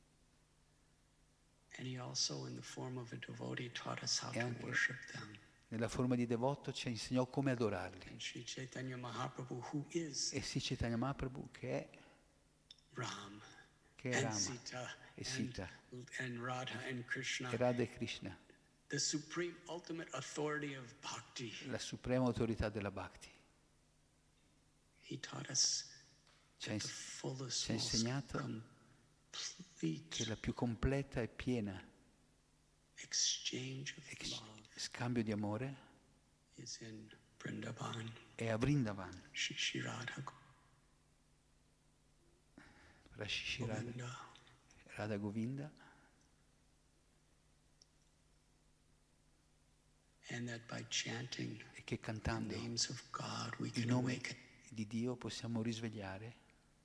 And he also, in the form of a devotee, taught us how e to anche worship them. nella forma di devoto ci insegnò come adorarli. And Sri Chaitanya Mahaprabhu, who is E Sri Chaitanya Mahaprabhu che è, Ram, che è and Rama, Sita, e and, Sita, and Radha and Krishna, e Radha e Krishna, the supreme ultimate authority of bhakti. la suprema autorità della Bhakti. He taught us Ci ha, that the ins- fullest, ci ha most insegnato complete che la più completa e piena exchange of ex- love scambio di amore is in Vrindavan. è a Vrindavan, Shri Shri Radha Rashi Radha, Govinda. Radha Govinda, And that by chanting e che the cantando names of God we i can nomi awaken. di Dio possiamo risvegliare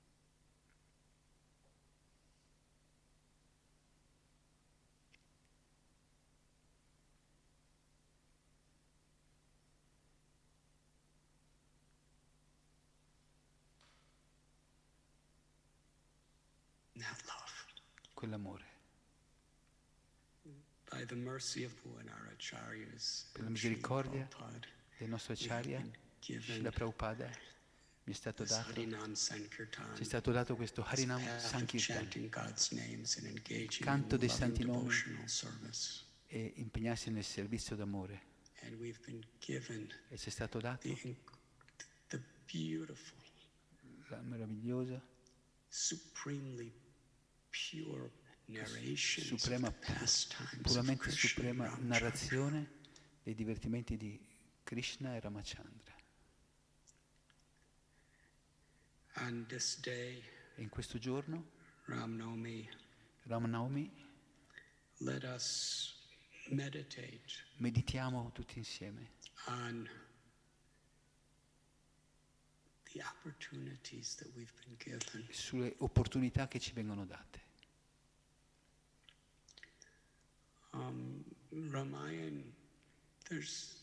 that love. quell'amore. By the mercy of Bhuvanara Acharyas, Per la misericordia Prabhupada, del nostro we have Acharya, been given Srila Prabhupada, mi è stato this dato, Harinam Sankirtan, ci è stato dato questo this Harinam path of Sankirtan, chanting God's names and engaging canto in dei loving santi nomi. devotional service. e impegnarsi nel servizio d'amore. And we've been given E ci è stato dato the, inc- the beautiful, la meravigliosa, supremely pure narrations suprema, of the pastimes of puramente Krishna and suprema Ramchandra. narrazione dei divertimenti di Krishna e Ramachandra. On this day, E in questo giorno, Ramnavami, Ramnavami, let us meditate meditiamo tutti insieme on the opportunities that we've been given. sulle opportunità che ci vengono date. Um, Ramayana, there's,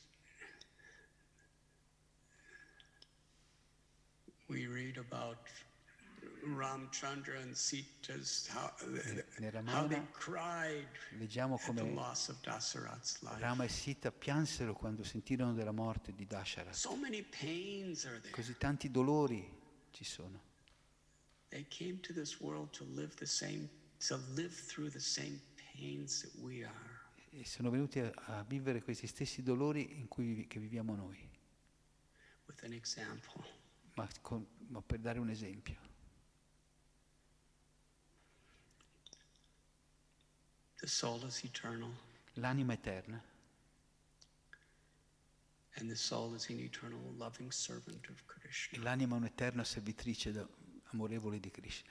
we read about Ramchandra and Sita's, how, Nel how they Ramayana cried leggiamo at the come loss of Dasarath's life. Rama e Sita piansero quando sentirono della morte di Dasharath. So many pains are there. Così tanti dolori ci sono. They came to this world to live the same, to live through the same pains that we are. e sono venuti a, a vivere questi stessi dolori in cui vivi- che viviamo noi, with an example. ma, con- ma per dare un esempio. The soul is eternal, L'anima eterna and the soul is an eternal loving servant of e Krishna. l'anima è un'eterna servitrice da- amorevole di Krishna.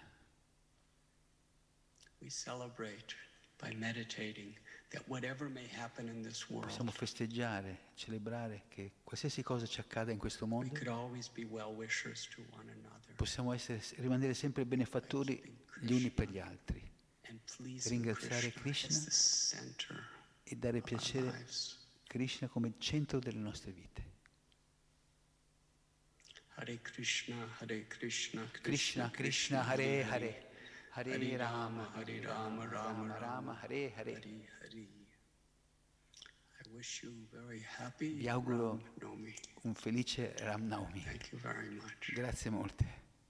We celebrate by meditating that whatever may happen in this Possiamo world, festeggiare, celebrare che qualsiasi cosa ci accada in questo we mondo, could always be well-wishers to one another possiamo essere, rimanere sempre benefattori gli uni per gli altri and please ringraziare Krishna as Krishna the center e dare of our piacere lives. a Krishna come centro delle nostre vite. Hare Krishna, Hare Krishna, Krishna, Krishna, Hare Hare, Hare Hare Rama, Rama, Hare Rama, Rama Rama, Rama, Hare Hare. Hare Hare. I wish you very happy Vi auguro Ram Navami. un felice Ram Navami. Thank you very much. Grazie molte.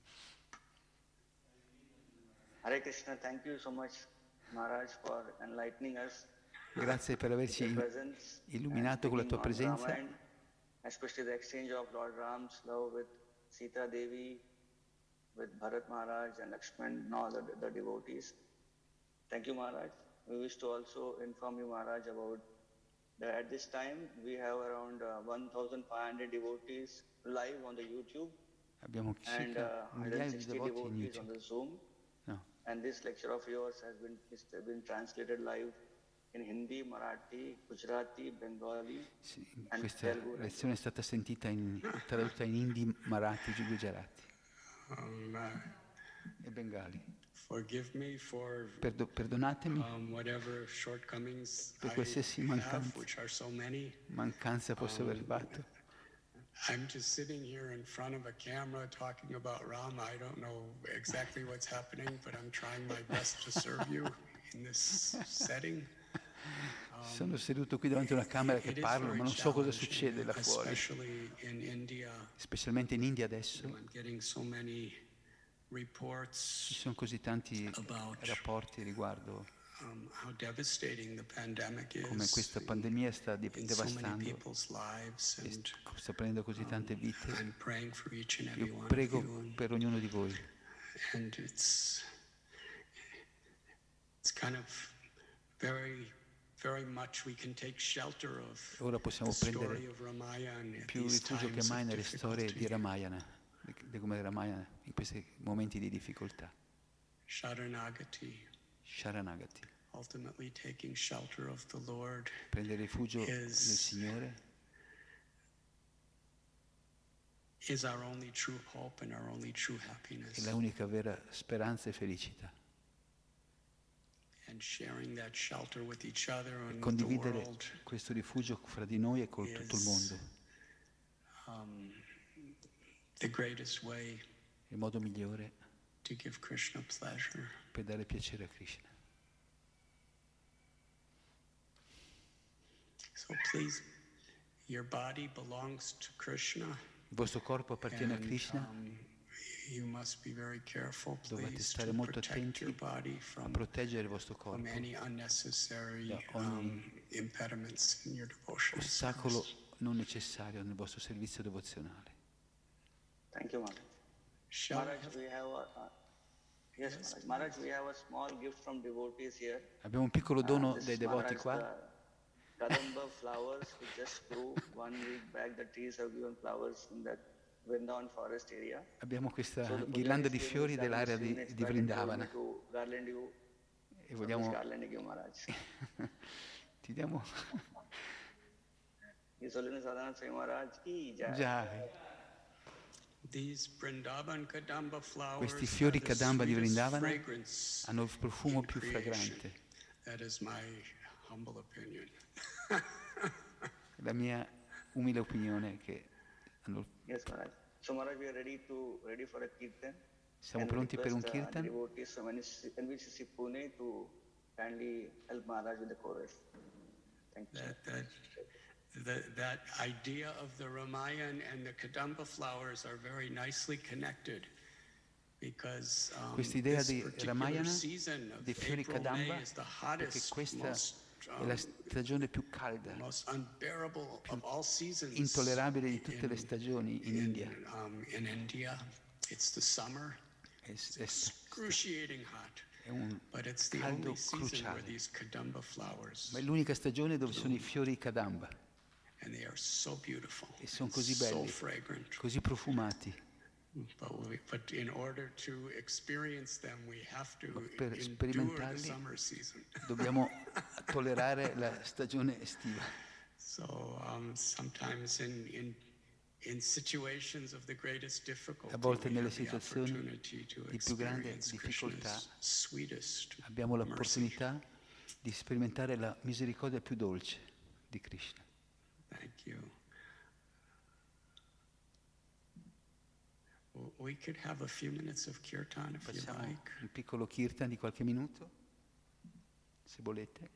Hare Krishna, thank you so much, Maharaj, for enlightening us. Grazie per averci Your presence illuminato and con la tua speaking on presenza, Ramayana, especially the exchange of Lord Ram's love with Sita Devi, with Bharat Maharaj and Lakshman and all the, the devotees. Thank you, Maharaj. We wish to also inform you, Maharaj, about that at this time we have around uh, one thousand five hundred devotees live on the YouTube abbiamo and circa uh, un migliaio di one hundred sixty devoti in devotees on YouTube. the Zoom. No, And this lecture of yours has been, has been translated live in Hindi, Marathi, Gujarati, Bengali, sì, and questa Telugu. lezione è stata sentita in, tradotta in Hindi, Marathi, Gujarati Um, uh, e Bengali. forgive me for Perdo- perdonatemi, um, whatever shortcomings Per I qualsiasi have, mancanza. which are so many. mancanza posso aver fatto. I'm just sitting here in front of a camera talking about Rama. I don't know exactly what's happening, but I'm trying my best to serve you in this setting. Sono seduto qui davanti a una camera che It is parlo, very ma non so cosa challenging, succede là fuori. especially in India. Specialmente in India adesso I'm getting so many ci reports sono così tanti About- rapporti riguardo um, how devastating the pandemic come is questa pandemia sta di- in so many devastando people's lives, e and st- sta prendendo così tante vite. I'm praying for each and every Io one of prego you, and, per ognuno di voi. and it's it's kind of very very much we can take shelter of Ora possiamo the story prendere of Ramayana at più these rifugio che times mai of nelle storie difficulty. di Ramayana, di di come Ramayana in questi momenti di difficoltà. Sharanagati, Sharanagati, ultimately taking shelter of the Lord, prendere rifugio nel Is- Signore is our only true hope and our only true è happiness. la unica vera speranza e felicità. And sharing that shelter with each other and with the Condividere world, questo rifugio fra di noi e con tutto il mondo um, the greatest way è il modo migliore to give Krishna pleasure. per dare piacere a Krishna. So please, your body belongs to Krishna. Il vostro corpo appartiene a and, Krishna, um, you must be very careful, dovete please, stare to molto protect attenti your body a from, proteggere il vostro from corpo. any unnecessary Da ogni um, impediments in your devotion. Ostacolo non necessario nel vostro servizio devozionale. Thank you, Maharaj. Shall I Maharaj, have- we have a, uh, yes, Maharaj. Maharaj, we have a small gift from devotees here. Abbiamo un piccolo Uh, dono this dai is devoti Maharaj, qua. the Kadamba flowers, which just grew one week back. The trees have given flowers in that Vrindavan forest area. Abbiamo questa So the ghirlanda pujaris di came fiori in dell'area seven di, minutes di back and told Vrindavana me to garland you. e So which vogliamo garland you give, Maharaj? ti diamo His Holiness Radhanath Swami Maharaj ki jai. già These Vrindavan Kadamba flowers questi fiori are the Kadamba di sweetest Vrindavana fragrance hanno il profumo in più creation. fragrante. That is my humble opinion. La mia umile opinione è che hanno il- Yes, Maharaj. So Maharaj, we are ready to ready for a kirtan. siamo And we pronti per un request, uh, kirtan. devotees from N V C C Pune to kindly help Maharaj with the chorus. Thank you. That, that, that, that idea of the Ramayana and the Kadamba flowers are very nicely connected because um, Questa idea this di particular Ramayana, season of dei fiori April, Kadamba, May is the perché hottest, questa most È la stagione più calda, most unbearable of all seasons. intollerabile di tutte le in, stagioni in in, India. um, in India, it's the summer. È, It's è, excruciating hot. è un But it's the caldo only season where cruciale, these kadamba flowers, ma è l'unica stagione dove sono i fiori kadamba and they are so beautiful, e sono and così so belli, fragrant. così profumati. But, we, but in order to experience them, we have to Ma per endure the sperimentarli summer season. dobbiamo tollerare la stagione estiva. So um, sometimes in, in in situations of the greatest difficulty, A volte we nelle have the situazioni opportunity to di più grande experience difficoltà Krishna's sweetest abbiamo mercy. l'opportunità di sperimentare la misericordia più dolce di Krishna. Thank you. W- We could have a few minutes of kirtan if you Facciamo like. un piccolo kirtan di qualche minuto, se volete.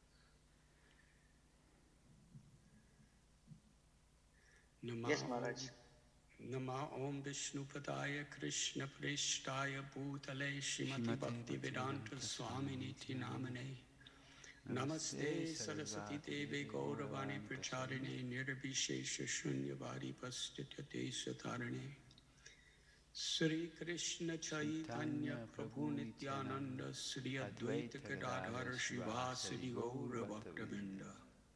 Nama Yes, Maharaj. Nama Om Vishnupadaya Krishna Prishtaya Bhutale Shrimati Shrimati Bhakti Vedanta Bhaktivedanta Swaminiti Namane Namaste Namaste Sarasvati Saraswati Devi Gauravani Pracharine Nirbhishesha Shunyavadi Pastityate Satarane Sri Krishna Chaitanya Prabhu Nityananda Sri Advaita Gadadhara Shivasadi Gaura Bhaktavinda.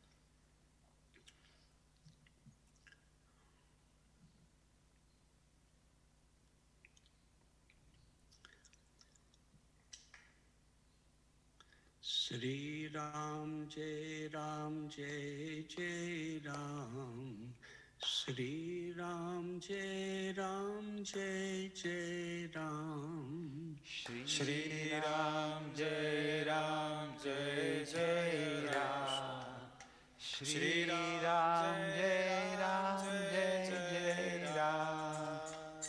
Shri Ram Jai Ram Jai Jai Ram Shri Ram Jai Ram Jai Jai Ram Shri Ram Jai Ram Jai Jai Ram Shri Ram Jai Ram Jai Jai Ram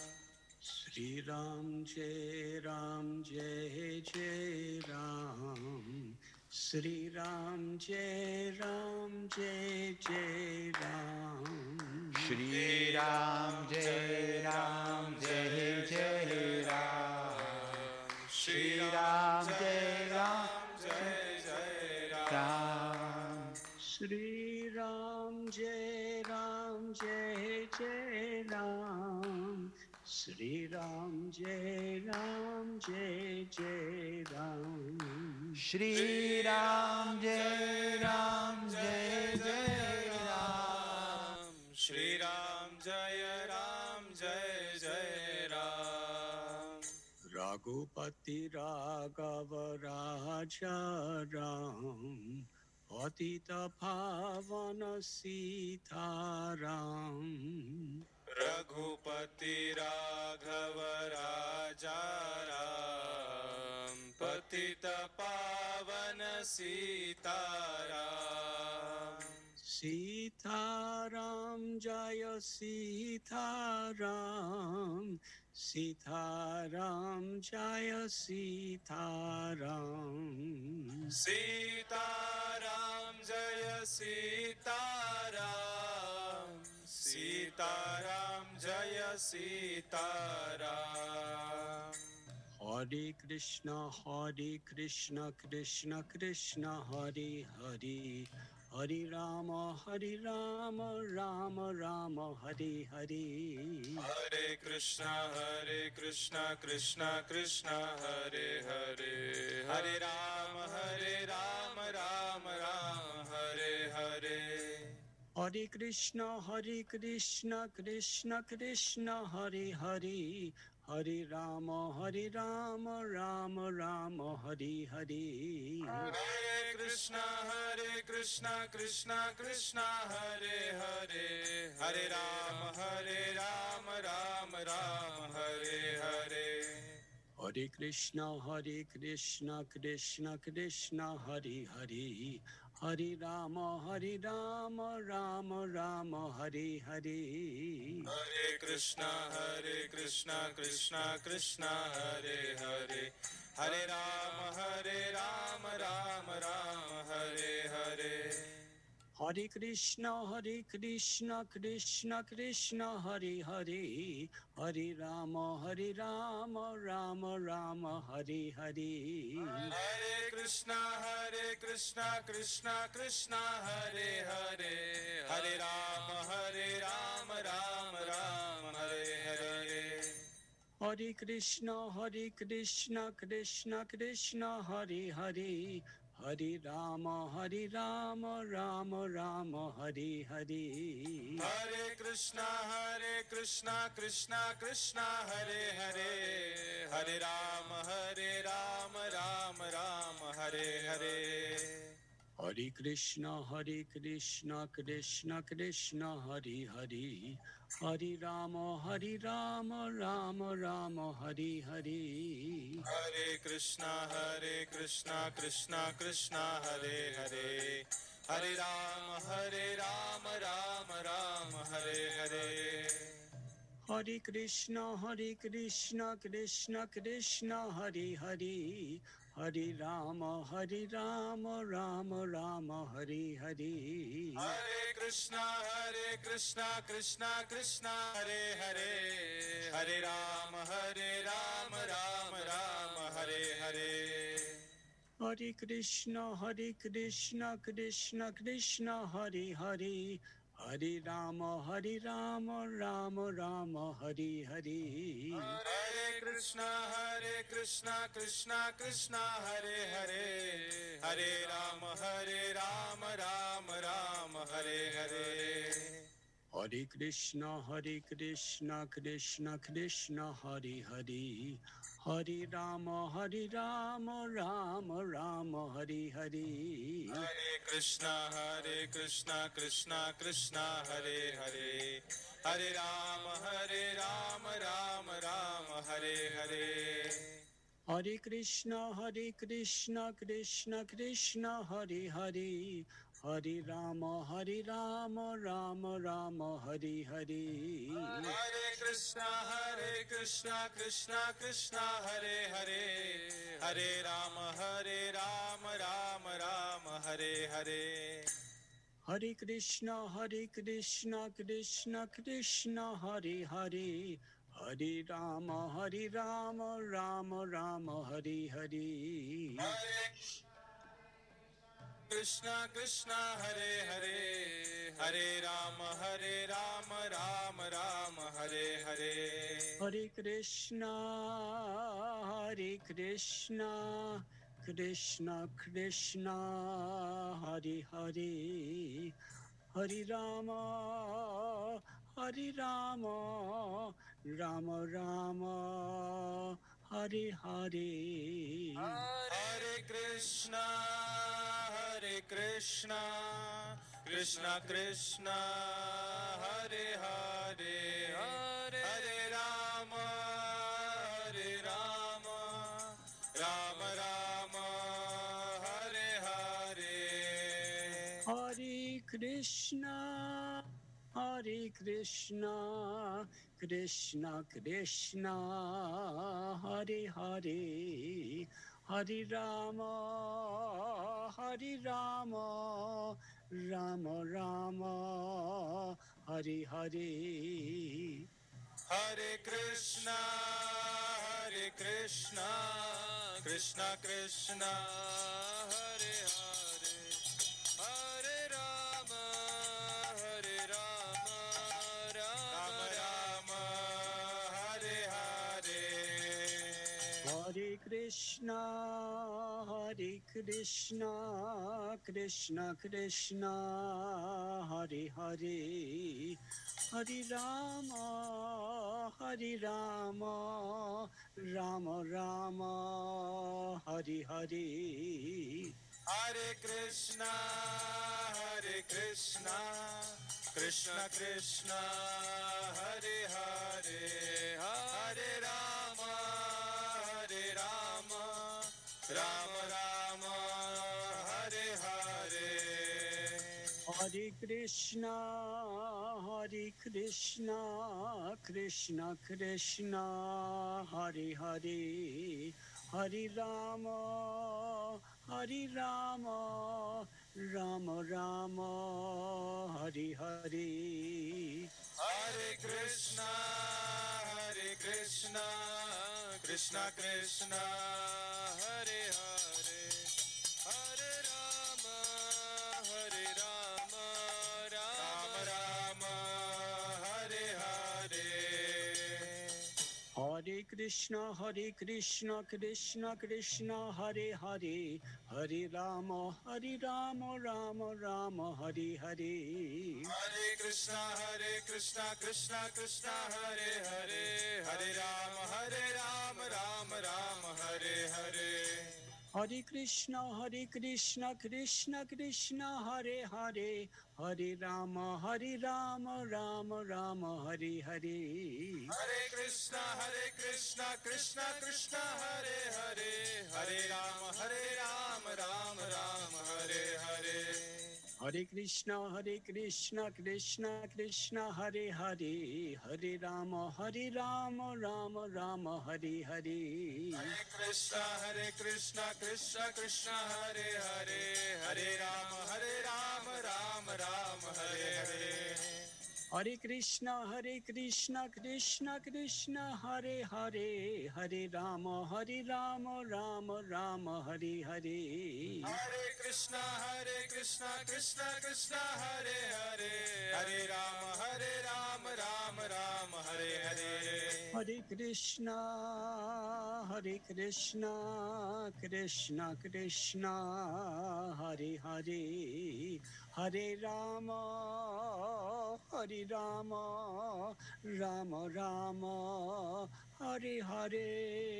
Shri Ram Jai Ram Jai Jai Ram Shri Ram Jai Ram Jai Jai Ram Shri Ram Jai Ram Jai Jai Ram Shri Ram Jai Ram Jai Jai Ram Shri Ram Jai Ram Jai Jai Ram Shri Ram Jai Ram Jai Jai Ram Shri Ram Jai Ram Jai Jai Ram Shri Ram Jai Ram Jai Jai Ram Raghupati Raghava Raja Ram Patita Pavana Sita Ram Raghupati Raghava Raja Ram Patita Pavana Sita Ram Sita Ram Jaya Sita Ram Sita Ram Jaya Sita Ram Sita Ram Jaya Sita Ram Sita Ram Jaya Sita Ram Hare Krishna Hare Krishna Krishna Krishna Hare Hare Hare Rama Hare Rama Rama Rama Hare Hare Hare Krishna Hare Krishna Krishna Krishna Hare Hare Hare Rama Hare Rama Rama Rama Hare Hare Hare Krishna Hare Krishna Krishna Krishna Hare Hare Hare Rama Hare Rama Rama Rama Hare Hare Hare Krishna Hare Krishna Krishna Krishna Hare Hare Hare Rama Hare Rama Rama Rama Hare Hare Hare Krishna Hare Krishna Krishna Krishna Hare Hare Hare Rama Hare Rama Rama Rama Hare Hare Hare Krishna Hare Krishna Krishna Krishna Hare Hare Hare Rama Hare Rama Rama Rama Hare Hare Hare Krishna, Hare Krishna, Krishna Krishna, Hare Hare, Hare Rama, Hare Rama, Rama Rama, Hare Hare. Hare Krishna, Hare Krishna, Krishna Krishna, Hare Hare, Hare Rama, Hare Rama, Rama Rama, Hare Hare. Hare Krishna, Hare Krishna, Krishna Krishna, Hare Hare, Hare Rama, Hare Rama, Rama Rama, Hare Hare. Hare Krishna, Hare Krishna, Krishna Krishna, Hare Hare, Hare Rama, Hare Rama, Rama Rama, Hare Hare. Hare Krishna, Hare Krishna, Krishna Krishna, Hare Hare, Hare Rama, Hare Rama, Rama Rama, Hare Hare. Hare Krishna, Hare Krishna, Krishna Krishna, Hare Hare, Hare Rama, Hare Rama, Rama Rama, Hare Hare. Hare Krishna, Hare Krishna, Krishna Krishna, Hare Hare, Hare Rama, Hare Rama, Rama Rama, Hare Hare. Hare Krishna, Hare Krishna, Krishna Krishna, Hare Hare, Hare Rama, Hare Rama, Rama Rama, Hare Hare. Hare Krishna, Hare Krishna, Krishna Krishna, Hare Hare, Hare Rama, Hare Rama, Rama Rama, Hare Hare. Hare Krishna, Hare Krishna, Krishna Krishna, Hare Hare, Hare Rama, Hare Rama, Rama Rama, Hare Hare. Hare Krishna, Hare Krishna, Krishna Krishna, Hare Hare, Hare Rama, Hare Rama, Rama Rama, Hare Hare. Hare Krishna, Hare Krishna, Krishna Krishna, Hare Hare, Hare Rama, Hare Rama, Rama Rama, Hare Hare. Hare Krishna, Hare Krishna, Krishna Krishna, Hare Hare, Hare Rama, Hare Rama, Rama Rama, Hare Hare. Hare Krishna, Hare Krishna, Krishna Krishna, Hare Hare, Hare Rama, Hare Rama, Rama Rama, Hare Hare. Hare Krishna, Hare Krishna, Krishna Krishna, Hare Hare, Hare Rama, Hare Rama, Rama Rama, Hare Hare. Hare Krishna, Krishna, Hare Hare, Hare Rama, Hare Rama, Rama Rama, Hare Hare. Hare Krishna, Hare Krishna, Krishna Krishna, Hare Hare, Hare Rama, Hare Rama, Rama Rama, Hare Hare. Hare Krishna, Hare Krishna, Krishna Krishna, Hare Hare, Hare Rama, Hare Rama, Rama Rama, Hare Hare. Hare Krishna, Hare Krishna, Krishna Krishna, Hare Hare, Hare Rama, Hare Rama, Rama Rama, Hare Hare. Hare Krishna, Hare Krishna, Krishna Krishna, Hare Hare, Hare Rama, Hare Rama, Rama Rama, Hare Hare. Hare Krishna, Hare Krishna, Krishna Krishna, Hare Hare, Hare Rama, Hare Rama, Rama Rama, Hare Hare. Hare Krishna, Hare Krishna, Krishna Krishna, Hare Hare, Hare Rama, Hare Rama, Rama Rama, Hare Hare. Hare Krishna, Hare Krishna, Krishna Krishna, Hare Hare, Hare Rama, Hare Rama, Rama Rama, Hari Hari. Hare Krishna, Hare Krishna, Krishna Krishna, Hare Hare, Hare Rama, Hare Rama, Rama Rama, Hare Hare. Hare Krishna, Hare Krishna, Krishna Krishna, Hare Hare, Hare Rama, Hare Rama, Rama Rama, Hare Hare. Hare Krishna, Hare Krishna, Krishna Krishna, Hare Hare, Hare Rama, Hare Rama, Rama Rama, Hare Hare. Hare Krishna, Hare Krishna, Krishna Krishna, Hare Hare, Hare Rama, Hare Rama, Rama Rama, Hare Hare. Hare Krishna, Hare Krishna, Krishna Krishna, Hare Hare, Hare Rama, Hare Rama, Rama Rama, Hare Hare. Hare Krishna, Hare Krishna, Krishna Krishna, Hare Hare, Hare Rama, Hare Rama, Rama Rama, Hare Hare. Hare Krishna, Hare Krishna, Krishna Krishna, Hare Hare, Hare Rama, Hare Rama, Rama Rama, Hare Hare. Hare Krishna, Hare Krishna, Krishna Krishna, Hare Hare, Hare Rama, Hare Rama, Rama Rama, Hare Hare. Hare Krishna, Hare Krishna, Krishna Krishna, Hare Hare, Hare Rama, Hare Rama, Rama Rama, Hare Hare. Hare Krishna, Hare Krishna, Krishna Krishna, Hare Hare, Hare Rama, Hare Rama, Rama Rama, Hare Hare.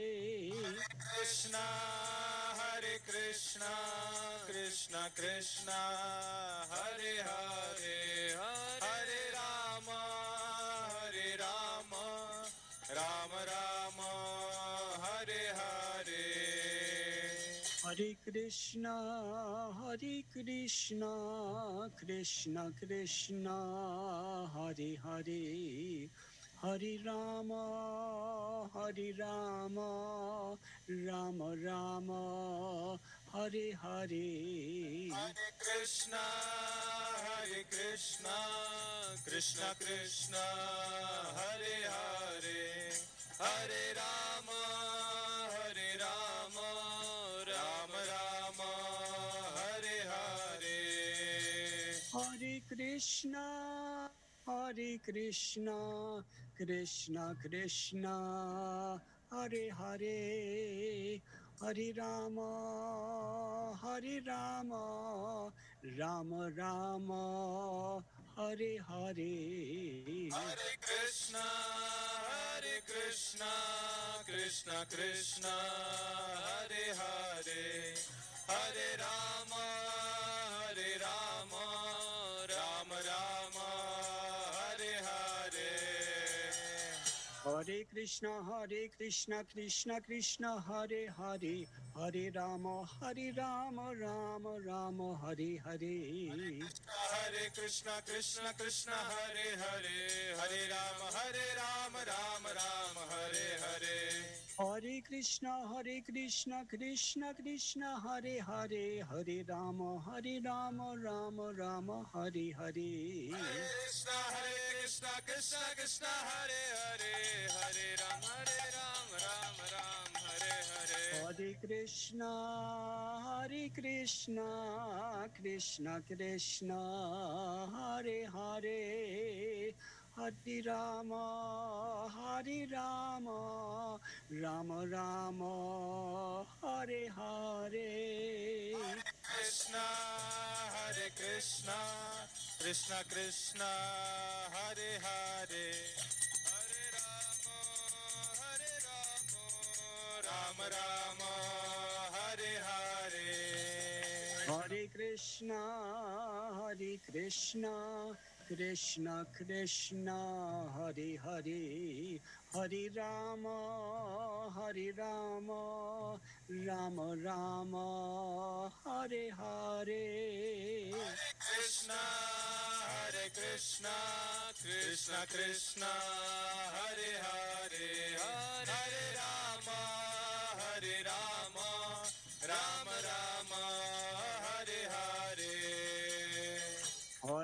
Krishna, Hare Krishna, Krishna Krishna, Hare Hare, Hare Rama, Hare Rama, Rama Rama, Hare Hare. Hare Krishna, Hare Krishna, Krishna Krishna, Hare Hare, Hare Rama, Hare Rama, Rama Rama, Hare Hare. Hare Krishna, Hare Krishna, Krishna Krishna, Hare Hare, Hare Rama, Hare Rama, Rama Rama, Hare Hare. Hare Krishna, Hare Krishna, Krishna Krishna, Hare Hare, Hare Rama, Hare Rama, Rama Rama, Hare Hare. Hare Krishna, Hare Krishna, Krishna Krishna, Hare Hare, Hare Rama, Hare Rama, Rama Rama, Hare Hare. Hare Krishna, Hare Krishna, Krishna Krishna, Hare Hare, Hare Rama, Hare Rama, Rama Rama, Hare Hare. Hare Krishna, Krishna Krishna, Hare Hare, Hare Rama, Hare Rama, Rama Rama, Hare Hare. Hare Krishna, Hare Krishna, Krishna Krishna, Hare Hare, Hare Rama, Hare Rama, Rama Rama, Hare Hare. Hare Krishna, Hare Krishna, Krishna Krishna, Hare Hare, Hare Ram, Hare Ram, Ram Ram, Hare Hare. Hare Krishna, Hare Krishna, Krishna Krishna, Hare Hare, Hare Rama, Hare Rama, Rama Rama, Hare Hare. Krishna, Hare Krishna, Krishna Krishna, Hare Hare, Hare Rama, Hare Rama, Rama Rama, Hare Hare. Hare Krishna, Hare Krishna, Krishna Krishna, Hare Hare, Hare Rama, Hare Rama, Rama Rama, Hare Hare. Krishna, Hare Krishna, Krishna Krishna, Hare Hare, Hare Rama, Hare Rama, Rama Rama, Hare Hare.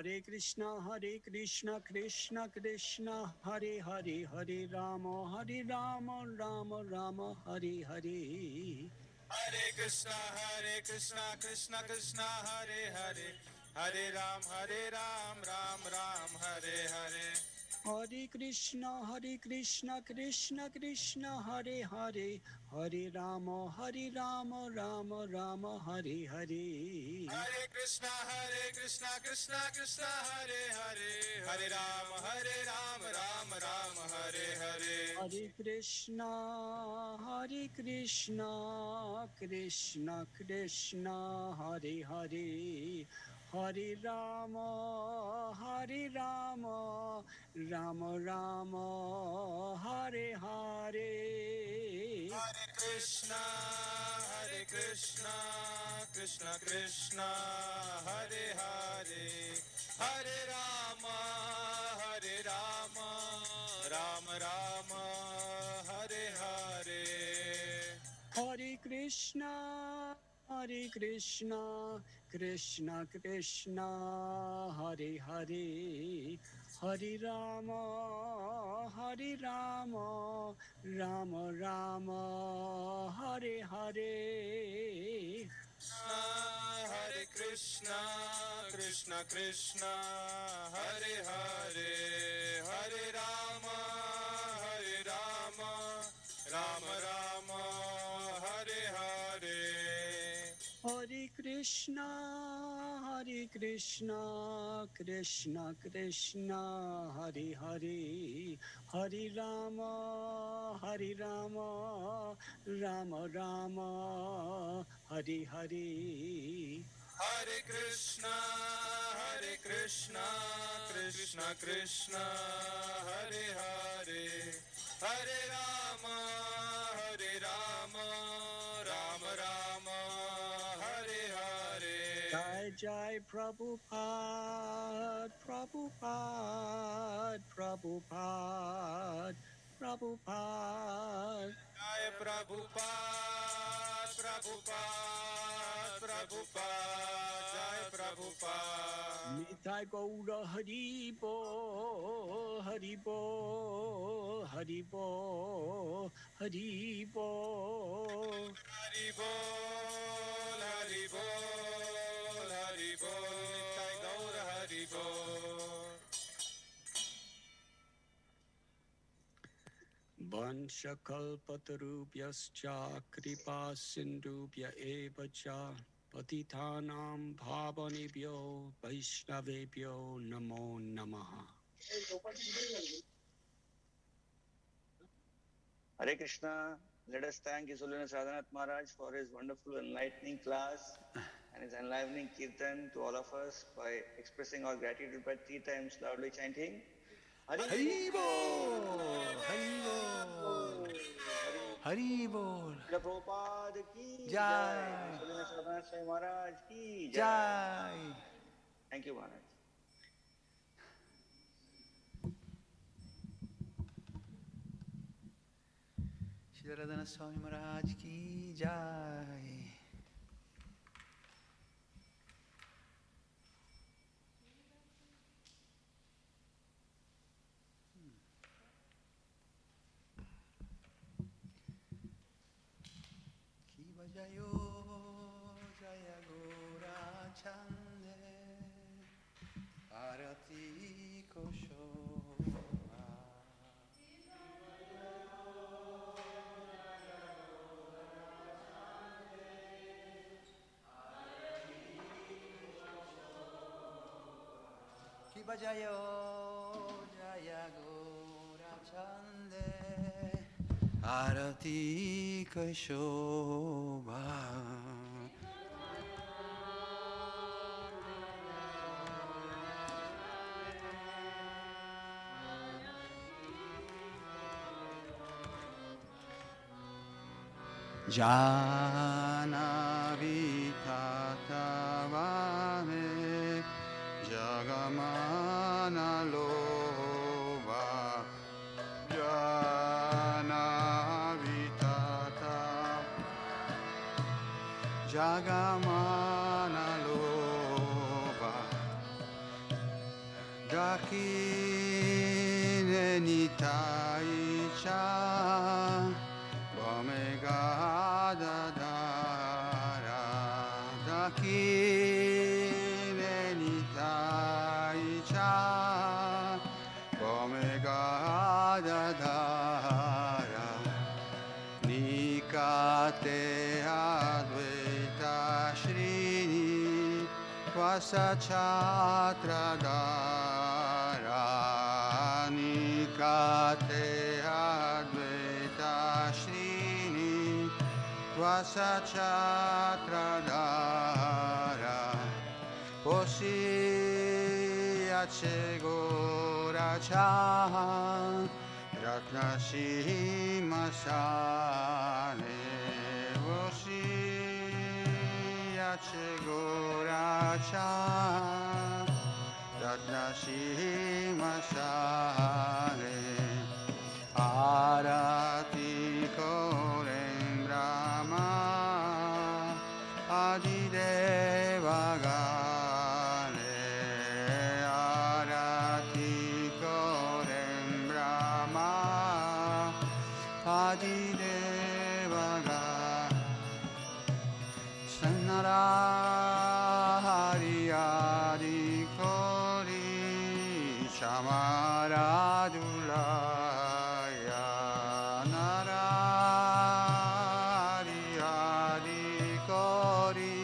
Hare Krishna, Hare Krishna, Krishna Krishna, Hare Hare, Hare Rama, Hare Rama, Rama Rama, Hare Hare. Hare Krishna, Hare Krishna, Krishna Krishna, Hare Hare, Hare Ram, Hare Ram, Ram Ram, Hare Hare. Hare Krishna, Hare Krishna, Krishna Krishna, Hare Hare, Hare Rama, Hare Rama, Rama Rama, Hare Hare. Hare Krishna, Hare Krishna, Krishna Krishna, Hare Hare, Hare Ram, Hare Ram, Ram Ram, Hare Hare. Hare Krishna, Hare Krishna, Krishna Krishna, Hare Hare, Hare Rama, Hare Rama, Rama Rama, Hare Hare. Hare Krishna, Hare Krishna, Krishna Krishna, Hare Hare, Hare Rama, Hare Rama, Rama Rama, Hare Hare. Hare Krishna, Hare Krishna, Krishna Krishna, Hare Hare, Hare Rama, Hare Rama, Rama Rama, Hare Hare. Hare Krishna, Krishna Krishna, Hare Hare, Hare Rama, Hare Rama, Rama Rama, Hare Hare. Hare Krishna, Hare Krishna, Krishna Krishna, Hare Hare, Hare Rama, Hare Rama, Rama Rama, Hare Hare. Hare Krishna, Hare Krishna, Krishna Krishna, Hare Hare, Hare Rama, Hare Rama, Rama Rama, Hare Hare. Jai Jai Prabhupada, Prabhupada, Prabhupada, Prabhupada. Jai Prabhupada, Prabhupada, Prabhupada, Jai Prabhupada. Nitai Gaura Haribo, Haribo, Haribo, Haribo. Hari Bol, Hari Bol, Hari Bol, Nitai Gaur Hari Bol. Vanshakalpatarubhyascha kripa sindhubhya eva cha patitanam bhavanebhyo vaishnavebhyo namo namaha. Hare Krishna. Let us thank His Holiness Radhanath Maharaj for his wonderful enlightening class and his enlivening kirtan to all of us by expressing our gratitude by three times loudly chanting Hari Bol, Hari Bol, Hari Bol. Prabhupada ki Jai. Jai. His Holiness Radhanath Swami Maharaj ki Jai. Jai. Thank you, Maharaj. Shri Radhanath Swami Maharaj ki Jai. Kiva Jayo Jaya Gora Chande Arati Kosho. Kiva Jayo Jaya Gora Chande Arati Kashobha. Janavi Tatavame Jagamana Lova Janavi Tata Jagamana Lova Kine Nitai Cha Omega Dadara Kine Nitai Cha Omega Dadara Nikate Advaita Shrini Vasachatradara Nikate Advaita Shrini Vasachatradara Posi Achegoracha Ratnasimasane Posi Achegoracha Ratnasimasane Arati Korem Brahma Adidevagane Arati Korem Brahma Adidevagane Sannara Hari Adi Kori Shamaradulaya Narari Adi Kori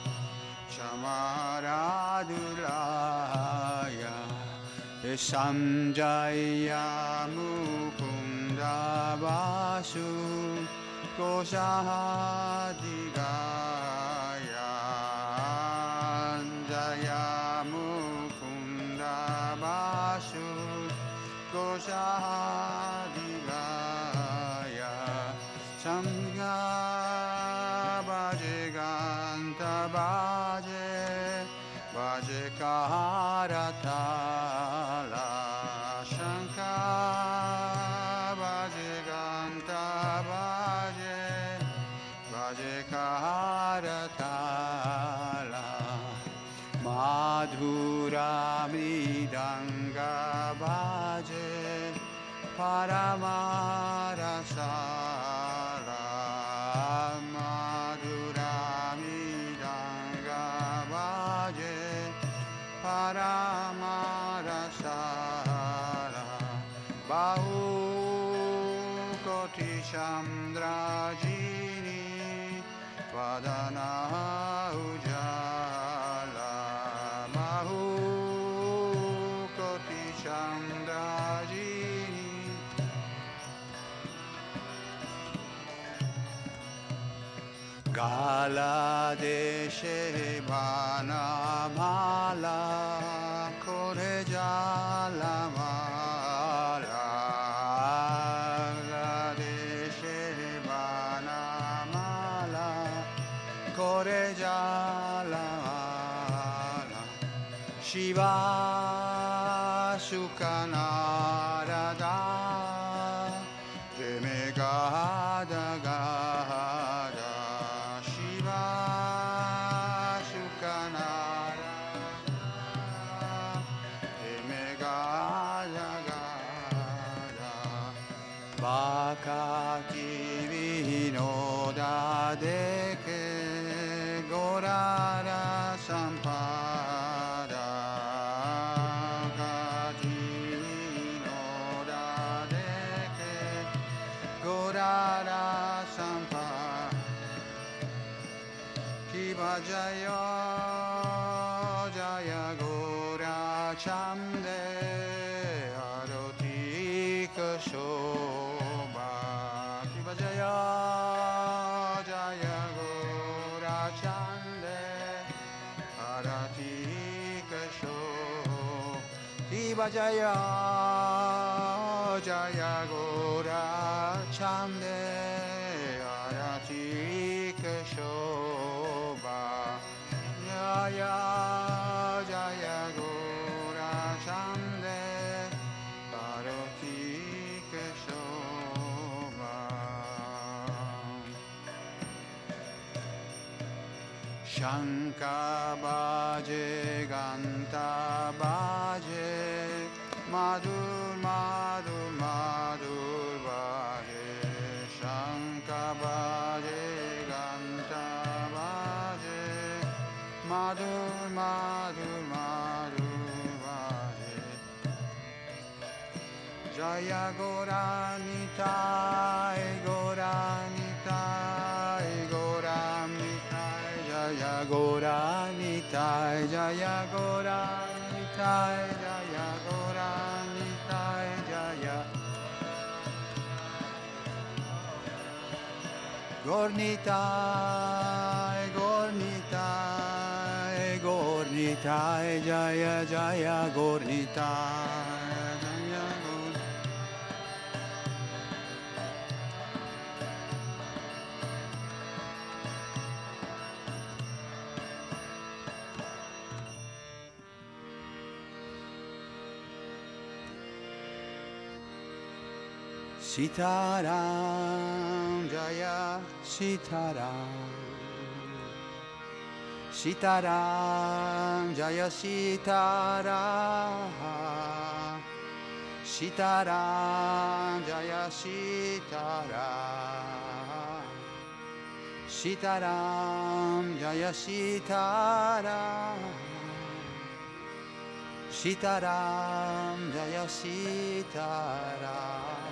Shamaradulaya Samjaya Mukunda Vasu Koshadigaya Jaya Mukunda Vasu Koshadigaya Samga Bhaje Ganta Bhaje Bhaje Karatala Shanka Bhaje Ganta Bhaje Bhaje Karatala Madhura Mridanga Bhaje Paramarasala Madhura Mridanga Bhaje Paramarasala Bahu Koti Chandrajini Vadana Ujala Bahu Koti Chandrajini Gala Deshe Vanamala Kore Jala Mala Gala Deshe Vanamala Kore Jala Mala Shiva Shukanarada Jemegada Gada Shiva Shukanarada Jemegada Gada Baka Kivinoda Deke Gorara Sampada Kajinoda Deke Gorara Sampada Kiva Jaya Jaya Gora Chande Aroti Kashoba Kiva Jaya Jaya Gora Chande Arati Kashoba Kiva Jaya Jaya Gora Chande Arati Kashoba Jaya Jaya Gora Chande Arati Kashoba Shanka Baje Ganta Baje Madhur Madhur Madhur Bhaje Shankha Bhaje Ganta Bhaje Madhur Madhur Madhur Bhaje Jaya Gauranitai Gauranitai Gauranitai Jaya Gauranitai Jaya Gauranitai Jaya Gauranitai Jaya Gaurnitai Gaurnitai Gaurnitai Jaya Jaya Gaurnitai Jaya Gaur Sitaram Jaya Sitaram Sitaram Jaya Sitaram Sitaram Jaya Sitaram Sitaram Jaya Sitaram Sitaram Jaya Sitaram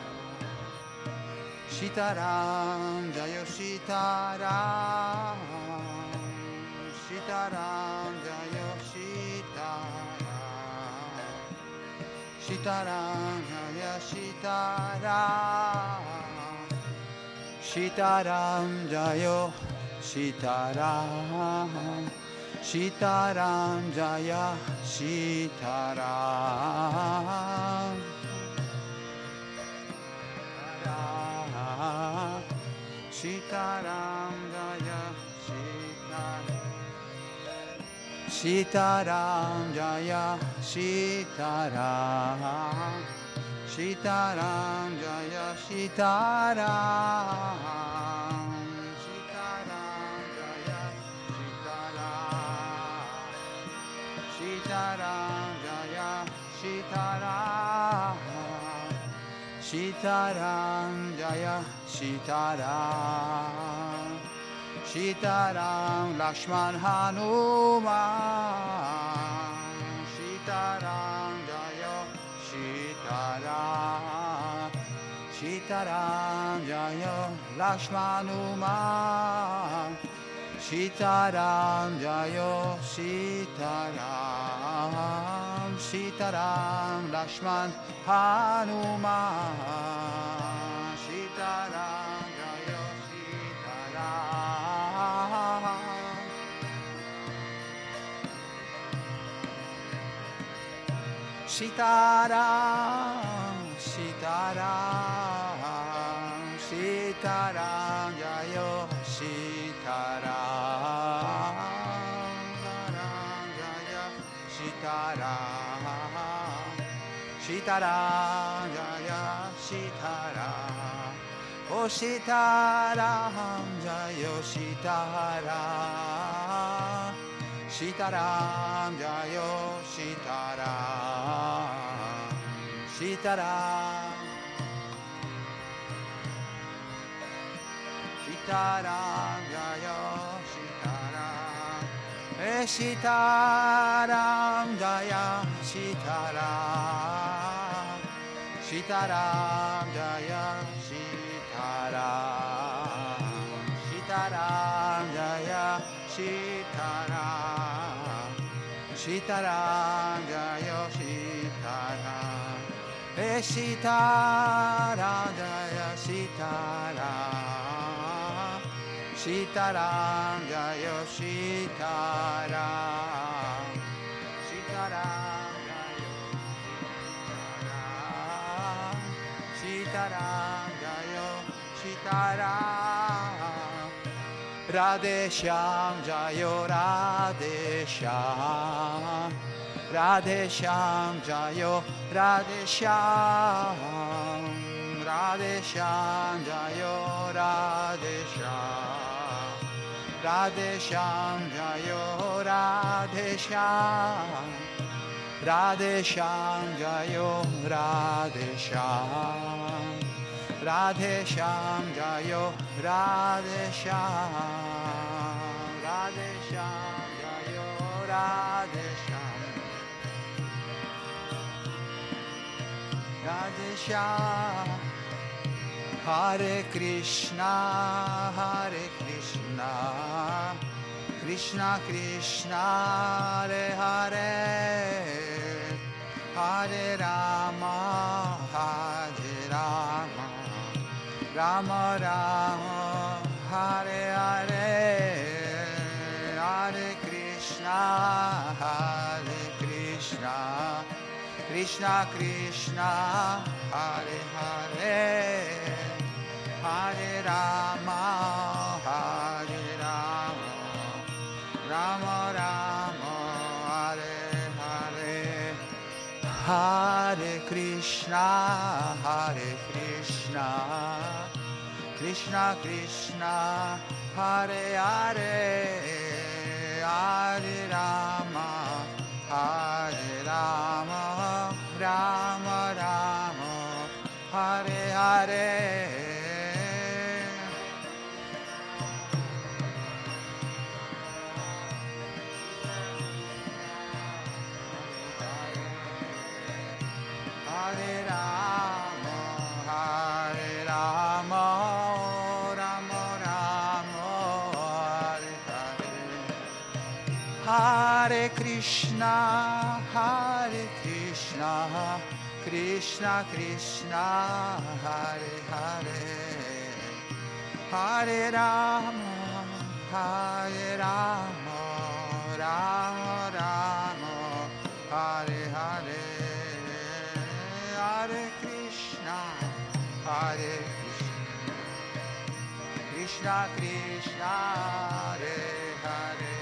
Sitaram Jaya Sitaram Sitaram Jaya Sitaram Sitaram Jaya Sitaram Sitaram Jaya Sitaram Sitaram Jaya Sitaram Sitaram Jaya Sitaram Sitaram Jaya Sitaram Sitaram Jaya Sitaram Sitaram Jaya Sitaram Sitaram Jaya Sitaram Sitaram Jaya Sitaram Sitaram Lakshman Hanuman Sitaram Jaya Sitaram Sitaram Jaya Lakshman Hanuman Sitaram Jaya Sitaram Sitaram Lakshman Hanuman Sitaram Jaya Sitaram Sitaram Sitaram Jaya Sitaram Sitaram Jaya Sitaram Sitaram Jaya Sitaram Oh Sitaram Jaya Sitaram Sitaram Jaya Sitaram Sitaram Sitaram Jaya Sitaram Eh Sitaram Jaya Sitaram Sitaram Jaya Sitaram Sitaram Jaya Sitaram Sitaram Jaya Sitaram Eh Sitaram Jaya Sitaram Sitaram Jaya Sitaram Sitaram Jaya Sitaram Sitaram Jaya Sitaram Radhe Shyam Jayo Radhe Shyam Radhe Shyam Jayo Radhe Shyam Radhe Shyam Jayo Radhe Shyam Radhe Shyam Jayo Radhe Shyam Radhe Shyam Jayo Radhe Shyam, Radhe Shyam Jayo Radhe Shyam, Radhe Shyam Jayo Radhe Shyam, Radhe Shyam. Hare Krishna, Hare Krishna, Krishna Krishna, Hare Hare, Hare Rama, Hare Rama, Rama Rama, Hare Hare, Hare Krishna, Hare Krishna, Krishna Krishna, Hare Hare, Hare Rama, Hare Rama, Rama Rama, Hare Hare, Hare Krishna, Hare Krishna, Krishna Krishna, Hare Hare, Hare Rama, Hare Rama, Rama Rama, Hare Hare. Hare Rama, Hare Rama, Rama Rama, Hare Hare. Hare Krishna, Hare Krishna, Krishna Krishna, Hare Hare, Hare Rama, Hare Rama, Rama Rama, Hare Hare. Hare Krishna, Hare Krishna, Krishna Krishna, Hare Hare,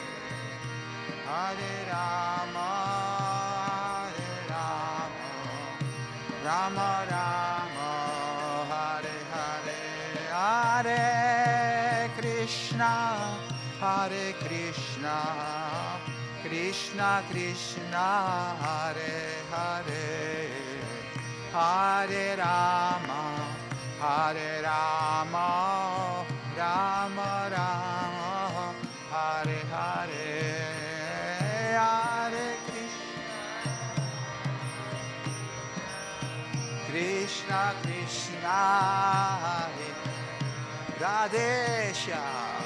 Hare Rama, Hare Rama, Rama Rama, Hare Hare, Hare Krishna, Hare Krishna, Krishna Krishna, Hare Hare, Hare Rama, Hare Rama, Rama Rama, Hare Hare, Hare Krishna, Krishna Krishna, Hare Radhe Shyam,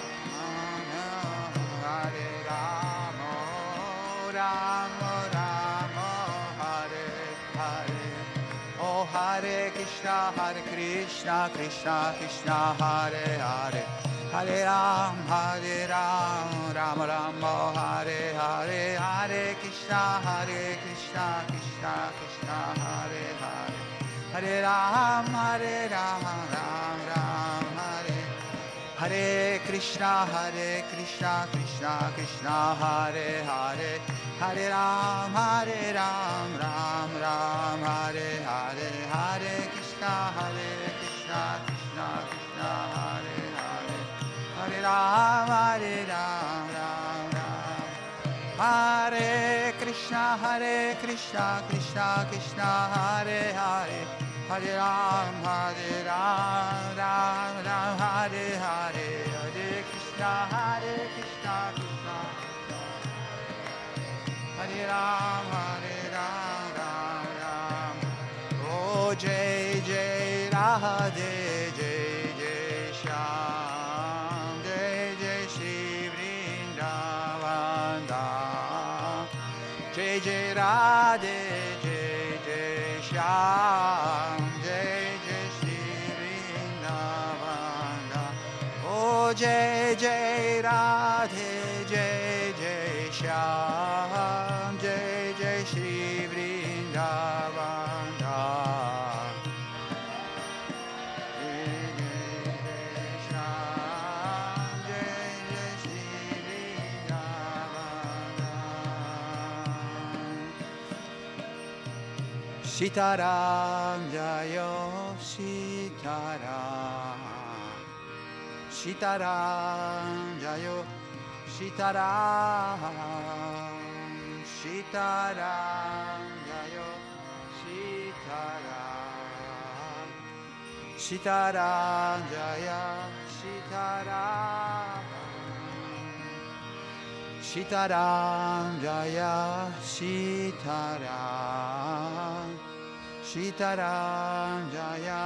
Hare Rama, Rama Rama, Hare Hare. Oh Hare Krishna, Hare Krishna, Krishna Krishna, Hare Hare, Hare Ram, Hare Ram, Rama Rama, Hare Hare, Hare Krishna, Hare Krishna, Krishna Krishna, Hare Hare, Hare Ram, Hare Ram, Ram Ram, Hare Hare Krishna, Hare Krishna, Krishna Krishna, Hare Hare, Hare Ram, Hare Ram, Ram Ram, Hare Hare, Hare Krishna, Hare Krishna, Krishna Krishna, Hare Hare, Hare Ram, Hare Ram, Ram Ram, Hare Krishna, Hare Krishna, Krishna Krishna, Hare Hare, Hare Ram, Hare Ram, Ram Ram, Hare Hare, Hare Krishna, Hare Krishna, Krishna Hare Ram, Hare Ram, Ram Ram. Oh Jai Jai Radhe, Jai Jai Shyam, Jai Jai Shri Vrindavan Dham. Jai Jai Radhe, Jai Jai Shyam, Jai Jai Shri Vrindavan Dham. Oh Jai Jai Radhe, Jai Jai Shyam, Jai Jai Shri Vrindavan Dham. Jai Jai Shyam, Jai Jai Shri Vrindavan Dham. Sitaram Jayo Sitaram, Sitaram Jayo Sitaram, Sitaram Sitaram Jayo Sitaram Sitaram Jaya Sitaram Sitaram Jaya Sitaram Sitaram Jaya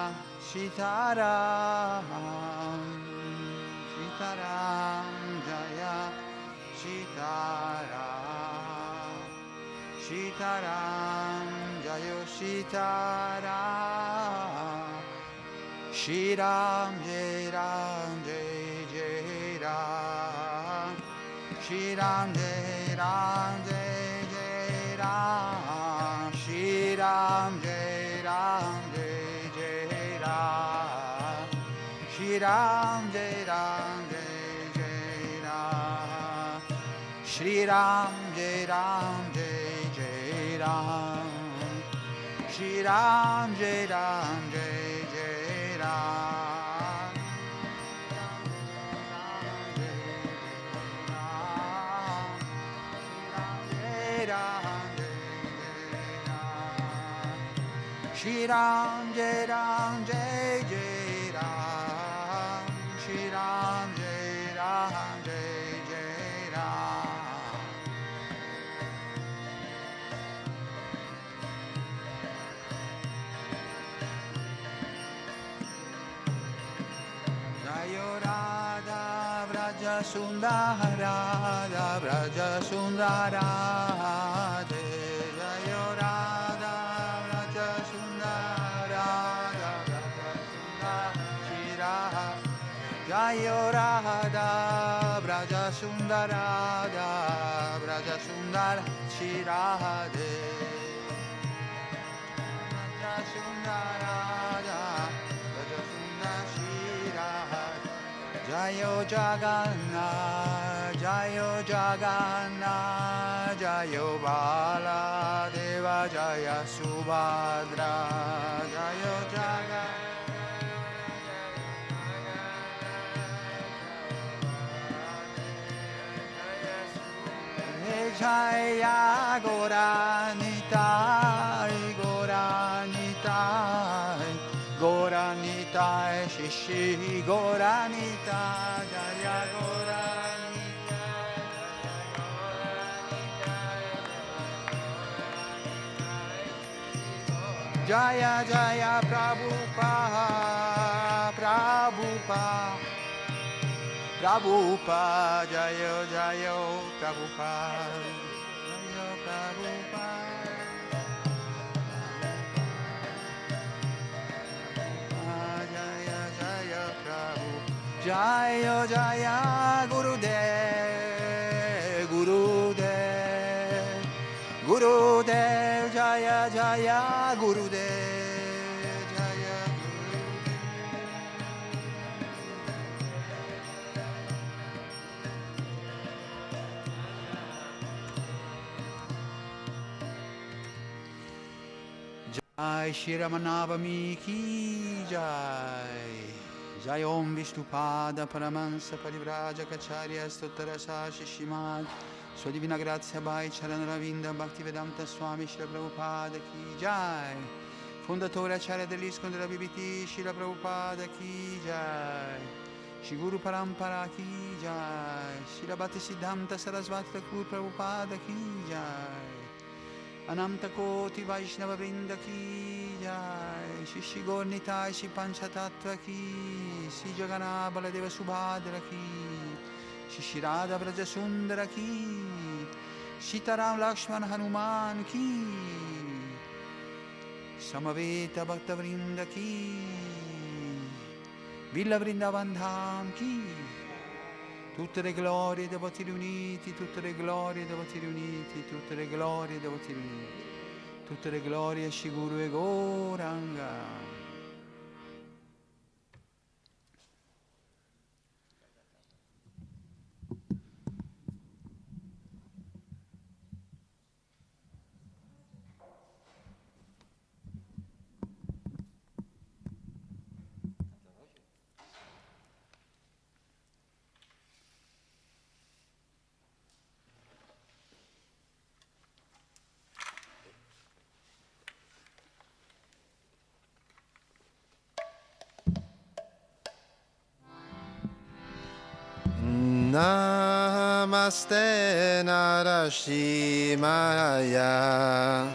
Sitaram Sitaram Jaya Sitaram Sitaram Jaya Sitaram Shri-Ram Jai Ram Jai Jai Ram Shri-Ram Jai Ram Jai Jai Ram Shri-Ram Jai Ram Jai Jai Ram Shri-Ram Jai Ram Jai Jai Ram Shri-Ram Jai Ram Jai Jai Ram Shri-Ram Jai Ram Jai Jai Ram Shri-Ram Jai Ram Jai Jai Ram Shri-Ram Jai Ram Jai Jai Ram Jayo Radha Vraja Sundara Radha Vraja Sundara Jayo Radha Vraja Sundara Radha Vraja Sundara Jayo Radha Vraja Sundara Radha Vraja Sundara Shirade Vraja Sundara Radha Vraja Sundara Shirade Jayo Jagannath Jayo Jagannath Jayo Baladeva Jaya Subhadra Jayo Jagannath Jaya Goranitai Goranitai Goranitai Shishi Goranitai Jaya Goranitai Jaya Jaya Prabhupada Prabhupada Prabhupada Jaya Jaya Prabhupada Jaya Prabhupada Jaya Jaya Prabhupada Jaya Jaya Gurudev Gurudev Gurudev Jaya Jaya Gurudev Jaya Jai Shri Ramanavami Ki Jai Jai Om Vishnupada Paramahansa Parivraja Kacharya Stottarasa Shishimad Sua Divina Grazia Bhai Charanaravinda Bhaktivedanta Swami Shri Prabhupada Ki Jai Fondatore Acharya dell'Iskon della B B T Shri Prabhupada Ki Jai Shri Guru Parampara Ki Jai Shri Bhakti Siddhanta Sarasvati Thakur Prabhupada Ki Jai Ananta Koti Vaishnava Vrinda Ki Jai Shri Gornitai Shri Panchatattva Ki Shri Jagana Baladeva Subhadra Ki Shri Radha Vraja Sundara Ki Sitaram Lakshman Hanuman Ki Samaveta Bhakta Vrinda Ki Villa Vrindavan Dham Ki Tutte le glorie dei voti riuniti, tutte le glorie dei voti riuniti, tutte le glorie dei voti riuniti, tutte le glorie a Shri Guru e Gauranga. Namaste Narasimhaya.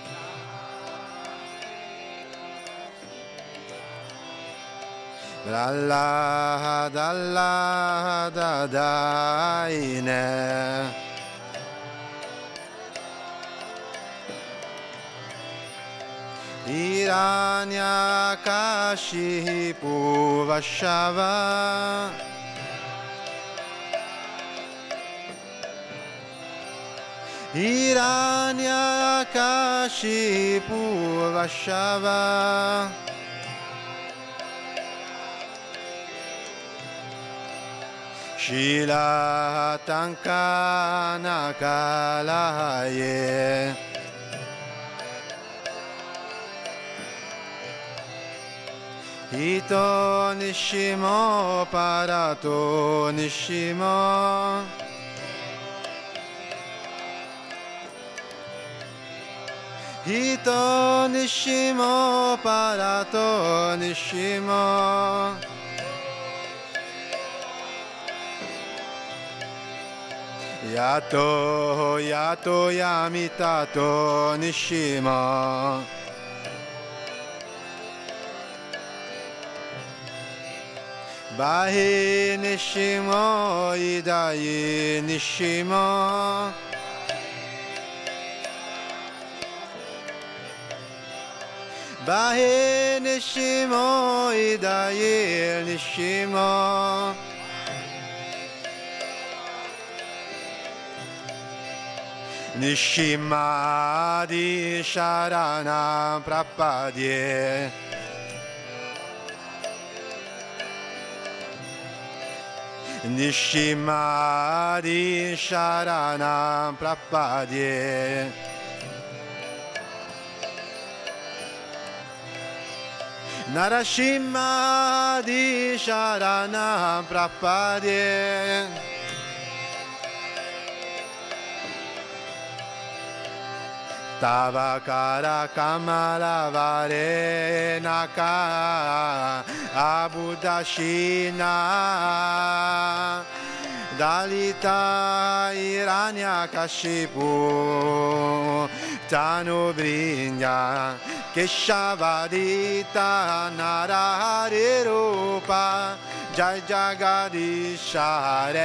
Prahlada Allada Daine. Hiranyakashipu Vashava. Hiranyakashipu Vashava. Shila Tankana Kalaye. Hito Nishimo Parato Nishimo. Hito Nishimo Parato Nishimo. Yato Yato Yamitato Nishimo. Bahi Nishimo Idai Nishimo. Bahi Nishimo Idai Nishimo. Nishimadi Sharanam Prapadye. Nishimadi Sharanam Prapadye. Narasimhadi Sharanam Prapadye. Tavakara Kamala Vare Naka Abudashina Dalita Hiranyakashipu Tanu Vrinya Keshavadita Narahari Rupa Jai Jagadisha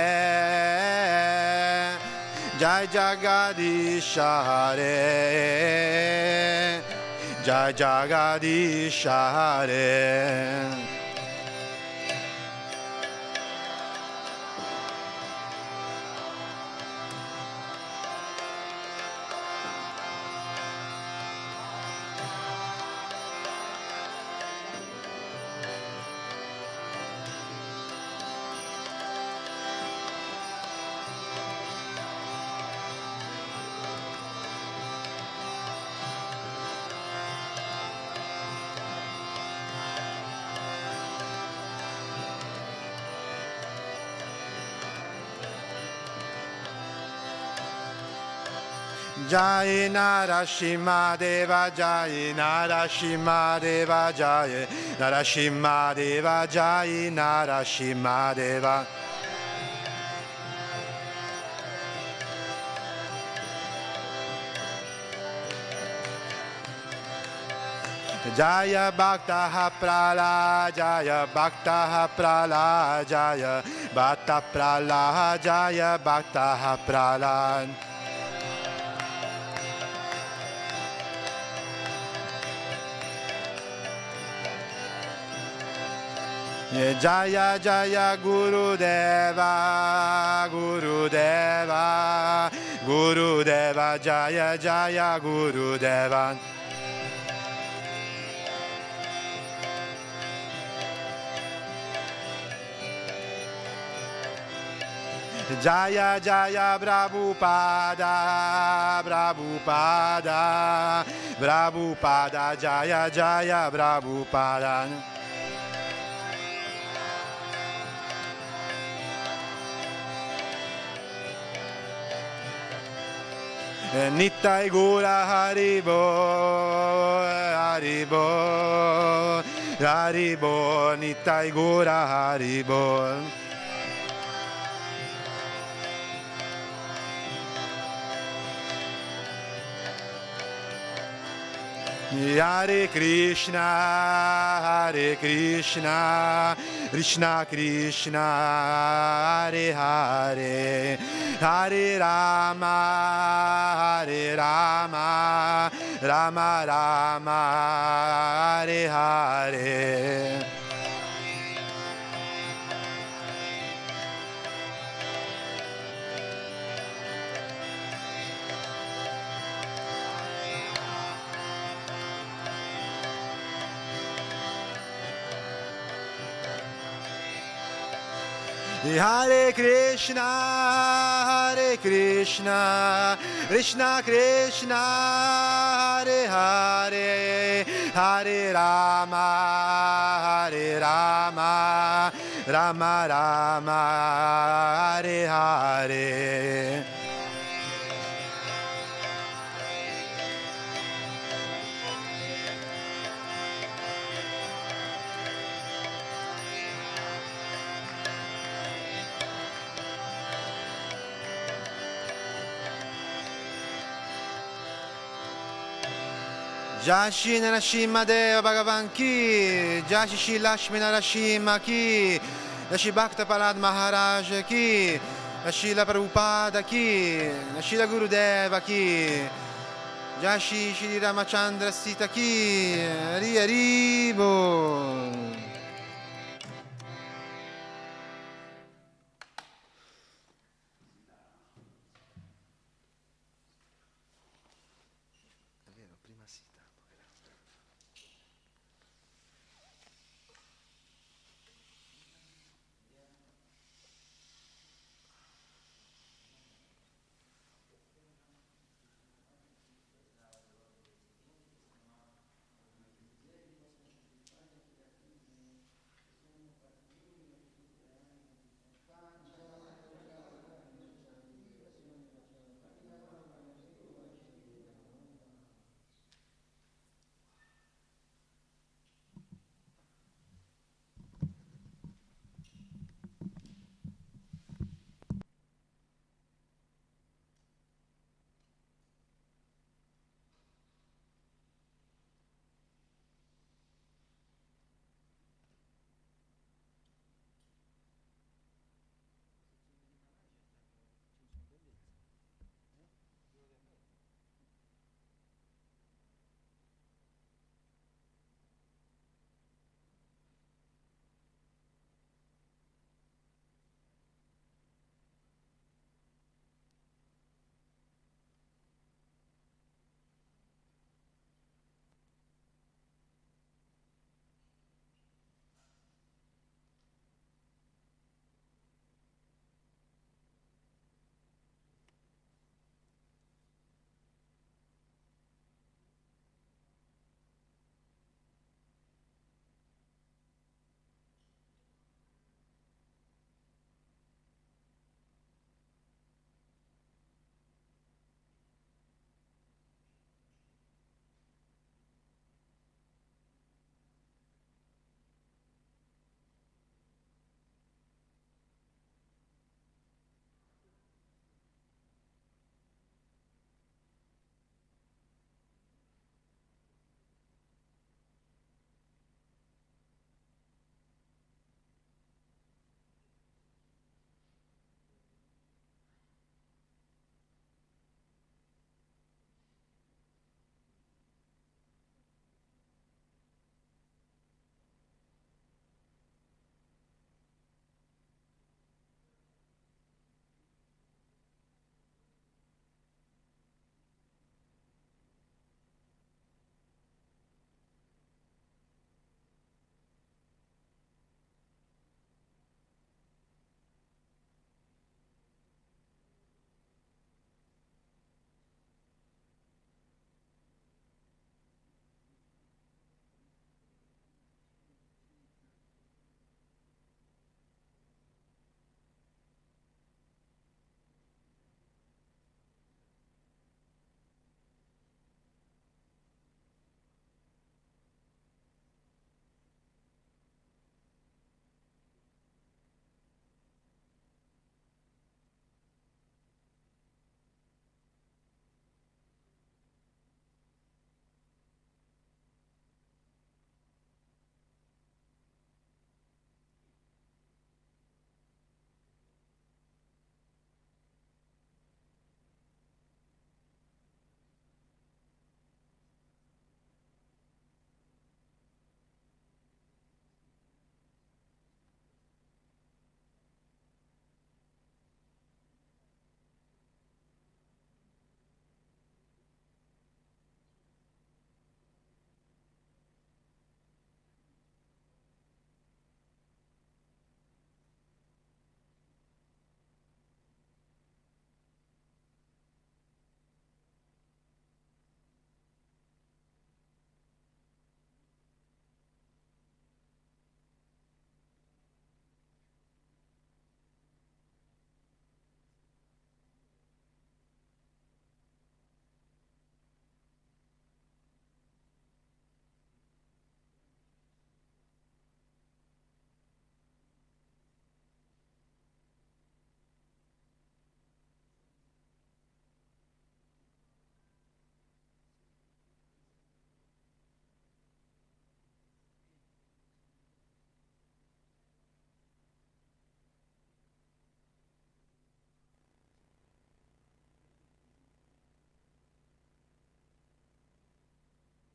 Hare. Jai Jagadisha Hare. Jai Jagadisha Hare. Jai Narasimha Deva Jai Narasimha Deva Jai Narasimha Deva Jai Narasimha Deva. Jaya Bhakta Prala Jaya Bhakta Prala Jaya Bhakta Prala Jaya Bhakta Prala. Jaya Jaya Guru Deva Guru Deva Guru Deva Jaya Jaya Guru Deva. Jaya Jaya Prabhupada Prabhupada Prabhupada Jaya Jaya Prabhupada. Nittai Gura Haribo Haribo Haribo Nittai Gura Haribo. Hare Krishna, Hare Krishna, Krishna Krishna, Hare Hare, Hare Rama, Hare Rama, Rama Rama, Hare Hare. Hare Krishna, Hare Krishna, Krishna Krishna, Hare Hare, Hare Rama, Hare Rama, Rama Rama, Hare Hare. Jashi Narashima Deva Bhagavan Ki, Jashi Shri Lakshmi Narashima Ki, Jashi Bhakta Palad Maharaj Ki, Jashi La Prabhupada Ki, Jashi La Gurudeva Ki, Jashi Shri Ramachandra Sita Ki, Hari Haribo. È vero, prima Sita.